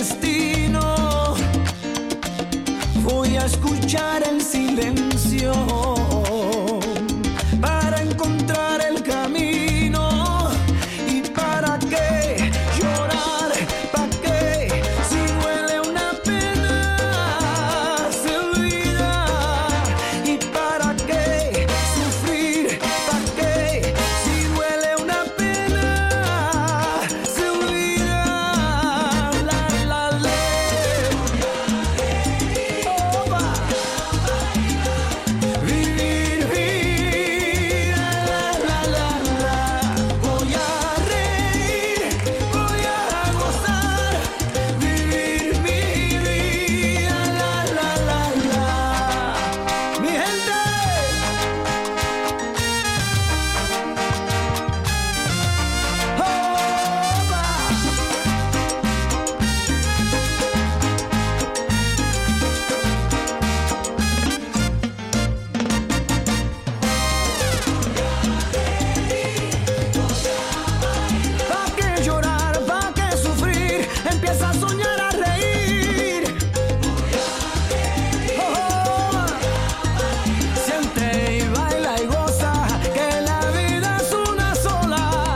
destino. Voy a escuchar el silencio para encontrar el camino. ¿Y para qué llorar? ¿Para qué? Si duele una pena, se olvida. ¿Y para qué sufrir? ¿Para qué? Si duele una pena, se olvida. La, la, la. Opa. Vivir, vivir, la, la, la. Voy a reír, voy a gozar. Vivir mi vida, la, la, la, la. Mi gente. ¿Pa' qué llorar? ¿Pa' qué sufrir? Empieza a soñar, a reír. Oh, siente y baila y goza, que la vida es una sola.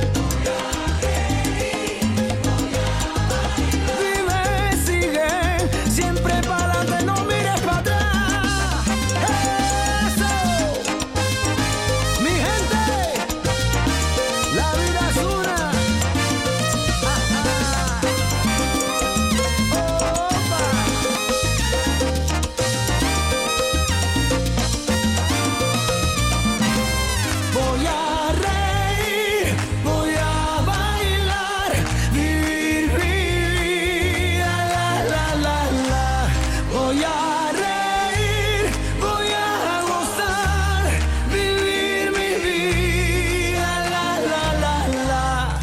Vive, sigue, siempre para adelante, no mires para atrás. Eso, mi gente. La vida es una. Voy a reír, voy a bailar, vivir mi vida, la, la, la, la. Voy a reír, voy a gozar, vivir mi vida, la, la, la, la.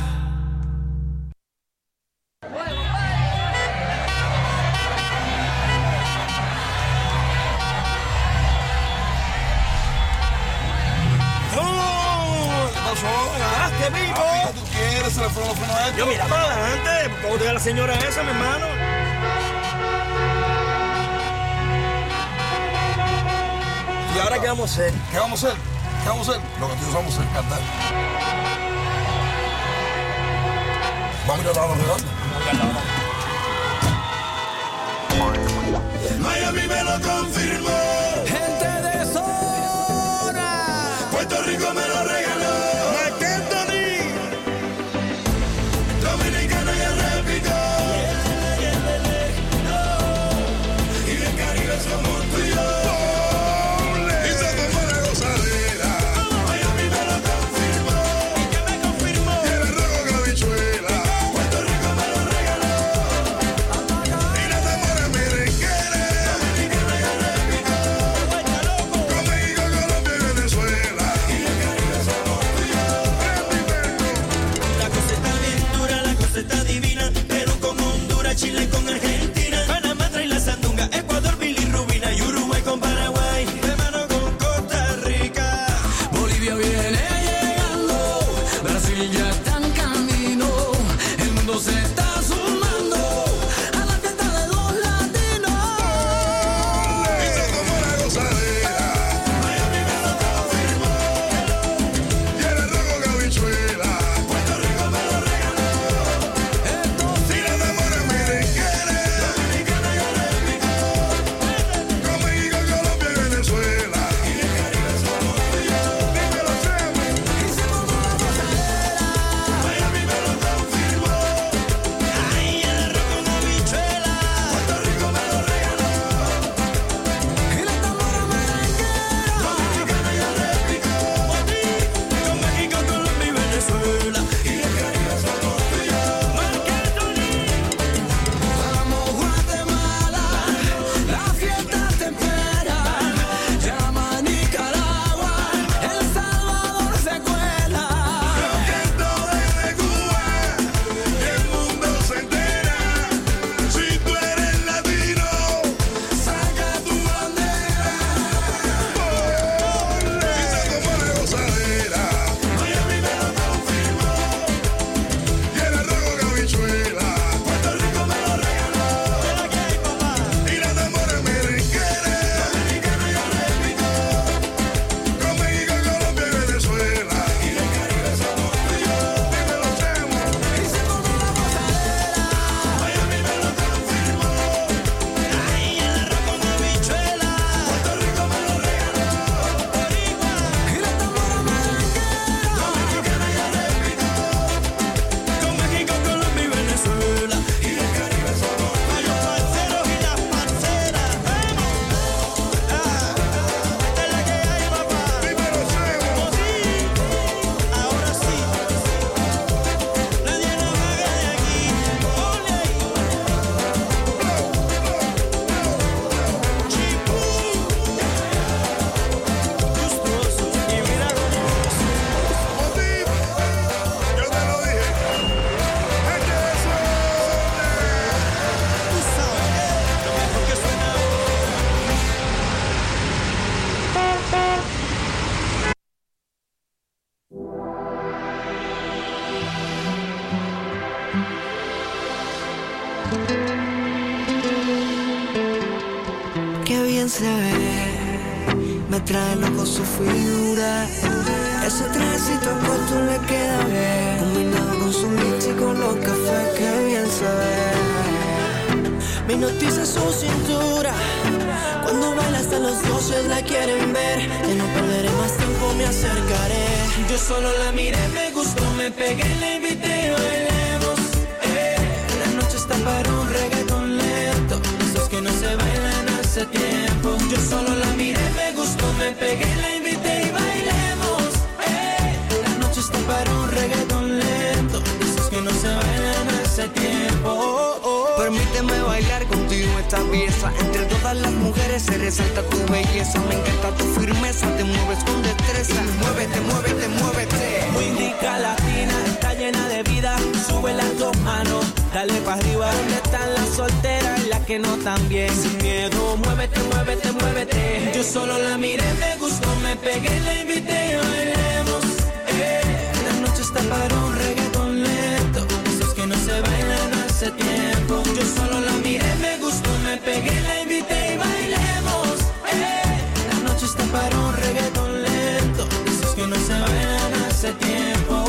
¿Qué pasó? ¿Qué vivo? ¿Tú quieres? ¿Se le fueron los frenos a esto? Yo mira para adelante, ¿cómo te da la señora esa, mi hermano? ¿Y ahora qué vamos a hacer? ¿Qué vamos a hacer? ¿Qué vamos a hacer? Lo que nosotros vamos a hacer es cantar. Vamos a ir a la redonda. Miami me lo confirmó. Gente de zona. Puerto Rico me lo regaló. Marc Anthony. Dominicana ya replicó. Y del Caribe somos tú y yo. Y se tomó la gozadera. Miami me lo confirmó. ¿Y qué me confirmó? Y el rojo con habichuela. Puerto Rico me lo regaló. Y la tambora merenguera. Dominicana ya replicó. Con México, Colombia y Venezuela. Y del Caribe somos tú y yo. La cosa está bien dura, la cosa está divina. Perú con Honduras, Chile con Argentina. Panamá trae la sandunga, Ecuador, bilirrubina. Y Uruguay con Paraguay, de mano con Costa Rica. Bolivia viene llegando, Brasil ya está en camino. El mundo se está sumando a la fiesta de los latinos. Y se tomó la gozadera. Miami me lo confirmó. Y el rojo con habichuela. Puerto Rico me lo regaló. Y la tambora merenguera. Qué bien se ve, me trae loco su figura. Ese trajecito corto le queda bien, combinado con su mix y con los cafés. Qué bien se ve, me hipnotiza su cintura. Cuando baila hasta los dioses la quieren ver. Ya no perderé más tiempo, me acercaré. Yo solo la miré, me gustó, me pegué, la invité y bailemos. La noche está para un reggaetón lento, esos que no se bailan hace tiempo. Yo solo la miré, me gustó, me pegué, la invité y bailemos. La noche está para un reggaetón lento, esos que no se bailan hace tiempo. Permíteme bailar contigo esta pieza. Entre todas las mujeres se resalta tu belleza. Me encanta tu firmeza, te mueves con destreza. Muévete, muévete, muévete. Muy indica latina, está llena de vida. Sube las dos manos, dale pa' arriba. ¿Dónde están las solteras y las que no tan bien? Sin miedo, muévete, muévete, muévete. Yo solo la miré, me gustó, me pegué, la invité y bailemos. La noche está para un reggaetón lento, esos que no se bailan hace tiempo. Yo solo la miré, me gustó, me pegué, la invité y bailemos. La noche está para un reggaetón lento, esos que no se bailan hace tiempo.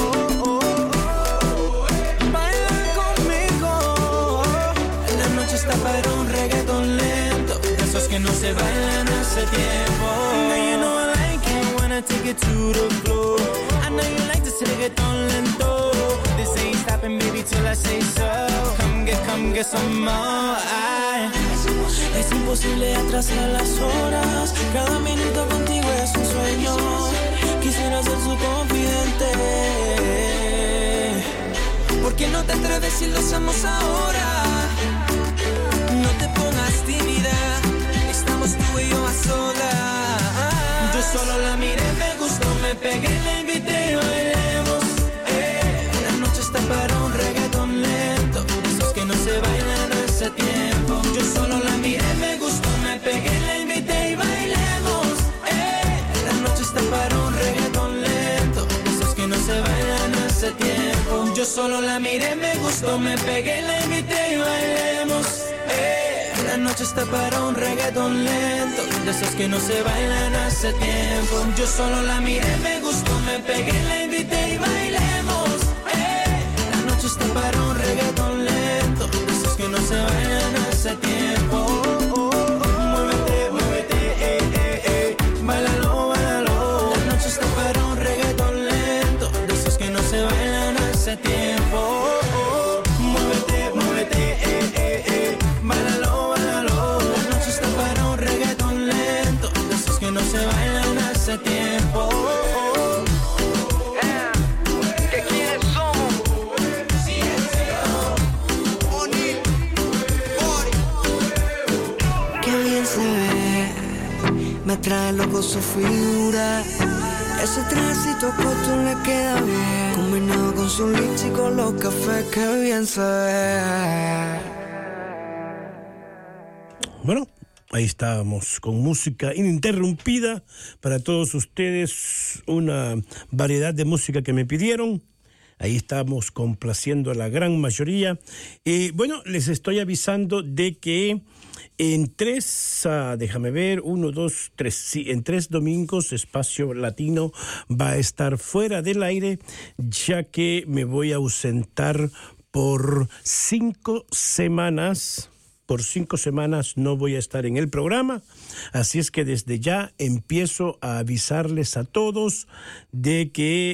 Baila conmigo. La noche está para un reggaetón lento, esos que no se bailan hace tiempo. Now you know I like it when I take it to the floor. I know you like this reggaetón lento. This ain't stopping, baby, till I say so. Come get some more. Es imposible atrasar las horas. Cada minuto contigo es un sueño. Quisiera ser su confidente. ¿Por qué no te atreves si lo hacemos ahora? No te pongas tímida, estamos tú y yo a solas. Yo solo la miré, me gustó, me pegué, la invité y bailemos. La noche está para un reggaetón lento, esos que no se bailan hace tiempo. Yo solo la miré, me gustó, me pegué, la invité y bailemos. La noche está para un reggaetón lento, esos que no se bailan hace tiempo. Yo solo la miré, me gustó, me pegué, la invité y bailemos. La noche está para un reggaetón lento, de esos que no se bailan hace tiempo. Yo solo la miré, me gustó, me pegué, la invité y bailemos. La noche está para un reggaetón lento, de esos que no se bailan hace tiempo. Muévete, muévete, bailalo, bailalo. La noche está para un reggaetón lento, de esos que no se bailan hace tiempo. Muévete, muévete, bailalo, bailalo. La noche está para un reggaetón lento, de esos que no se bailan hace tiempo. ¿De quiénes somos? Qué bien se ve, me trae loco su figura. Ese trajecito corto le queda bien, combinado con su lips y con los cafés. Qué bien se ve. Bueno, ahí estábamos con música ininterrumpida para todos ustedes, una variedad de música que me pidieron. Ahí estamos complaciendo a la gran mayoría. Bueno, les estoy avisando de que en déjame ver, 1, 2, 3, sí, en 3 domingos Espacio Latino va a estar fuera del aire, ya que me voy a ausentar por 5 semanas. Por 5 semanas no voy a estar en el programa, así es que desde ya empiezo a avisarles a todos de que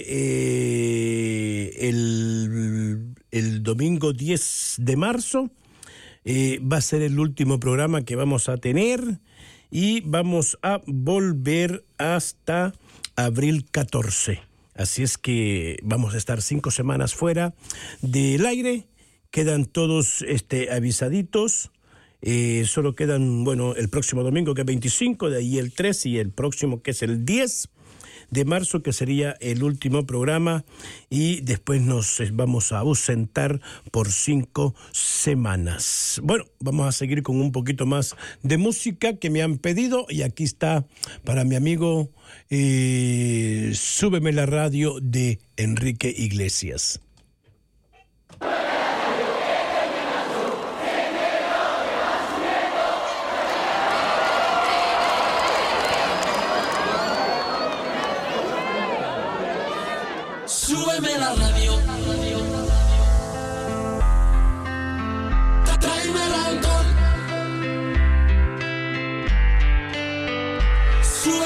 el domingo 10 de marzo va a ser el último programa que vamos a tener y vamos a volver hasta abril 14. Así es que vamos a estar 5 semanas fuera del aire, quedan todos avisaditos. Solo quedan, bueno, el próximo domingo que es 25, de ahí el 3 y el próximo que es el 10 de marzo, que sería el último programa, y después nos vamos a ausentar por 5 semanas. Bueno, vamos a seguir con un poquito más de música que me han pedido, y aquí está para mi amigo Súbeme la radio de Enrique Iglesias.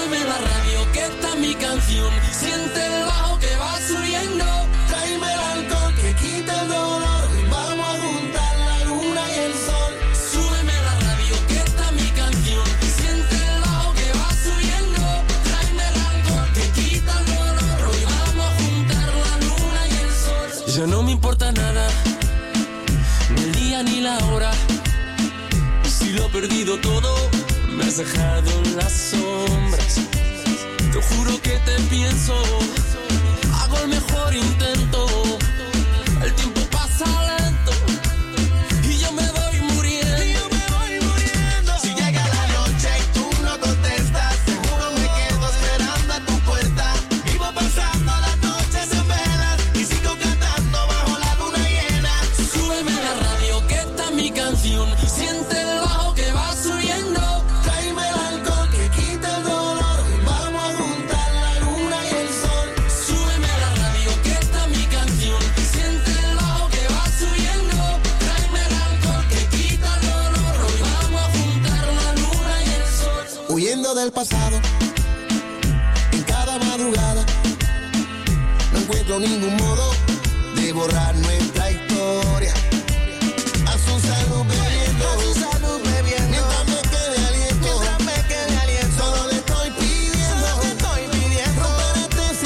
Súbeme la radio, que esta es mi canción. Siente el bajo que va subiendo. Tráeme el alcohol que quita el dolor. Vamos a juntar la luna y el sol. Súbeme la radio, que esta es mi canción. Siente el bajo que va subiendo. Tráeme el alcohol que quita el dolor. Hoy vamos a juntar la luna y el sol. Ya no me importa nada, ni el día ni la hora. Si lo he perdido todo, me has dejado en las sombras. Te juro que te pienso, hago el mejor intento. El tiempo pasa lento y yo me voy muriendo. Si llega la noche y tú no contestas, seguro me quedo esperando a tu puerta. Vivo pasando las noches en velas y sigo cantando bajo la luna llena. Súbeme la radio, que esta es mi canción. Siente el bajo que va subiendo. Tráeme el alcohol que quita el dolor. Vamos a juntar la luna y el sol. Súbeme la radio, que esta es mi canción. Siente el bajo que va subiendo. Tráeme el alcohol que quita el dolor. Hoy vamos a juntar la luna y el sol. Huyendo del pasado, en cada madrugada, no encuentro ningún modo de borrar nuestra historia. A su salud bebiendo, mientras me quede aliento, solo le estoy pidiendo, romper este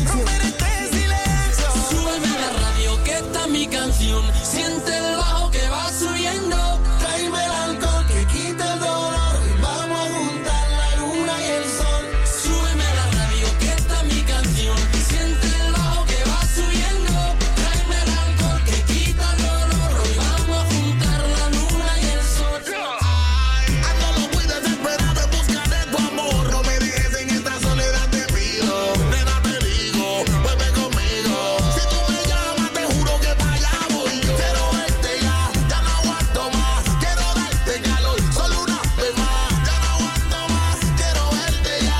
silencio. Súbeme la radio, que esta es mi canción. Siente el bajo que va subiendo. Tráeme el alcohol que quita el dolor. Vamos a juntar la luna y el sol. Súbeme la radio, que esta es mi canción. Siente el bajo que va subiendo. Tráeme el alcohol que quita el dolor. Hoy vamos a juntar la luna y el sol. Ando muy desesperado en busca de tu amor. No me dejes en esta soledad, te pido. Nena, te digo, vuelve conmigo. Si tú me llamas, te juro que para allá voy yo. Quiero verte ya no aguanto más. Quiero darte calor, solo una vez más. Ya no aguanto más, quiero verte ya.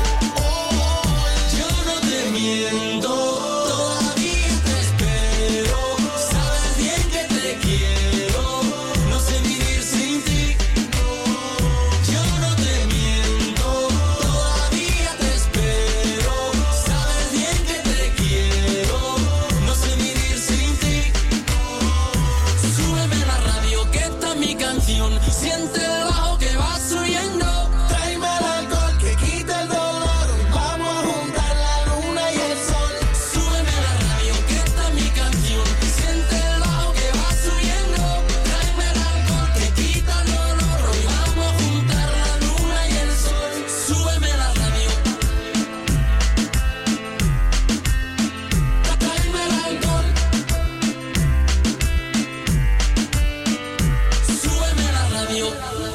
Yo no te miento, todavía te espero. Sabes bien que te quiero, no sé vivir sin ti. Yo no te miento, todavía te espero. Sabes bien que te quiero, no sé vivir sin ti. Súbeme la radio, que esta es mi canción. Siente el bajo que va subiendo. Tráeme el alcohol que quita el dolor. Vamos a juntar la luna y el sol. Súbeme la radio, que esta es mi canción. Siente el bajo que va subiendo. Tráeme el alcohol que quita el dolor. Hoy vamos a juntar la luna y el sol. Súbeme la radio. Tráeme el alcohol. Súbeme la radio.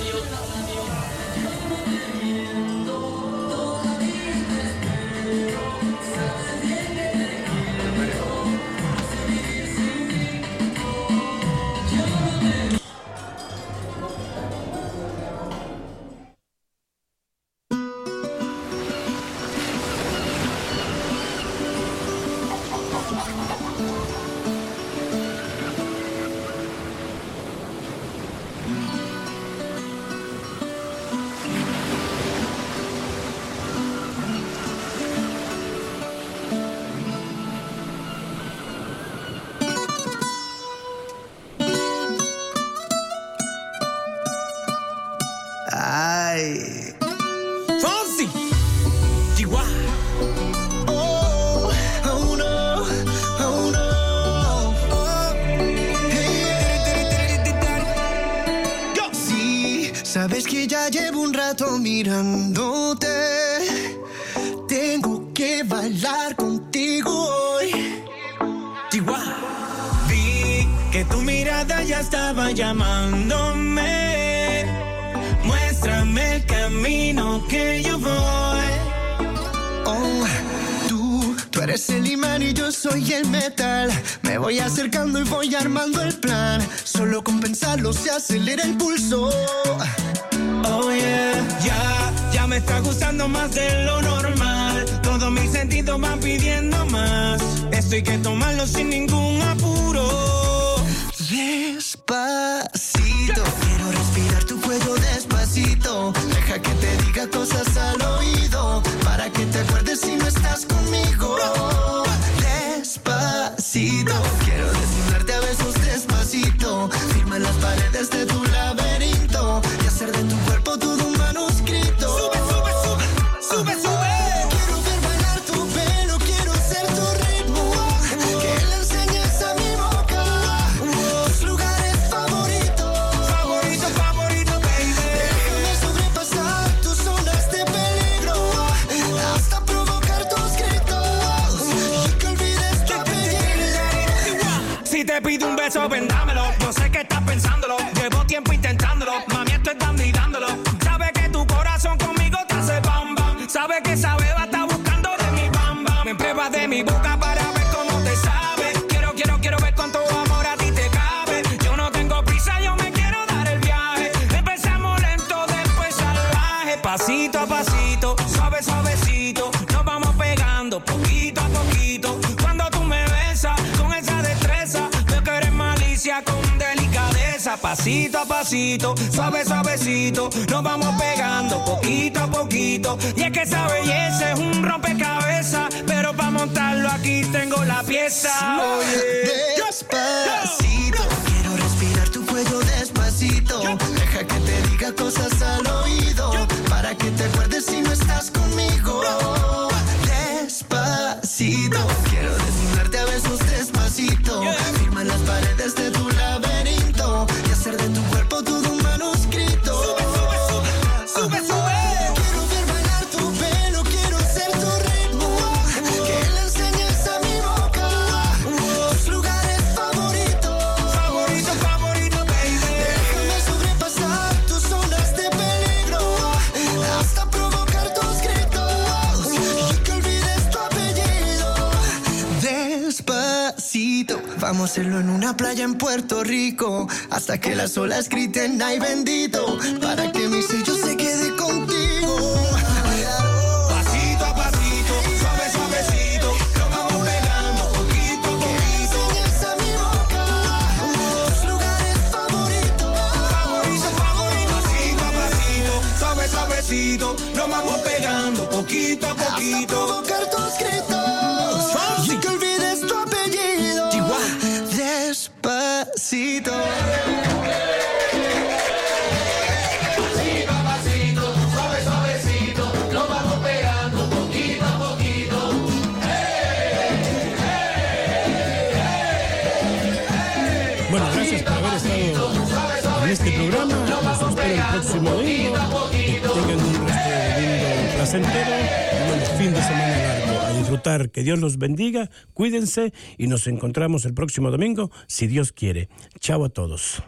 Ay. Fonsi, Chihuahua. Oh, oh no, oh no. Oh. Sí, sabes que ya llevo un rato mirándote. Tengo que bailar contigo hoy. Chihuahua. Vi que tu mirada ya estaba llamándome. Muéstrame el camino que yo voy. Oh, tú eres el imán y yo soy el metal. Me voy acercando y voy armando el plan. Solo con pensarlo se acelera el pulso. Oh yeah, ya me está gustando más de lo normal. Todos mis sentidos van pidiendo más. Esto hay que tomarlo sin ningún apuro. Despacito, quiero respirar tu cuello despacito. Deja que te diga cosas al oído. pierdes si no estás conmigo. Despacito, quiero desnudarte a besos despacito. Firma en las paredes de tu laberinto y hacer de tu cuerpo todo un manuscrito. Sube, sube, sube, sube, sube. Quiero ver bailar tu pelo, quiero ser tu ritmo. Que le enseñes a mi boca tus lugares favoritos. Favorito, favorito, baby. Déjame sobrepasar tus zonas de peligro hasta provocar tus gritos y que olvides tu apellido. Si te pido un beso, ven dámelo. Yo sé que estás pensándolo. Llevo tiempo intentándolo. Mami, esto es dando y dándolo. Sabe que tu corazón conmigo te hace bam bam. Sabe que esa beba está buscando de mi bam bam. Me pruebas de mi boca para ver cómo te sabe. Quiero ver cuánto amor a ti te cabe. Yo no tengo prisa, yo me quiero dar el viaje. Empezamos lento, después salvaje. Pasito a pasito, suave, suavecito. Nos vamos pegando poquito a poquito. Cuando tú me besas con esa destreza, veo que eres malicia con delicadeza. Pasito a pasito, suave, suavecito. Nos vamos pegando poquito a poquito. Y es que esa belleza es un rompecabezas, pero para montarlo aquí tengo la pieza. Oye. Despacito, quiero respirar tu cuello despacito. Deja que te diga cosas al oído para que te acuerdes si no estás conmigo. Despacito, quiero desnudarte a besos despacito. Firma en las paredes de tu laberinto y hacer de tu cuerpo todo un manuscrito. Sube, sube, sube, sube, sube. Quiero ver bailar tu pelo, quiero ser tu ritmo. Que le enseñes a mi boca tus lugares favoritos. Favorito, favorito, baby. Déjame sobrepasar tus zonas de peligro hasta provocar tus gritos y que olvides tu apellido. Despacito, vamos a hacerlo en una playa en Puerto Rico hasta que las olas griten ay bendito, para que mi sello se quede contigo. Pasito a pasito, suave, suavecito, lo vamos pegando poquito a poquito. Enseñas a mi boca tus lugares favoritos. Favorito, favorito. Pasito a pasito, suave, suavecito, lo vamos pegando poquito a poquito. Hasta provocar tus gritos y que olvides tu apellido. Despacito. Bueno, gracias por haber estado en este programa. Los espero el próximo domingo. Que tengan un resto de domingo placentero y un fin de semana largo. A disfrutar, que Dios los bendiga, cuídense y nos encontramos el próximo domingo, si Dios quiere. Chao a todos.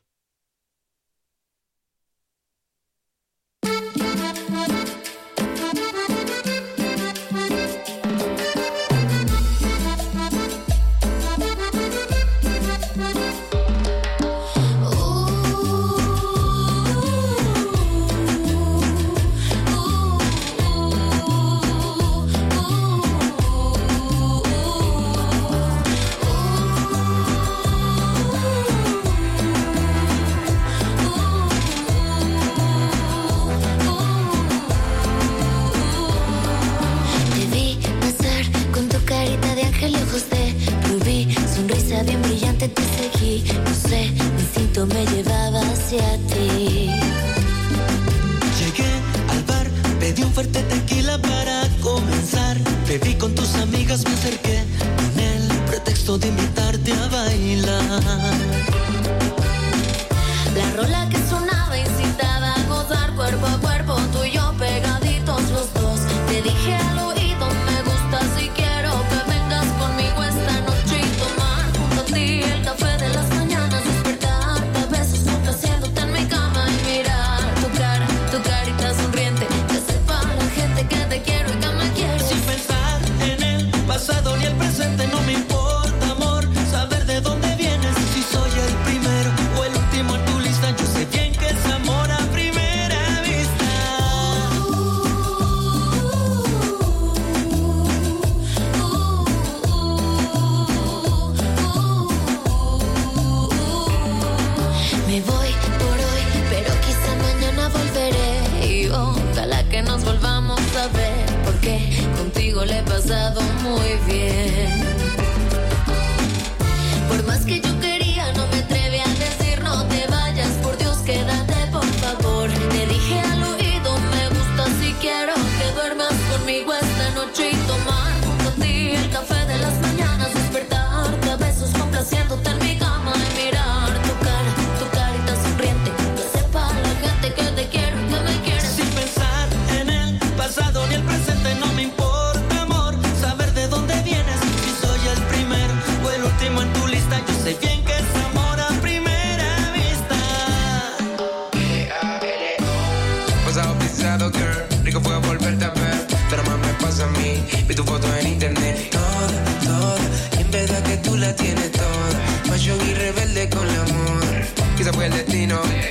Bien brillante te seguí, no sé, mi instinto me llevaba hacia ti. Llegué al bar, pedí un fuerte tequila para comenzar. Bebí con tus amigas, me acerqué con el pretexto de invitarte a bailar. La rola que sonaba incitaba a gozar cuerpo a cuerpo, tú y yo pegaditos los dos. Te dije al oído, me gusta si quiero que vengas conmigo esta noche y tomar junto a ti el café de las mañanas, despertarte a besos complaciéndote en mi cama y mirar tu carita sonriente, que sepa la gente que te quiero y que me quiero. Sin pensar en el pasado ni el presente, no me importa, amor, saber de dónde vienes, si soy el primero o el último en tu lista. Yo sé bien que es amor a primera vista. Me voy por hoy, pero quizá mañana volveré y ojalá que nos volvamos a ver, porque contigo contigo le he pasado muy bien. Por más que yo quería, no me atreví a decir no te vayas, por Dios quédate por favor. Te dije al oído, me gusta si quiero que duermas conmigo esta noche y tomar junto a ti el café de las mañanas, despertarte a besos complaciéndote en mi cama y mirar tu carita sonriente, que sepa la gente que te quiero, que me quieres. Sin pensar en el pasado ni el presente, no me importa, amor, saber de dónde vienes, si soy el primero o el último en tu lista. Yo sé bien que es amor a primera vista. Pasado pisado, girl, rico fue volverte a ver, pero más me pasa a mí. Vi tu foto en internet, toda, y en verdad que tú la tienes toda. Fashion y rebelde con el amor, quizá fue el destino.